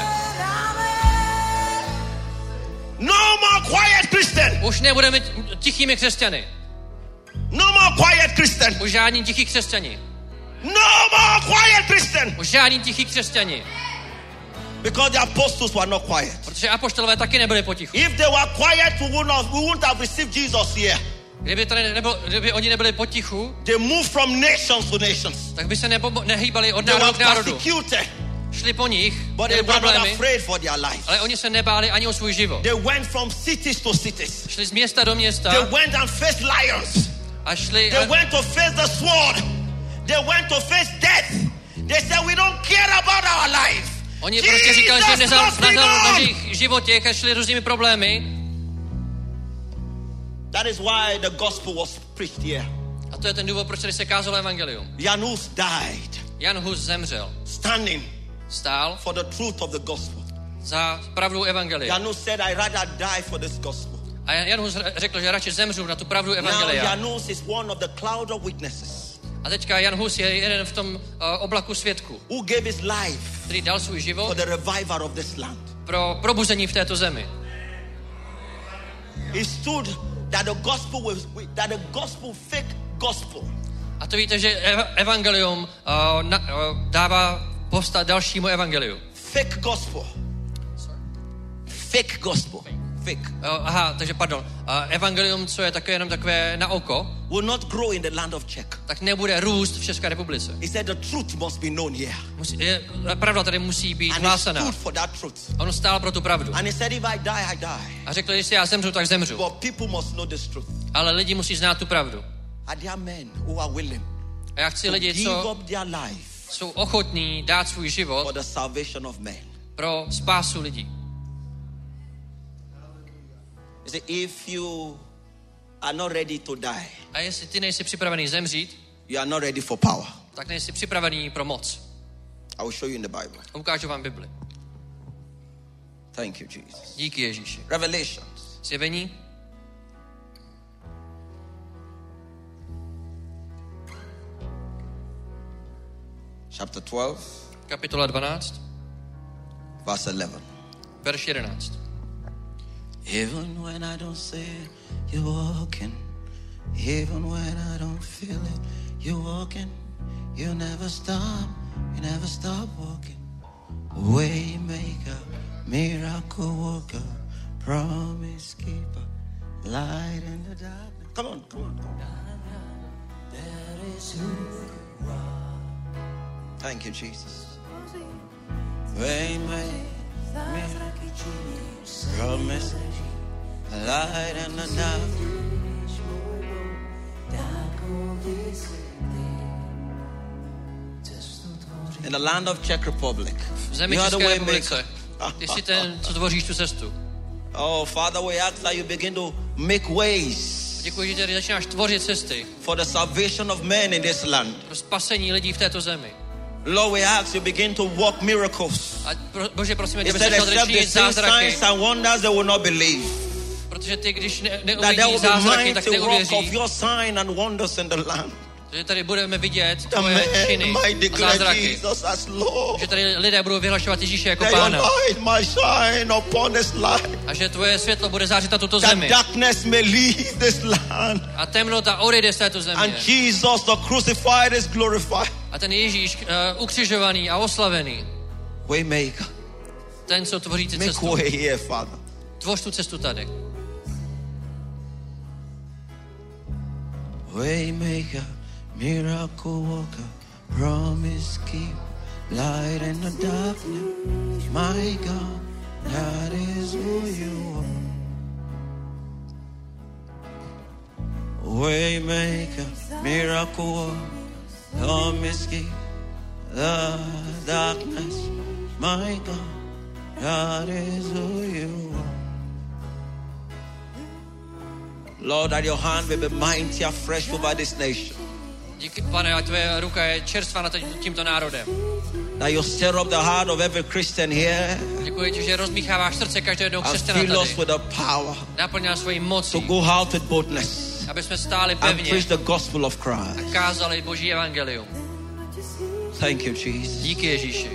No more quiet Christian. Už nebudeme tichými křesťany. No more quiet Christian. Už žádní tichí křesťani. No more quiet Christian. Už žádní tichí křesťani. Because the apostles were not quiet. Protože apoštolové taky nebyli potichu. If they were quiet, we wouldn't have received Jesus here. Kdyby oni nebyli potichu, they moved from nations to nations. Tak by se nehýbali od národu k národu. Šli po nich, měli problémy, ale oni se nebáli ani o svůj život. They went from cities to cities. Šli z města do města. They went and faced lions. A šli they went to face the sword. They went to face death. They said, we don't care about our life. Oni prostě říkali, že nezáleží na jejich životě, a šli různými problémy. That is why the gospel was preached here. A to je ten důvod, proč tady se kázalo evangelium. Jan Hus died. Jan Hus zemřel. Standing. Stál. For the truth of the gospel. Za pravdu evangelia. Jan Hus said, I rather die for this gospel. A Jan Hus řekl, že radši zemřu na tu pravdu evangelia. Now Jan Hus is one of the cloud of witnesses. A teďka Jan Hus je jeden v tom oblaku svědků. Who gave his life? Který dal svůj život. For the revival of this land. Pro probuzení v této zemi. He stood that the gospel fake gospel. A to víte, že evangelium dává povstat dalšímu evangeliu. Fake gospel. Fake gospel. Fake. Aha, takže pardon. Evangelium, co je také jenom takové na oko, will not grow in the land of Czech. Tak nebude růst v České republice. He said the truth must be known here. Pravda tady musí být hlásaná. And he stood for that truth. On stál pro tu pravdu. And he said if I die, I die. A řekl, jestli já zemřu, tak zemřu. But people must know this truth. Ale lidi musí znát tu pravdu. Are there men who are willing? A já chci lidi, co jsou ochotní dát svůj život for the salvation of men. Pro spásu lidí. If you are not ready to die, a jestli ty nejsi připravený zemřít, you are not ready for power. Tak nejsi připravený pro moc. I will show you in the Bible. A ukážu vám Bibli. Thank you, Jesus. Díky Ježíši. Revelations. Zjevení. Chapter 12. Kapitola 12. Verse 11. Verš 11. Even when I don't see you walking, even when I don't feel it, you walking, you never stop walking. Waymaker, miracle worker, promise keeper, light in the darkness. Come on. That is who you are. Thank you, Jesus. Waymaker, promise, light in the darkness. In the land of Czech Republic, v zemi České republice, ty jsi ten, co tvoříš tu cestu. Oh, Father, we ask that you begin to make ways. Děkuji, že tady začínáš tvořit cesty. For the salvation of men in this land. Pro spasení lidí v této zemi. Lord, we ask you begin to work miracles. A Bože, prosíme tě, aby se začal činit zázraky. Signs and wonders they will not believe. Protože ty, když neuvidí zázraky, tak neuvěří. Your sign and wonders in the land. Že tady budeme vidět tvoje činy a zázraky. Že tady lidé budou vyhlašovat Ježíše jako Pána. A že tvoje světlo bude zářit na tuto zemi. A temnota odejde z této země. A ten Ježíš ukřižovaný a oslavený. Ten, co tvoří ty cestu. Tvoř tu cestu tady. Waymaker, miracle worker, promise keep, light in the darkness. My God, that is who you are. Waymaker, miracle worker, promise keep, the darkness. My God, that is who you are. Lord, that your hand will be mighty and fresh over this nation. Díky, Pane, a tvoje ruka je čerstvá nad tímto národem. That you stir up the heart of every Christian here. Děkuji ti, že rozmícháváš srdce každého jednoho křesťana tady. And fill us with the power. Naplňáš svojí mocí. To go out with boldness. Aby jsme stáli pevně. And preach the gospel of Christ. A kázali Boží evangelium. Thank you, Jesus. Díky Ježíši.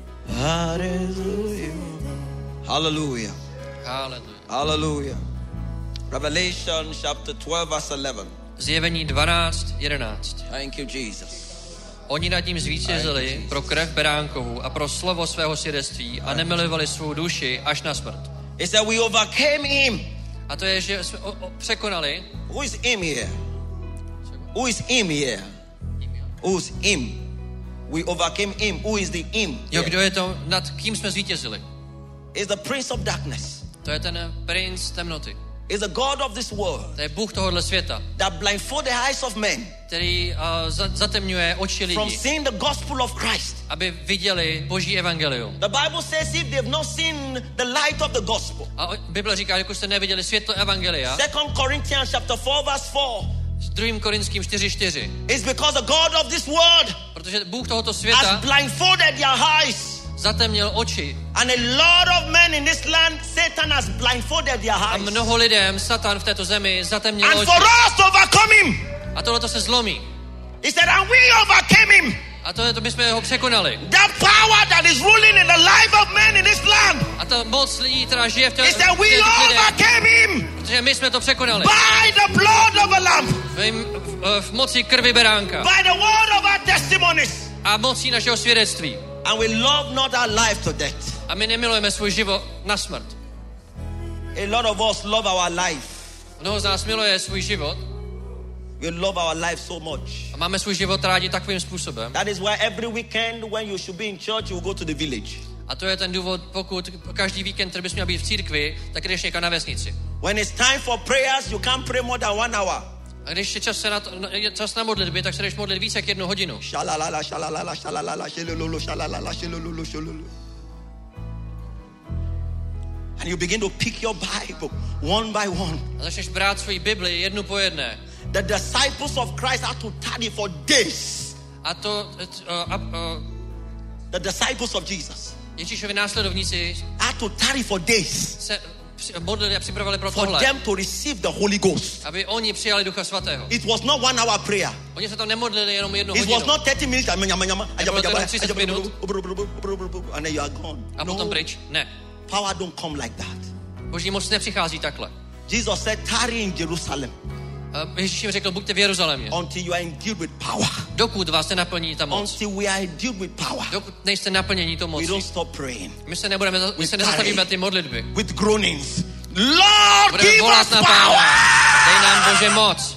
Hallelujah. Hallelujah. Hallelujah. Revelation chapter 12 verse 11. Zjevení 12:11. Thank you, Jesus. Oni nad ním zvítězili pro krev beránkovu a pro slovo svého svědectví a nemilovali svou duši až na smrt. He said we overcame him. A to je, že jsme překonali. Who is him here? Who is him here? Who is him? We overcame him. Who is the him? Jo, kdo je to, nad kým jsme zvítězili? Is the prince of darkness. To je ten princ temnoty. is the God of this world. To je Bůh tohohle světa. That blindfold the eyes of men. Který zatemňuje oči lidí. From seeing the gospel of Christ. Aby viděli Boží evangelium. The Bible says if they've not seen the light of the gospel. A Bible říká, že jste neviděli světlo evangelia. 2 Corinthians chapter 4 verse 4. S 2. Korinským 4:4. It's because the God of this world. Protože Bůh tohoto světa has blindfolded their eyes. Zatemnil oči. And a lot of men in this land, Satan has blindfolded their eyes. A mnoho lidem Satan v této zemi zatemnil oči. And for us to overcome him. A tohle to se zlomí. He said, and we overcame him. A to my jsme ho překonali. That power that is ruling in the life of men in this land. A ta moc lidí, která žije v té He said, we overcame him. Protože my jsme to překonali. By the blood of a lamb. V moci krvi beránka. By the word of our testimonies. A mocí našeho svědectví. And we love not our life to death. A my nemilujeme svůj život na smrt. A lot of us love our life. Mnoho z nás miluje svůj život. We love our life so much. A máme svůj život rádi takovým způsobem. That is why every weekend when you should be in church, you go to the village. A to je ten důvod, pokud každý víkend, který bys měl být v církvi, tak jdeš někam na vesnici. When it's time for prayers, you can't pray more than 1 hour. A když je čas na modlitby, tak se jdeš modlit více jak 1 hodinu. Shalalala, shalalala, shalalala, shalulu, shalalala, shalulu, shalulu. And you begin to pick your Bible one by one. A začneš brát svoji Bibli jednu po jedné. The disciples of Christ had to tarry for days. A to the disciples of Jesus. Ježíšovi následovníci had to tarry for days. Se modlili a připravili pro for tohle. them to receive the Holy Ghost. Aby oni přijali Ducha Svatého. It was not 1 hour prayer. Oni se tam nemodlili jenom 1 hodinu. It was not 30 minutes. Nebylo to jenom 30 minut. And then you are gone. A potom pryč. Ne. Power don't come like that. Boží moc nepřichází takhle. Jesus said, tarry in Jerusalem. Ježíš jim řekl, buďte v Jeruzalémě. Until you are endued with power. Dokud vás nenaplní ta moc. Until we are endued with power. Dokud nejste naplnění tou mocí. We don't stop praying. My se nezastavíme ty modlitby. With groanings. Lord, give us power. Dej nám Bože moc.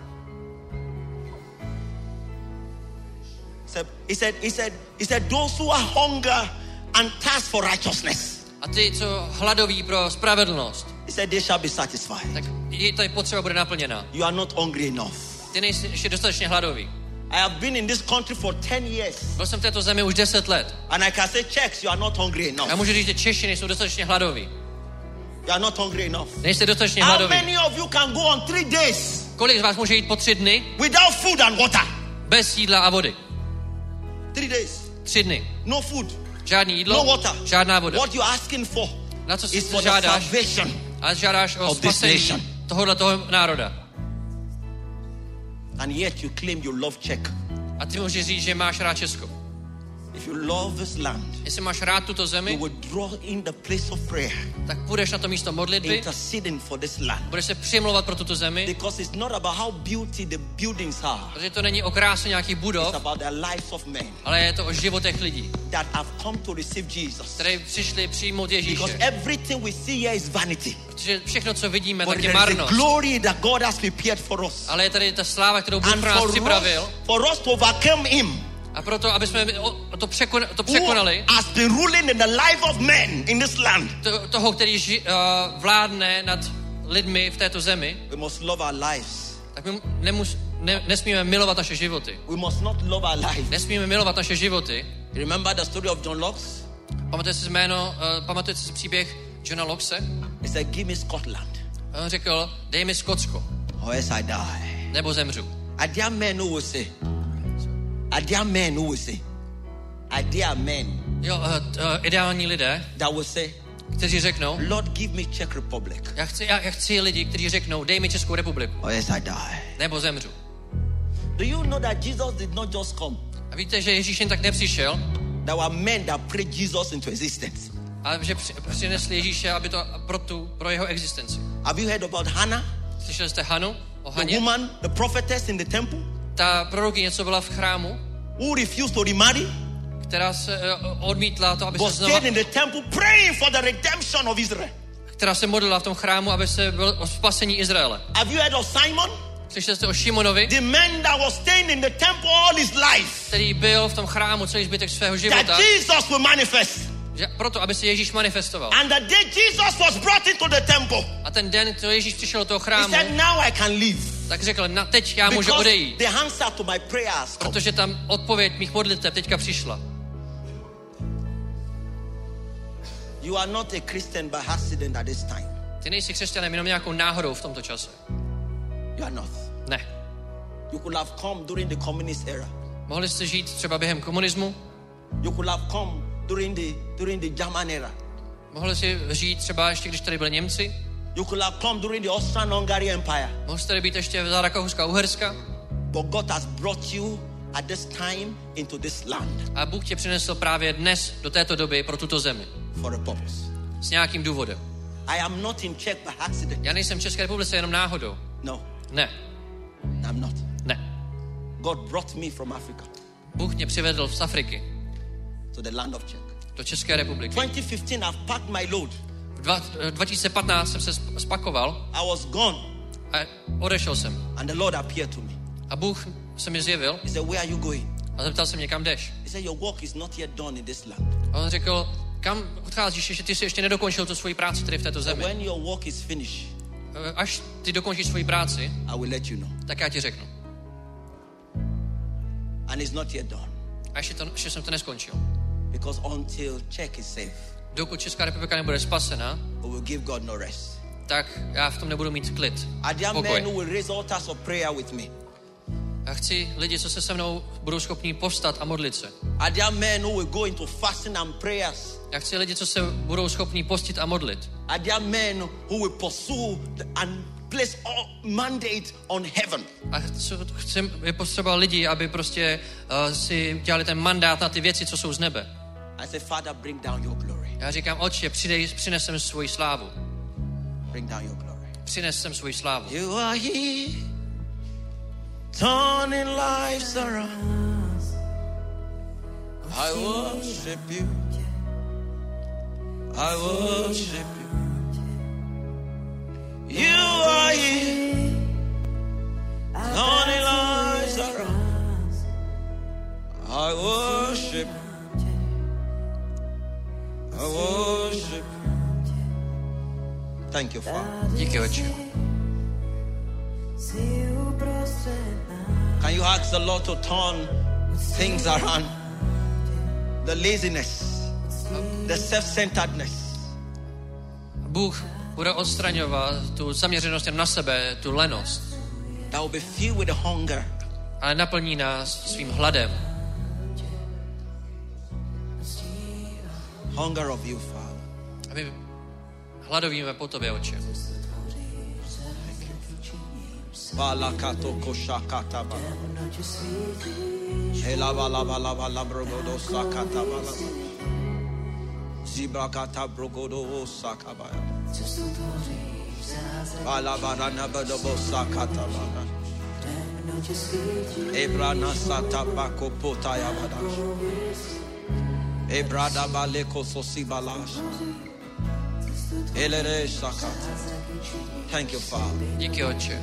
He said, those who are hunger and thirst for righteousness. A ty, co hladoví pro spravedlnost. He said, they shall be satisfied. Tak ta potřeba bude naplněna. You are not hungry enough. Ty nejsi ještě dostatečně hladový. I have been in this country for 10 years. Byl jsem v této zemi už 10 let. And I can say, Czechs, you are not hungry enough. Já můžu říct, že Češi nejsou dostatečně hladoví. You are not hungry enough. Nejste dostatečně hladoví. How many of you can go on 3 days? Kolik z vás může jít po 3 dny? Without food and water. Bez jídla a vody. 3 days. 3 dny. No food. Žádný jídlo. No water. Žádná voda. What you are asking for? Na co si žádáš? A žádáš o spasení tohoto národa. And yet you claim you love Czech. A ty můžeš říct, že máš rád Česko. If you love this land, jestli máš rád tuto zemi, you will draw in the place of prayer. Tak půjdeš na to místo modlitby. Interceding for this land. Budeš se přimlouvat pro tuto zemi. Because it's not about how beauty the buildings are. Protože to není o kráse nějakých budov. It's about the lives of men. Ale je to o životech lidí. That have come to receive Jesus. Kteří přišli přijmout Ježíše. Because everything we see here is vanity. Protože všechno, co vidíme, but tak je marnost. The glory that God has prepared for us. Ale je tady ta sláva, kterou Bůh pro nás připravil. For us to overcome him. A proto, aby jsme to překonali, has been ruling in the life of men in this land. Toho, který vládne nad lidmi v této zemi. We must love our lives. Tak my nesmíme milovat naše životy. We must not love our lives. Nesmíme milovat naše životy. Remember the story of John Locke? Pamatujete si příběh Johna Lockse? He said, give me Scotland. On řekl, dej mi Skotsko. Or else I die. Nebo zemřu. Are there men who will say? Are there men who will say? Are there men? Jo, ideální lidé, that will say, kteří řeknou, Lord, give me Czech Republic. Já chci lidi, kteří řeknou, dej mi Českou republiku. Or else I die. Nebo zemřu. Do you know that Jesus did not just come? A víte, že Ježíš jen tak nepřišel? There were men that prayed Jesus into existence. Ale že přinesli Ježíše, aby to pro jeho existenci. Have you heard about Hannah? Slyšeli jste Hanu? O Haně? The woman, the prophetess in the temple? Ta prorokyně, co byla v chrámu? Who refused to remarry? Která se odmítla to, aby se znova... stayed in the temple praying for the redemption of Israel. Která se modlila v tom chrámu, aby se byl o spasení Izraele. Have you heard of Simon? Slyšeli jste o Šimonovi? The man that was staying in the temple all his life. Který byl v tom chrámu celý zbytek svého života. That Jesus will manifest. Že proto, aby se Ježíš manifestoval. And the day Jesus was brought into the temple. A ten den, co Ježíš přišel do toho He chrámu, said, now I can leave. tak řekl, teď já můžu Because odejít, the answer to my prayers come. protože tam odpověď mých modlitev teďka přišla. You are not a Christian by accident at this time. Ty nejsi křesťanem jenom nějakou náhodou v tomto čase. You are not. Ne. You could have come during the communist era. Mohli jste žít třeba během komunismu, You could have come during the German era. mohli si žít třeba ještě, když tady byli Němci, You could have come during the Austro-Hungary Empire. mohli jste tady být ještě za Rakouska a Uherska, But God has brought you at this time into this land a Bůh tě přinesl právě dnes do této doby pro tuto zemi. for a purpose. S nějakým důvodem. I am not in Czech by accident. Já nejsem v České republice jenom náhodou. No, Ne. I'm not. Ne. God brought me from Africa Bůh mě přivedl z Afriky to the land of Czech. do České republiky. 2015, I've packed my load. V 2015 jsem se spakoval I was gone, a odešel jsem. and the Lord appeared to me. A Bůh se mi zjevil He said, where are you going? a zeptal se mě, kam jdeš. He said, your work is not yet done in this land. A on řekl, kam odcházíš, že ty jsi ještě nedokončil tu svoji práci tady v této zemi. When your work is finished, Až ty dokončíš svoji práci, I will let you know. tak já ti řeknu. And it's not yet done. A ještě jsem to neskončil. Because until Czech is safe, Dokud Česká republika nebude spasena, we will give God no rest. tak já v tom nebudu mít klid. Are there Pokoj. men who will raise altars of prayer with me? Já chci lidi, co se mnou budou schopní povstat a modlit se. Are there men who will go into fasting and prayers? Já chci lidi, co se budou schopní postit a modlit. Are there men who will pursue and place all mandate on heaven? A je potřeba lidi, aby prostě si dělali ten mandát na ty věci, co jsou z nebe. I say, Father, bring down your glory. Já říkám, Otče, přines sem svoji slávu. Bring down your glory. Přines sem svoji slávu. You are here, turning lives around. I worship you. I worship you. You are here, turning lives around. I worship you. I worship you. Thank you, Father. Díky, Otče. Can you ask the Lord to turn things around? The laziness, the self-centeredness. Bůh bude odstraňovat tu zaměřenost jen na sebe, tu lenost. That will be filled with hunger. Ale naplní nás svým hladem. Hunger of you, Father. A my hladovíme po tobě, Otče. Balakato koshakata bala. Elava lava lava labrogodo sakata bala. Zibrakata brogodo sakabaya. Balabarana badobo sakata bala. Ebrana sata bako potaya badash. Ebrada baleko sosibalash. Elere sakata. Thank you, Father. Díky, Otče.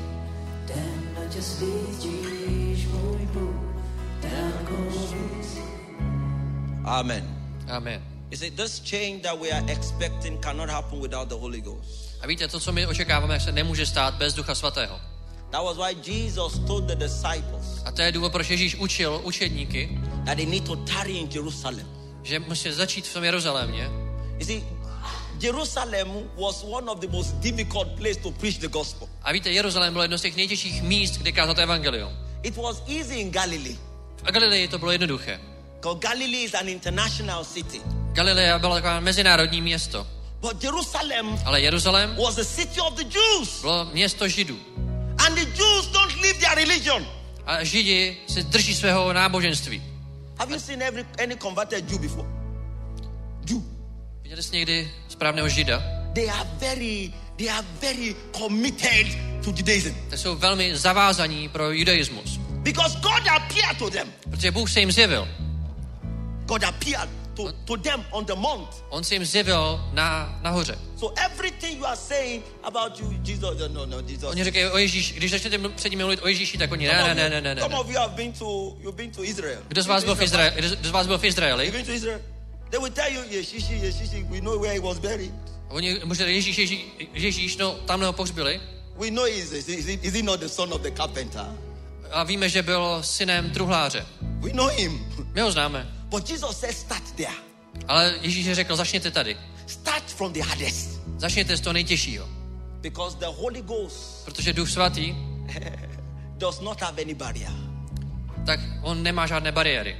Amen. Amen. You see, this change that we are expecting cannot happen without the Holy Ghost. A víte, to, co my očekáváme, se nemůže stát bez Ducha Svatého. That was why Jesus told the disciples A to je důvod, proč Ježíš učil učedníky, that they need to tarry in Jerusalem. že musí začít v tom Jeruzalémě. You see, Jerusalem was one of the most difficult places to preach the gospel. A víte, Jeruzalém bylo jedno z těch nejtěžších míst, kde kázat evangelium. It was easy in Galilee, A Galileji to bylo jednoduché. because Galilee is an international city. Galilea byla taková mezinárodní město. But Jerusalem Ale Jeruzalém was the city of the Jews. bylo město Židů. And the Jews don't live their religion. A Židi se drží svého náboženství. Have you seen any converted Jew before? Jew. Viděli jste někdy správného Žida? They are very committed to Judaism. Tak jsou velmi zavázaní pro judaismus. Because God appeared to them. Protože Bůh se jim zjevil. God appeared to them on the mount. On se jim zjevil nahoře. So everything you are saying about you, Jesus, no, Jesus. Oni říkají o Ježíši, když začnete před nimi mluvit o Ježíši, tak oni ne. Some of you have been to Israel. Kdo z vás byl v Izraeli? You've been to Israel? They will tell you, Yeshishi, we know where he was buried. Oni možná Ježíš, no tamhle ho pohřbili. We know is he not the son of the carpenter? A víme, že byl synem truhláře. We know him. My ho známe. But Jesus said start there. Ale Ježíš řekl, začněte tady. Start from the hardest. Začněte z toho nejtěžšího. Because the Holy Ghost Protože Duch Svatý does not have any barrier. Tak on nemá žádné bariéry.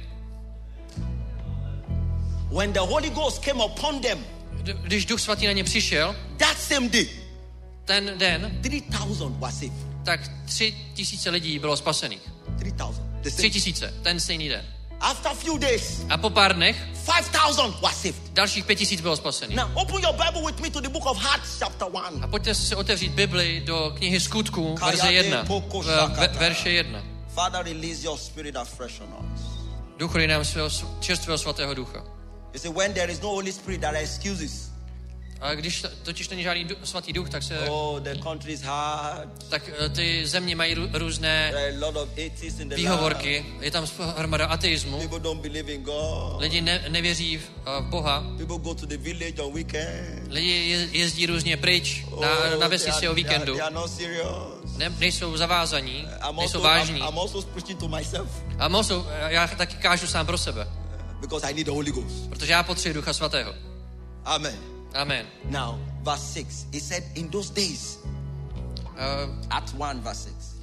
When the Holy Ghost came upon them, Když Duch Svatý na ně přišel, that same day, ten den, 3,000 were saved. tak 3,000 lidí bylo spasených. 3,000. 3,000, ten stejný den. After a few days, A po pár dnech 5,000 were saved. dalších 5,000 bylo spasených. Now open your Bible with me to the book of Acts chapter 1. A pojďte si otevřít Bibli do knihy Skutků, verze 1. Verše 1. Father, release your spirit afresh on us. Duchu, dej nám svého čerstvého svatého ducha. You see, when there is no Holy Spirit, there are excuses. A když totiž není žádný svatý duch, tak se... the country is hard. Tak ty země mají různé There are a lot of atheists in the výhovorky. land. Je tam hromada ateismu. People don't believe in God. Lidi nevěří v Boha. People go to the village on weekend. Lidi jezdí různě pryč na vesnici o víkendu. They are not serious. Nejsou zavázaní, nejsou vážní. I'm also preaching to myself. A já taky kážu sám pro sebe. Because I need the Holy Ghost. Protože já potřebuji Ducha Svatého. Amen. Amen. Now, verse 6. He said, in those days, Acts 1, verse 6.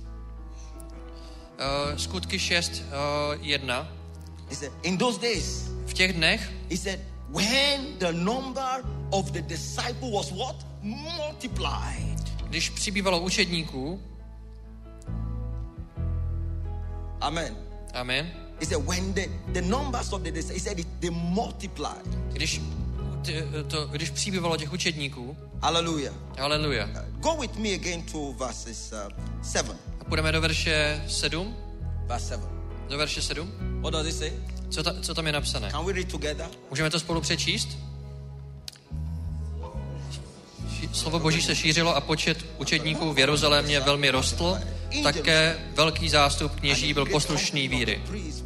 Skutky 6, 1. He said, in those days, V těch dnech, he said, when the number of the disciple was what? Multiplied. když přibývalo učedníků, Amen. amen, He said, when the numbers of the disciples, he said, they multiplied. když přibývalo těch učedníků, Hallelujah. haleluja. Go with me again to verses 7. A půjdeme do verše 7. Verse 7. Do verše 7. What does it say? Co tam je napsané? Can we read together? Můžeme to spolu přečíst? Slovo Boží se šířilo a počet učedníků v Jeruzalémě velmi rostl. Také velký zástup kněží byl poslušný víry.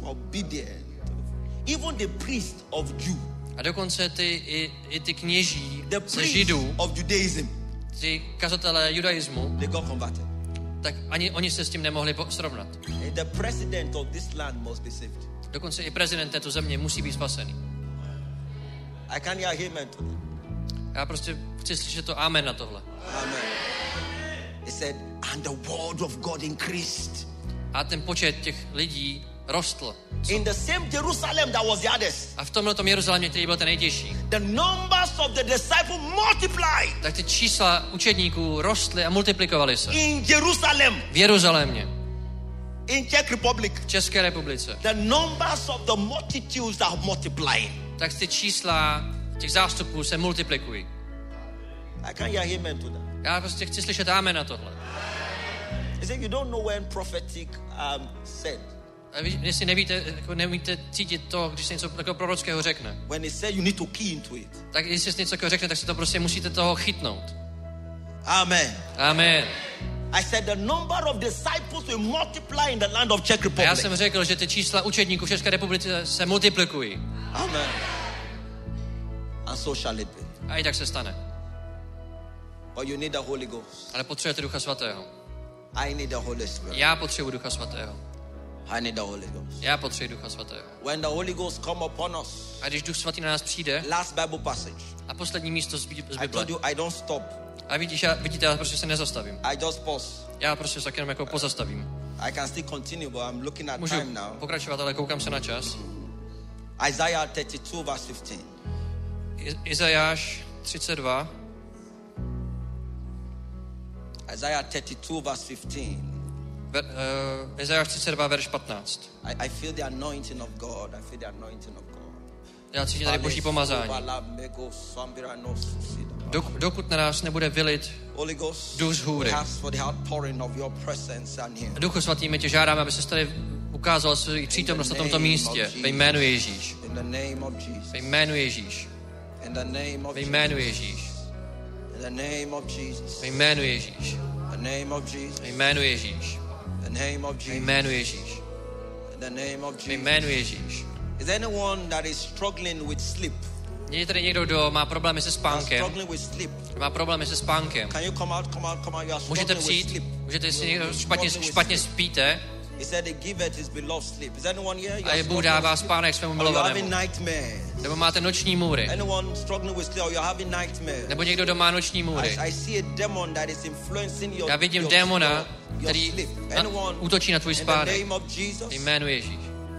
Even the priest of Jew, A dokonce i ty kněží the ze priest Židů, of Judaism, ty kazatelé judaismu, they got converted. tak ani oni se s tím nemohli srovnat. The president of this land must be saved. Dokonce i prezident této země musí být spasený. I can't hear amen to that. Já prostě chci slyšet to amen na tohle. Amen. He said, and the word of God increased. A ten počet těch lidí rostl. In the same Jerusalem that was the hardest, A v tomhletom Jeruzalémě, který byl ten nejtěžší, the numbers of the disciples multiplied. tak ty čísla učedníků rostly a multiplikovaly se. In Jerusalem, V Jeruzalémě, in Czech Republic, v České republice, the numbers of the multitudes are multiplying. tak ty čísla těch zástupů se multiplikují. I can't hear amen to that. Já prostě chci slyšet amen na tohle. He said, you don't know when prophetic said. A vy, jestli nevíte cítit to, když se něco takového prorockého řekne, When he said you need to key into it. tak jestli se něco takového řekne, tak si to prostě musíte toho chytnout. Amen. Amen. I said the number of disciples will multiply in the land of Czech A Republic. já jsem řekl, že ty čísla učedníků v České republice se multiplikují. Amen. And so shall it be. A i tak se stane. But you need the Holy Ghost. Ale potřebujete Ducha Svatého. I need the Holy Spirit. Já potřebuji Ducha Svatého. I need the Holy Ghost. Já potřebuji Ducha Svatého. When the Holy Ghost come upon us. A když Duch Svatý na nás přijde, Last Bible passage. a poslední místo z I Bible. told you I don't stop. A vidíte, já prostě se nezastavím. I just pause. Já prostě se tak jenom jako pozastavím. I can still continue, but I'm looking at Můžu time now. pokračovat, ale koukám se na čas. Isaiah 32 verse 15. Izajáš 32. Isaiah 32 verse 15. Izajáš 32, verš 15. I feel the anointing of God. I feel the anointing of God. Já cítím tady Boží pomazání. Dokud na nás nebude vylit Duch z hůry. Duchu Svatý, my tě žádáme, aby se tady ukázal svou přítomnost na tomto místě. Ve jménu Ježíš. Ve jménu Ježíš. Ve jménu Ježíš. Ve jménu Ježíš. Ve jménu Ježíš. Ve jménu Ježíš. Ve jménu Ježíš. Is anyone that is struggling with sleep? Je tady někdo, kdo má problémy se spánkem. Má problémy se spánkem. Můžete přijít, můžete si špatně spíte. A Bůh dává spánek svému milovanému. Nebo máte noční můry. Nebo někdo, kdo má noční můry. Já vidím démona, který útočí na tvůj spánek. Jménu Ježíš.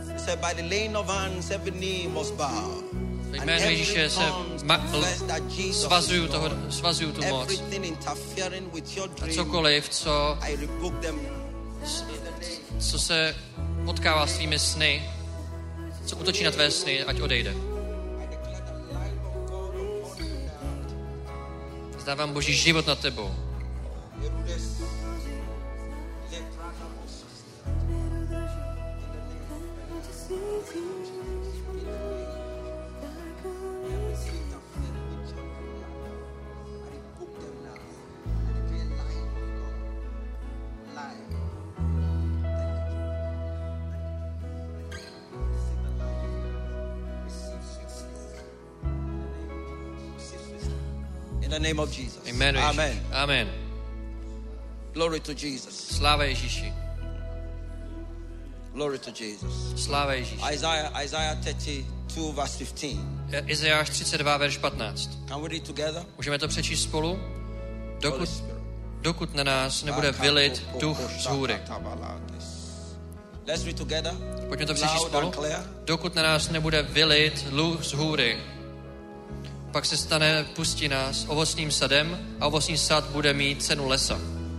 Jménu Ježíše se svazuju tu moc. A cokoliv, co se potkává s tvými sny, co útočí na tvé sny, ať odejde. Zdávám Boží život nad tebou. In the name of Jesus. Amen. Amen. Amen. Glory to Jesus. Sláva Ježíši. Glory to Jesus. Sláva Ježíši. Isaiah 32 verse 15. Izajáš 32 verš 15. Can we read together? Můžeme to přečíst spolu? Dokud na nás nebude vylit duch z hůry. Let's read together. Pojďme to přečíst spolu. Dokud na nás nebude vylit duch z hůry. Pak se stane pustina s ovocným sadem a ovocný sad bude mít cenu lesa.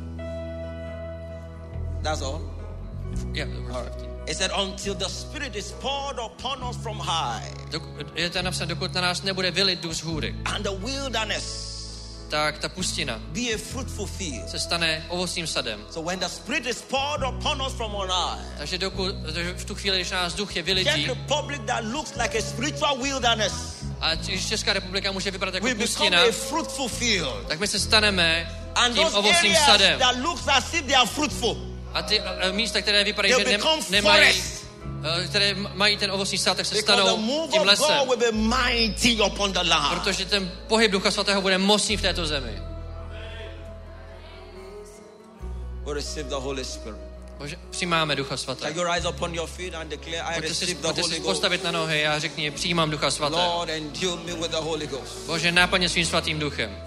That's all? Yeah. It said, until the Spirit is poured upon us from high. Je to napsáno, dokud na nás nebude vylit duch z hůry. And the wilderness. Tak ta pustina Be a fruitful field. se stane ovocným sadem. So when the Spirit is poured upon us from on high. Takže v tu chvíli, když nás duch je vylití. Czech Republic that looks like a spiritual wilderness. A když Česká republika může vypadat jako pustina, tak my se staneme tím ovocným sadem. A ty místa, které vypadají, že nemají, které mají ten ovocný sad, tak se stanou tím lesem. Protože ten pohyb Ducha Svatého bude mocný v této zemi. Bože, přijímáme Ducha Svatého. Pojďte si postavit na nohy a řekni, přijímám Ducha Svatého. Bože, náplně svým svatým duchem.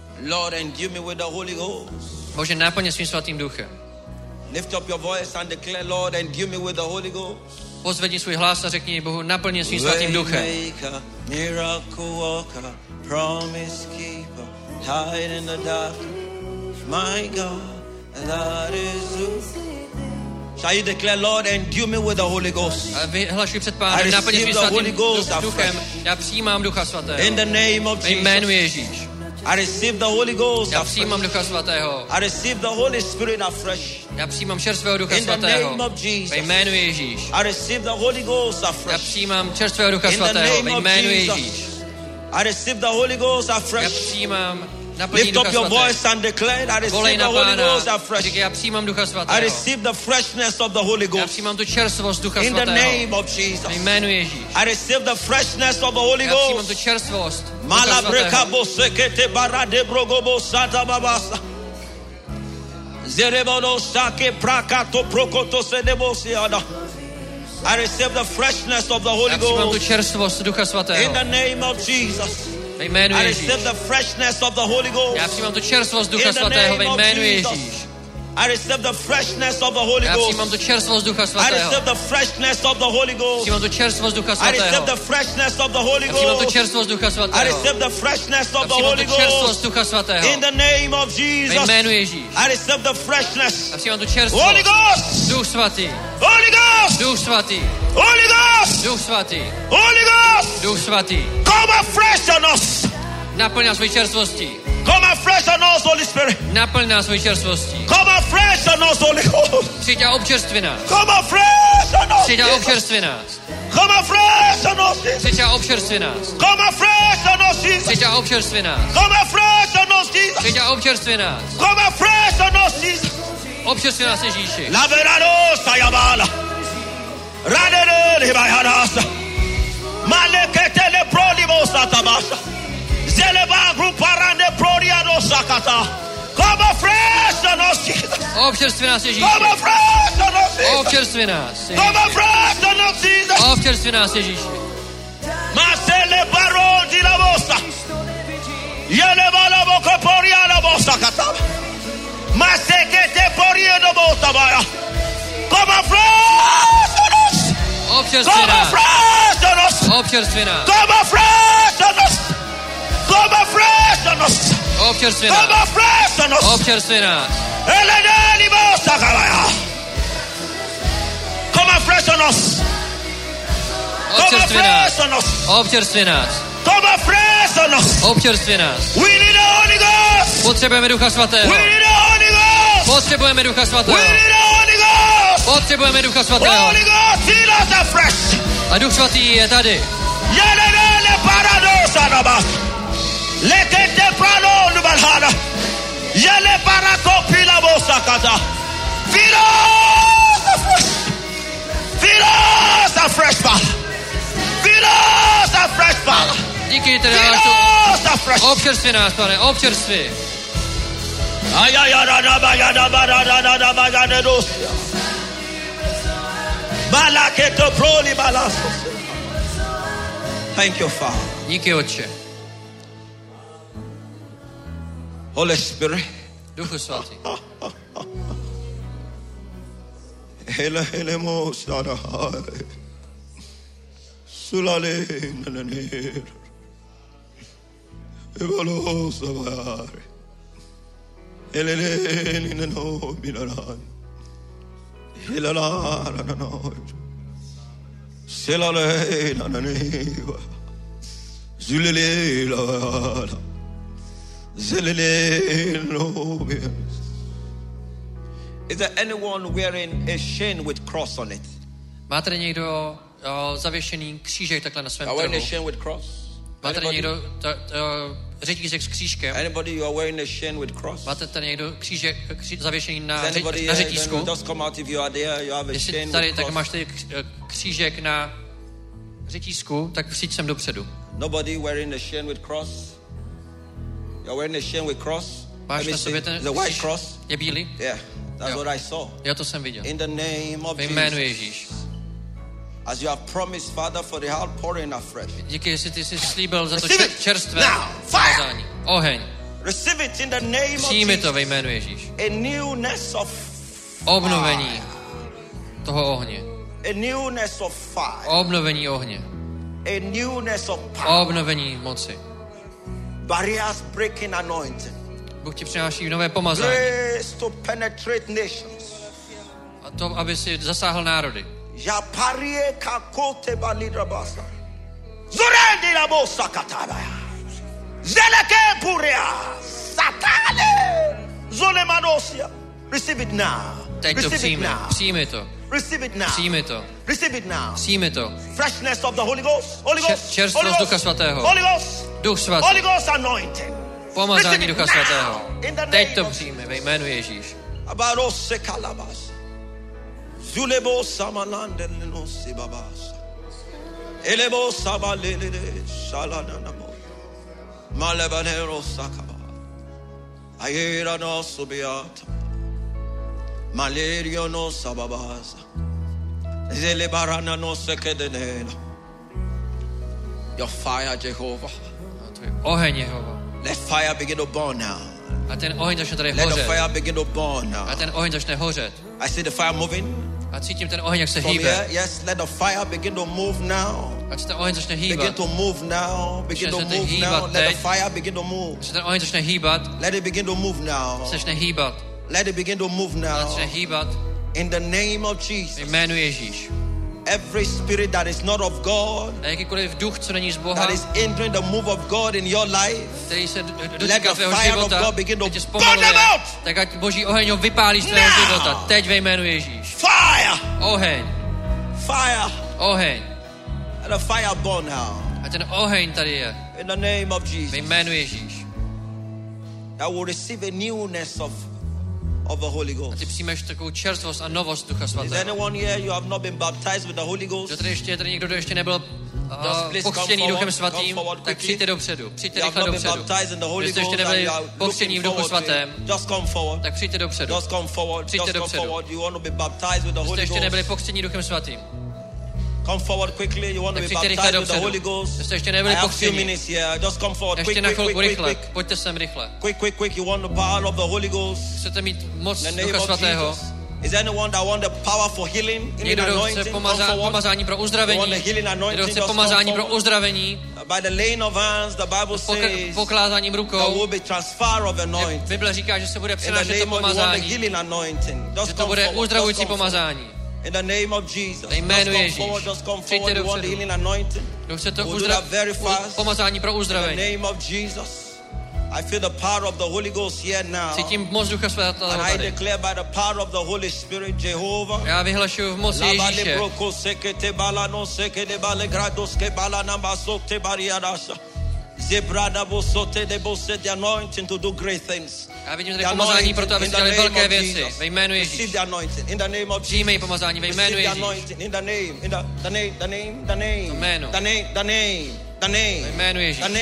Bože, náplně svým svatým duchem. Lift up your voice and declare, Lord, endue me with the Holy Ghost. Pozvedni svůj hlas a řekni Bohu, naplně svým svatým duchem. Miracle worker, promise keeper, hide in the dark. My God, that is you. Shall you declare, Lord, endue me with the Holy Ghost? A vyhlašuj před Pánem, naplně svým svatým duchem. Já přijímám Ducha Svatého. In the name of Jesus. Jménu Ježíš. I receive the Holy Ghost. Já přijímám Ducha Svatého. I receive the Holy Spirit afresh. Já přijímám čerstvého Ducha Svatého. Ve jménu Ježíš. I receive the Holy Ghost afresh. Já přijímám čerstvého Ducha Svatého. Ve jménu Ježíš. I receive the Holy Ghost afresh. Já přijímám naplnění Lift Ducha up your Svatého. voice and declare, I receive Volej the na Holy Ghost Pána. afresh. Říkej, já přijímám Ducha I Svatého. receive the freshness of the Holy Já Ghost. přijímám tu čerstvost Ducha In the Svatého. name of Jesus. Ve jménu Ježíš. I receive the freshness of the Holy Já přijímám tu Ghost. čerstvost Ducha Malabreka Svatého. bosekete barade brogobo sata babasa. Zerebono sake prakato prokoto sedebosiada. I receive the freshness of the Holy Já přijímám tu Ghost. čerstvost Ducha In Svatého. the name of Jesus. Ve jménu I Ježíš. receive the freshness of the Holy Ghost. Já přijímám tu čerstvost Ducha In the Svatého. Ve name of jménu Jesus. Ježíš. I receive the freshness of the Holy Já přijímám Ghost. tu čerstvost Ducha I Svatého. receive the freshness of the Holy Ghost. Přijímám tu čerstvost Ducha I receive Svatého. the freshness of the Holy Já přijímám tu Ghost. čerstvost Ducha I Svatého. receive the freshness Já of the přijímám Holy tu čerstvost Ghost. Ducha Svatého. In the name of Ve Jesus. jménu Ježíš. I receive the freshness. Já přijímám tu Holy čerstvost. Ghost. Duch Svatý. Holy Ghost. Duch Svatý. Holy Ghost. Duch Svatý. Holy Ghost. Duch Svatý. Come afresh on us. Naplň nás svojí čerstvostí. Come afresh on us, Holy Spirit. Naplň nás svojí čerstvostí. Come afresh on us, Holy Ghost. Přijď a občerství nás. Come afresh on us. Přijď a Jesus. občerství nás. Come afresh on us, Jesus. Přijď a občerství nás. Come afresh on us, Jesus. Přijď a občerství nás. Come afresh on us, Jesus. Přijď a občerství nás. Come afresh on us, Jesus. Občerství nás, Ježíši. La verano sayabala. Radere hibayarasa. Malekete Zele prodi bosa tabasha. Zele ba gruparande prodi adosakata. Come afresh on us, Jesus. Občerství nás, Ježíši. Come afresh on us, Jesus. Občerství nás, Come afresh on us, Jesus. Občerství nás, Ježíši. Masele barodi la bosa. Yele bala boko poria la bosa kata. Masekete poria la bosa baya. Come afresh on us. Občerství Come nás. afresh on us. Občerství nás. Come afresh on us. Come afresh on us. Občerství Come nás. afresh on us. Občerství nás. Eleneli bosa kabaya. Come afresh on us. Come Občerství afresh nás. on us. Občerství nás. Come afresh on us. Občerství nás. We need the Holy Ghost. Potřebujeme Ducha Svatého. We need the Holy Ghost. Potřebujeme Ducha We Svatého. need the Holy Ghost. Potřebujeme Ducha Svatého. Holy Ghost, fill us afresh. A Duch Svatý je tady. Yelele paradosa nabas. Lekete prano nubalhana. Yele parakopila bosakata. Fill us afresh. Fill us afresh, Father. Fill us afresh, Father. Díky tedy Fill náš us afresh. občerství nás, Pane, občerství. Thank you, Father. Díky, Otče. Holy Spirit. Duchu Svatý. Hele hele mo sarahare. Sulale nananir. Evalo savare. Hele ninano minaran. Hilala nanano. Selale nananiva. Zulele la. Zelele no. Is there anyone wearing a chain with cross on it? Má tady někdo zavěšený křížek takhle na svém Are wearing a trhu? chain with cross? Má tady někdo řetízek s křížkem? Anybody you are wearing a chain with cross? Máte tady někdo křížek zavěšený Is na anybody here? řetízku? Just come out if you are there. You have a Jestli chain tady, with tak cross. máš tady křížek na řetízku, tak přijď sem dopředu. Nobody wearing a chain with cross? You're wearing a chain with cross? Máš Let me na see. sobě ten The white kříž? cross? Je bílý? Yeah, that's Jo. what I saw. Já to jsem viděl. In the name of Ve jménu Jesus. Ježíš. As you have promised, Father, for the outpouring afresh. Díky, jestli ty jsi slíbil za to Receive it čerstvé now. Fire. pomazání. Oheň. Receive it in the name of Přijmi to Jesus. ve jménu Ježíš. A newness of Obnovení toho ohně. a newness of fire. Obnovení ohně. A newness of power. Obnovení moci. Barriers breaking anointing. Bůh ti přináší nové pomazání. Grace to penetrate nations. A to, aby si zasáhl národy. Japarie kakote balidrabasa. Zurendi la bosa katabaya. Zeleke puria. Satane. Zole manosia. Receive it now. Teď to Receive it přijmi. now. Přijmi to. Receive it now. Přijmi to. Receive it now. Přijmi to. Freshness of the Holy Ghost. Holy Ghost. Čerstvost Holy Ducha Ghost. Svatého. Holy Ghost. Duch svatý. Holy Ghost anointing. Pomazání Receive it Ducha now. Svatého. In the Teď name to of přijmi ve jménu Ježíš. Abarose kalabas. Zulebo samalande lenosi babas. Elebo sabalele shalanamo. Malebanero sakaba. Ayera no subiata. Malerio no sababasa. Zelebarana no sekedenela. Your fire, Jehovah. Oheň Jehova. Let fire begin to burn now. A ten oheň začne tady Let the hořet. fire begin to burn A now. ten oheň začne hořet. I see the fire moving. A cítím ten oheň, jak se From here, hýbe. yes, let the fire begin to move now. Ať se ten oheň začne Begin hýbat. to move now. Begin to Začne se move hýbat now. Let the teď. fire begin to move. Ať se ten oheň začne hýbat. Let it begin to move now. Začne hýbat. Let it begin to move Začne now. hýbat In the name of ve Jesus. jménu Ježíš. Every spirit that is not of God, A jakýkoliv duch, co není z Boha, that is hindering the move of God in your life, který se Let dotýká the tvého fire of života, God begin to teď tě burn zpomaluje, them out. tak ať Boží oheň ho vypálí z tvého Now. života. Teď ve jménu Ježíš. fire, Oheň, fire, oheň. let the fire burn now. A ten oheň tady je In the name of ve Jesus, jménu Ježíš. I will receive a newness of the Holy A Ghost. ty přijmeš takovou čerstvost a novost Ducha Is Svatého. anyone here you have not been baptized with the Holy Ghost? Že tady ještě je tady někdo, kdo ještě nebyl pokřtěný Duchem Svatým, tak přijďte dopředu. Přijďte rychle dopředu. Když jste ještě nebyli pokřtění v Duchu Svatém, tak přijďte dopředu. Přijďte dopředu. Když jste ještě nebyli pokřtění Duchem Svatým, come forward quickly. You want to be baptized with the Holy Ghost. I have 2 minutes here. Just come forward. Quick. Pojďte sem rychle. Quick. You want the power of the Holy Ghost. Chcete mít moc Ducha Svatého? Is anyone that want the power for healing? Někdo chce pomazání pro uzdravení? Někdo chce pomazání pro uzdravení? By the laying of hands, the Bible says, pokládáním rukou, there will be transfer of anointing. Bible říká, že se bude přenášet to pomazání. Že to bude uzdravující pomazání. In the name of Jesus. Jménu Ježíš. Přijďte dopředu. Kdo chce to pomazání pro uzdravení. In the name of Jesus. I feel the power of the Holy Ghost here now. Cítím moc Ducha Svatého And I tady. declare by the power of the Holy Spirit, Jehovah. Já vyhlašuju v moci Ježíše. The anointing to do great things. Já vidím tady pomazání pro to, aby dělali velké věci. Ve jménu Ježíš. Přijmej pomazání ve jménu Ježíš. The name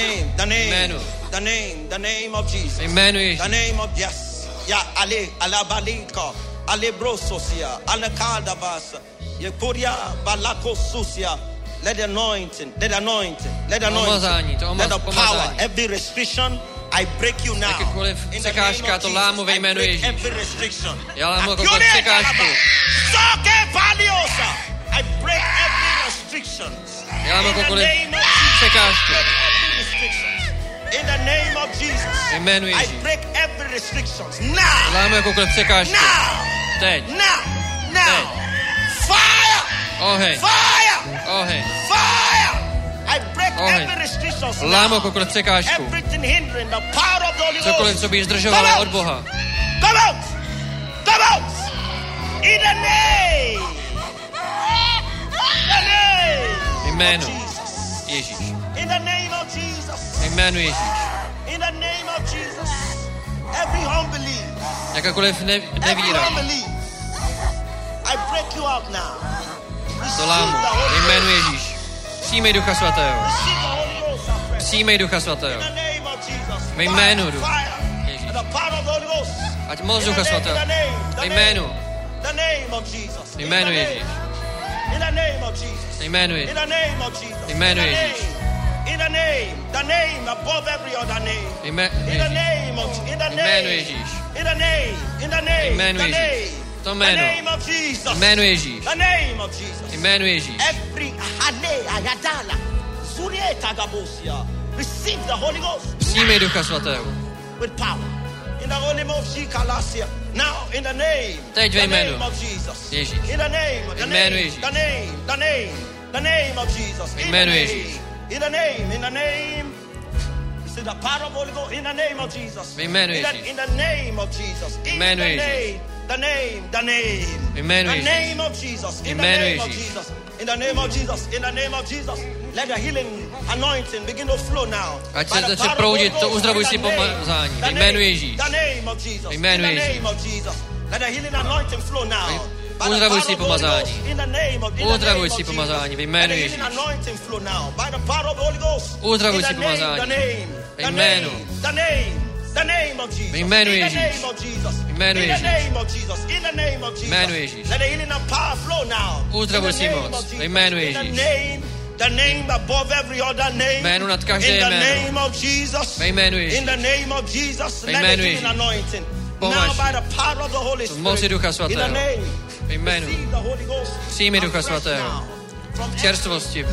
of Jesus. Ve jménu Ježíš. The name of yes. Ya Ali alabalika alebrososia alakadabas yepuria balakosusia. Let the anointing. Let the power, every restriction, I break you now. Jakékoliv překážka, to lámu ve jménu Ježíš. Já lámu jakoukoliv překážku. I break every restriction. Já lámu jakoukoliv překážku. In the name of Jesus. Ve jménu Ježíš. I break every restrictions. Now. Lámu jakoukoliv překážku. Now. Teď. Now. Fire. Oheň. Fire. Oheň. Fire. I break Oheň. every restrictions. Lámu jakoukoliv překážku. Everything hindering the power of the Holy Ghost. Cokoliv, co by zdržovalo od Boha. Come out. Come out. In the name. The name. Jménu Ježíš. In the name of Jesus. Jménu Ježíš. In the name of Jesus. Every unbelief. Jakákoliv nevíra. I break you out now. To lámu. Jménu Ježíš. Přijmej Ducha Svatého. Přijmej Ducha Svatého. Ve jménu Ducha Ježíš. Ať moc Ducha Svatého. Ve jménu. Ve jménu Ježíš. Ve jménu Ježíš. Ve jménu Ježíš. In the name above every other name. In the name of Ježíš. In the name. To jméno. Jménu Ježíš. The name of Jesus. Jménu Ježíš. Every ayadala zurieta gabosia. Receive the Holy Ghost. Přijmej Ducha Svatého. With power. In the holy name of Shikalasia. Now in the name. Teď ve jménu Jesus. Ježíš. In the name. Jménu Ježíš. The name of Jesus. Jménu Ježíš. In the name. See the power of Holy Ghost in the name of Jesus. Jménu Ježíš. In the name of Jesus. Jménu Ježíš. The name. Jménu The Ježíš. name of Jesus. In the Jménu name of Ježíš. Jesus. In the name of Jesus. In the name of Jesus. Let the healing anointing begin to flow now. Ať se začne proudit to uzdravující pomazání. Ve jménu Ježíš. The name of Jesus. Jménu In the Ježíš. name of Jesus. Let the healing anointing flow now. Uzdravující pomazání. Uzdravující pomazání. Ve jménu Ježíš. Uzdravující pomazání. Ve jménu. Ve jménu Ježíš. Ve jménu Ježíš. Jménu Ježíš. Uzdravující moc. Ve jménu Ježíš. The name above every other name. Jméno nad každé jméno. In the name of Jesus. Ve jménu Ježíš. In the name of Jesus. Ve jménu Ježíš. Now by the power of the Holy v moci Ducha Svatého. Ve jménu. Přijmi Ducha Svatého. V čerstvosti.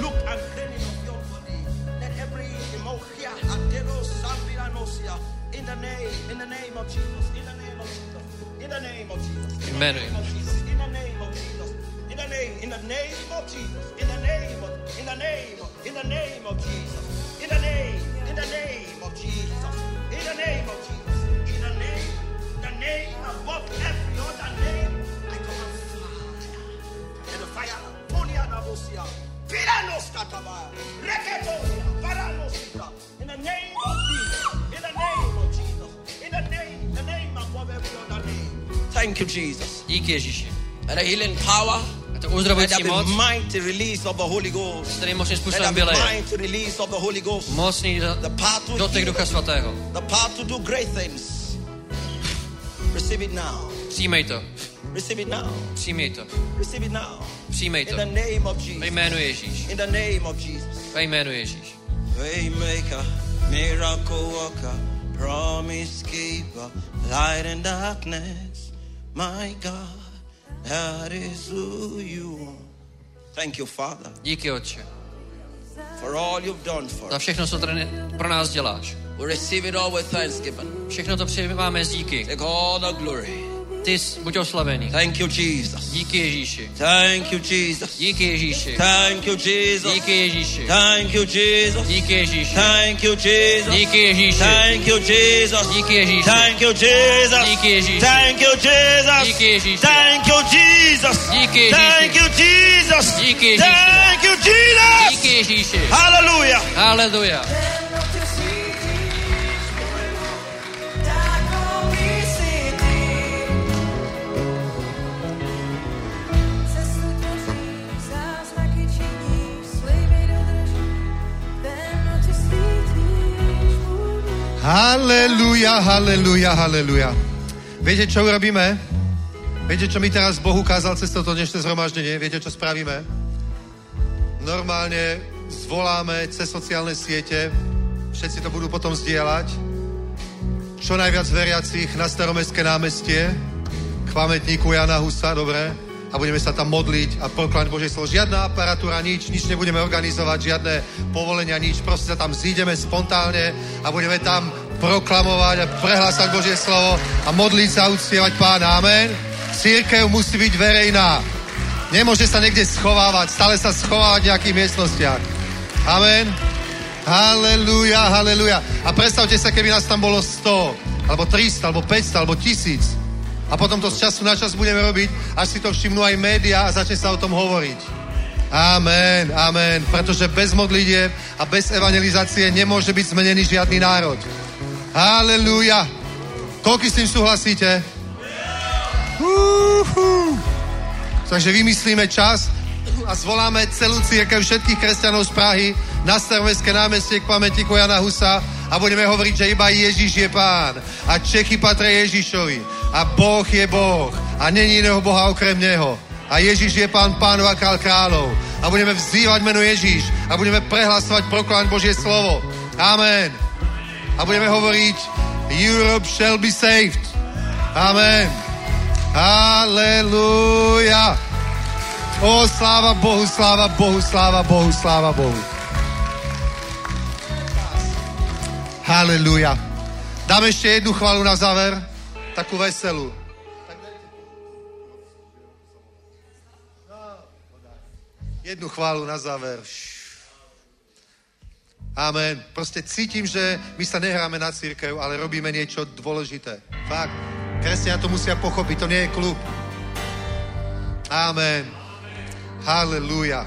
Jménu. Above every other name, I command fire. And the fire, Ponia Nabosia, Piranos Kataba, Reketosia, Paranosita, in the name of Jesus, in the name of Jesus, in the name above every other name. Thank you, Jesus. Díky Ježíši. And the healing power, a to tu uzdravující moc, mighty release of the Holy Ghost. který mocným způsobem vyleje. Mighty release of the Holy Ghost. Mocný dotek Ducha Svatého. The power to do great things. Receive it now. Přijmej to. Receive it now. Přijmej to. Receive it now. Přijmej to. In the name of Jesus. Ve jménu Ježíš. In the name of Jesus. Ve jménu Ježíš. Waymaker, miracle worker, promise keeper, light in darkness. My God, that is who you are. Thank you, Father. Díky, Otče. For all you've done for us. Za všechno, co tady pro nás děláš. We receive it all with thanksgiving. Všechno to přijímáme z díky. Take all the glory. Ty buď oslavený. Thank you, Jesus. Díky Ježíši. Thank you, Jesus. Díky Ježíši. Thank you, Jesus. Díky Ježíši. Thank you, Jesus. Díky Ježíši. Thank you, Jesus. Díky Ježíši. Thank you, Jesus. Díky Ježíši. Thank you, Jesus. Díky Ježíši. Thank you, Jesus. Díky Ježíši. Thank you, Jesus. Díky Ježíši. Thank you, Jesus. Díky Ježíši. Thank you, Jesus. Díky Ježíši. Hallelujah. Haleluja. Haleluja, haleluja, haleluja. Viete, čo urobíme? Viete, čo mi teraz Boh ukázal cez toto dnešné zhromaždenie? Viete, čo spravíme? Normálne zvoláme cez sociálne siete, všetci to budú potom zdieľať, čo najviac veriacich na Staromestské námestie, k pamätníku Jana Husa, dobre? A budeme sa tam modliť a proklamať Božie slovo. Žiadna aparatúra, nič nebudeme organizovať, žiadne povolenia, nič. Proste sa tam zídeme spontánne a budeme tam proklamovať a prehlásať Božie slovo a modliť sa a uctievať Pána. Amen. Cirkev musí byť verejná. Nemôže sa niekde schovávať, stále sa schovávať v nejakých miestnostiach. Amen. Halelúja, halelúja. A predstavte sa, keby nás tam bolo 100, alebo 300, alebo 500, alebo 1000. A potom to z času na čas budeme robiť, až si to všimnú aj médiá a začne sa o tom hovoriť. Amen, amen. Pretože bez modlitieb a bez evangelizácie nemôže byť zmenený žiadny národ. Halelúja. Koľko s tým súhlasíte? Takže vymyslíme čas a zvoláme celú cirkev všetkých kresťanov z Prahy na Staromestské námestie k pamätníku Jana Husa a budeme hovoriť, že iba Ježiš je Pán a Čechy patria Ježišovi a Boh je Boh a není iného Boha okrem Neho a Ježiš je Pán pánov a král kráľov a budeme vzývať meno Ježiš a budeme prehlasovať, proklamať Božie slovo. Amen. A budeme hovoriť Europe shall be saved. Amen. Halleluja. O, sláva Bohu, sláva Bohu, sláva Bohu, sláva Bohu. Halleluja. Dáme ešte jednu chválu na záver, takú veselú. Jednu chválu na záver. Amen. Proste cítim, že my sa nehráme na cirkev, ale robíme niečo dôležité. Fakt. Kresťania to musia pochopiť, to nie je klub. Amen. Halleluja.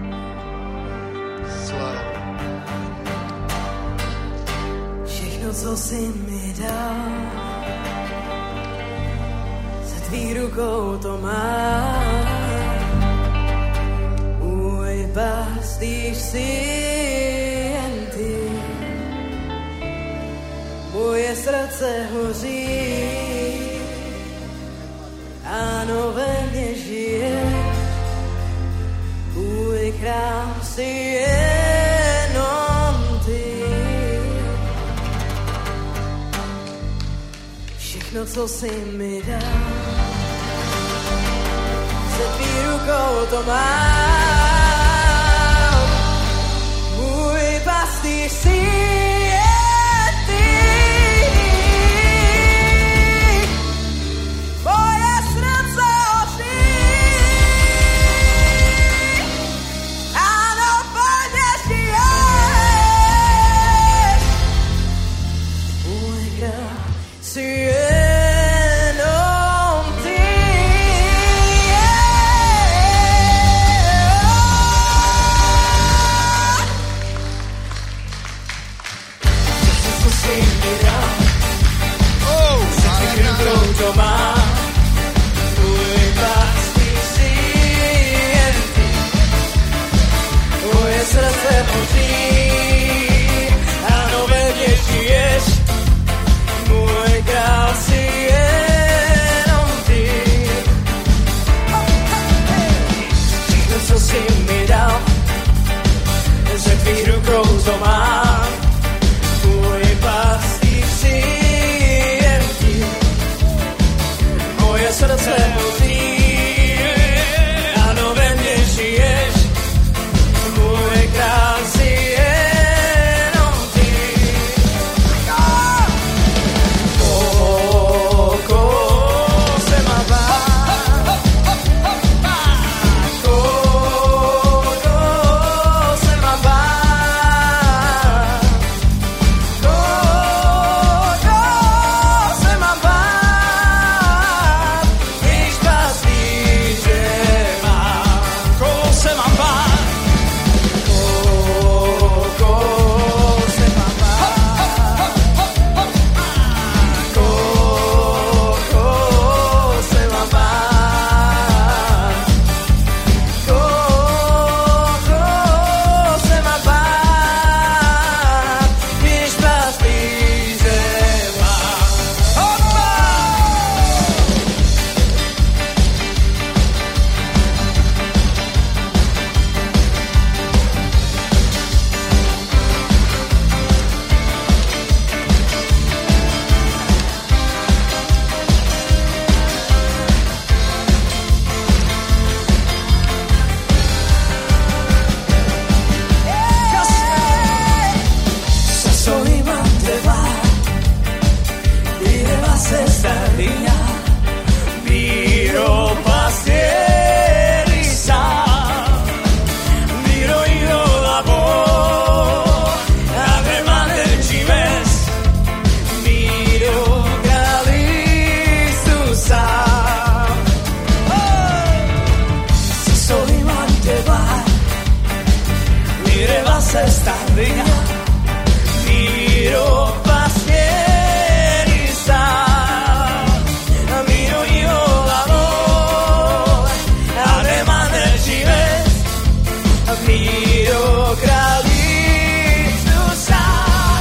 Sláva. Všechno, co jsi mi dal, se tvý rukou to má. Můj pastýř jsi jen ty, moje srdce hoří, ano, ve mně žije, můj král jsi jenom ty. Všechno, co jsi mi dal, se tvý rukou to mám. Můj pastýř jsi jen ty. Moje srdce hoří, ano, plně žiješ. Můj král jsi jenom ty. moje srdce budí. Ano, ve mne žiješ, môj král si jenom ty. Koho se má bát, koho se má bát, koho se má bát, když pastýře mám. Koho se mám bát? Koho se má bát, koho se má bát, koho se má bát, když pastýře mám. Se soy manteva, viva se staria, viro pastieri sa, viro io lavoro, ave mater cives, viro Christus sa. Se soy manteva, viva se staria, Viro pastieri sa, viro io lavoro, ave mater cives, viro Christus sa.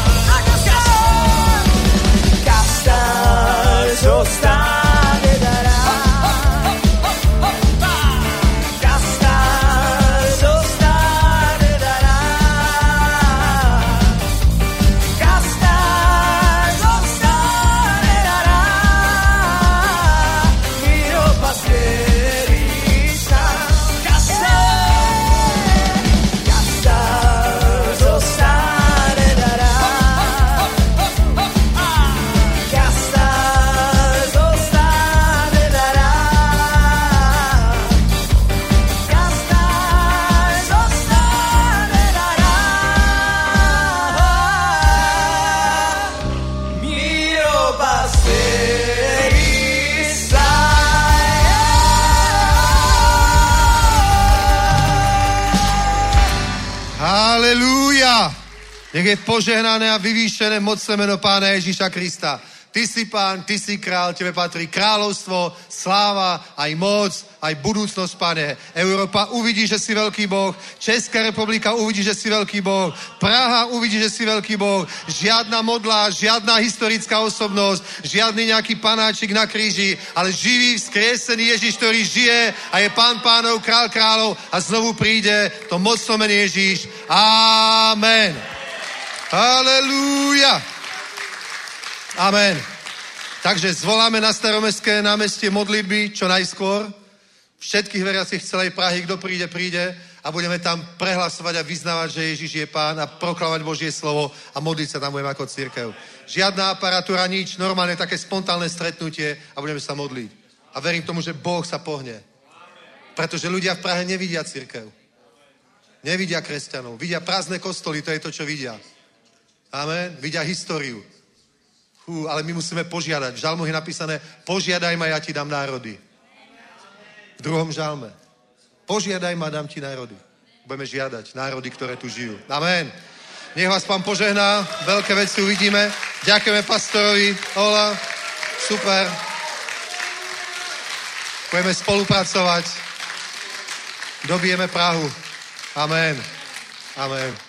Castar zostane darà, castar zostane darà. Halelúja! Nech je požehnané a vyvýšené mocné meno Pána Ježíša Krista. Ty si Pán, ty si král, tebe patrí kráľovstvo, sláva, aj moc, aj budúcnosť, Pane. Európa uvidí, že si veľký Boh. Česká republika uvidí, že si veľký Boh. Praha uvidí, že si veľký Boh. Žiadna modla, žiadna historická osobnosť, žiadny nejaký panáčik na kríži, ale živý, vzkriesený Ježíš, ktorý žije a je Pán pánov, král kráľov a znovu príde to mocno meno Ježíš. Amen. Halelúja. Amen. Takže zvoláme na Staromestské námestie modlitby čo najskôr. Všetkých veriacich celej Prahy, kto príde, príde a budeme tam prehlasovať a vyznávať, že Ježiš je Pán a proklamovať Božie slovo a modliť sa tam budeme ako cirkev. Žiadna aparatúra, nič, normálne také spontánne stretnutie a budeme sa modliť. A verím tomu, že Boh sa pohne. Pretože ľudia v Prahe nevidia cirkev. Nevidia kresťanov. Vidia prázdne kostoly, to je to, čo vidia. Amen. Vidia históriu. Ale my musíme požiadať. V žalmoch je napísané, požiadaj ma, ja ti dám národy. V druhom žalme. Požiadaj ma, dám ti národy. Budeme žiadať národy, ktoré tu žijú. Amen. Nech vás Pán požehná. Veľké veci uvidíme. Ďakujeme pastorovi. Ola. Super. Budeme spolupracovať. Dobijeme Prahu. Amen. Amen.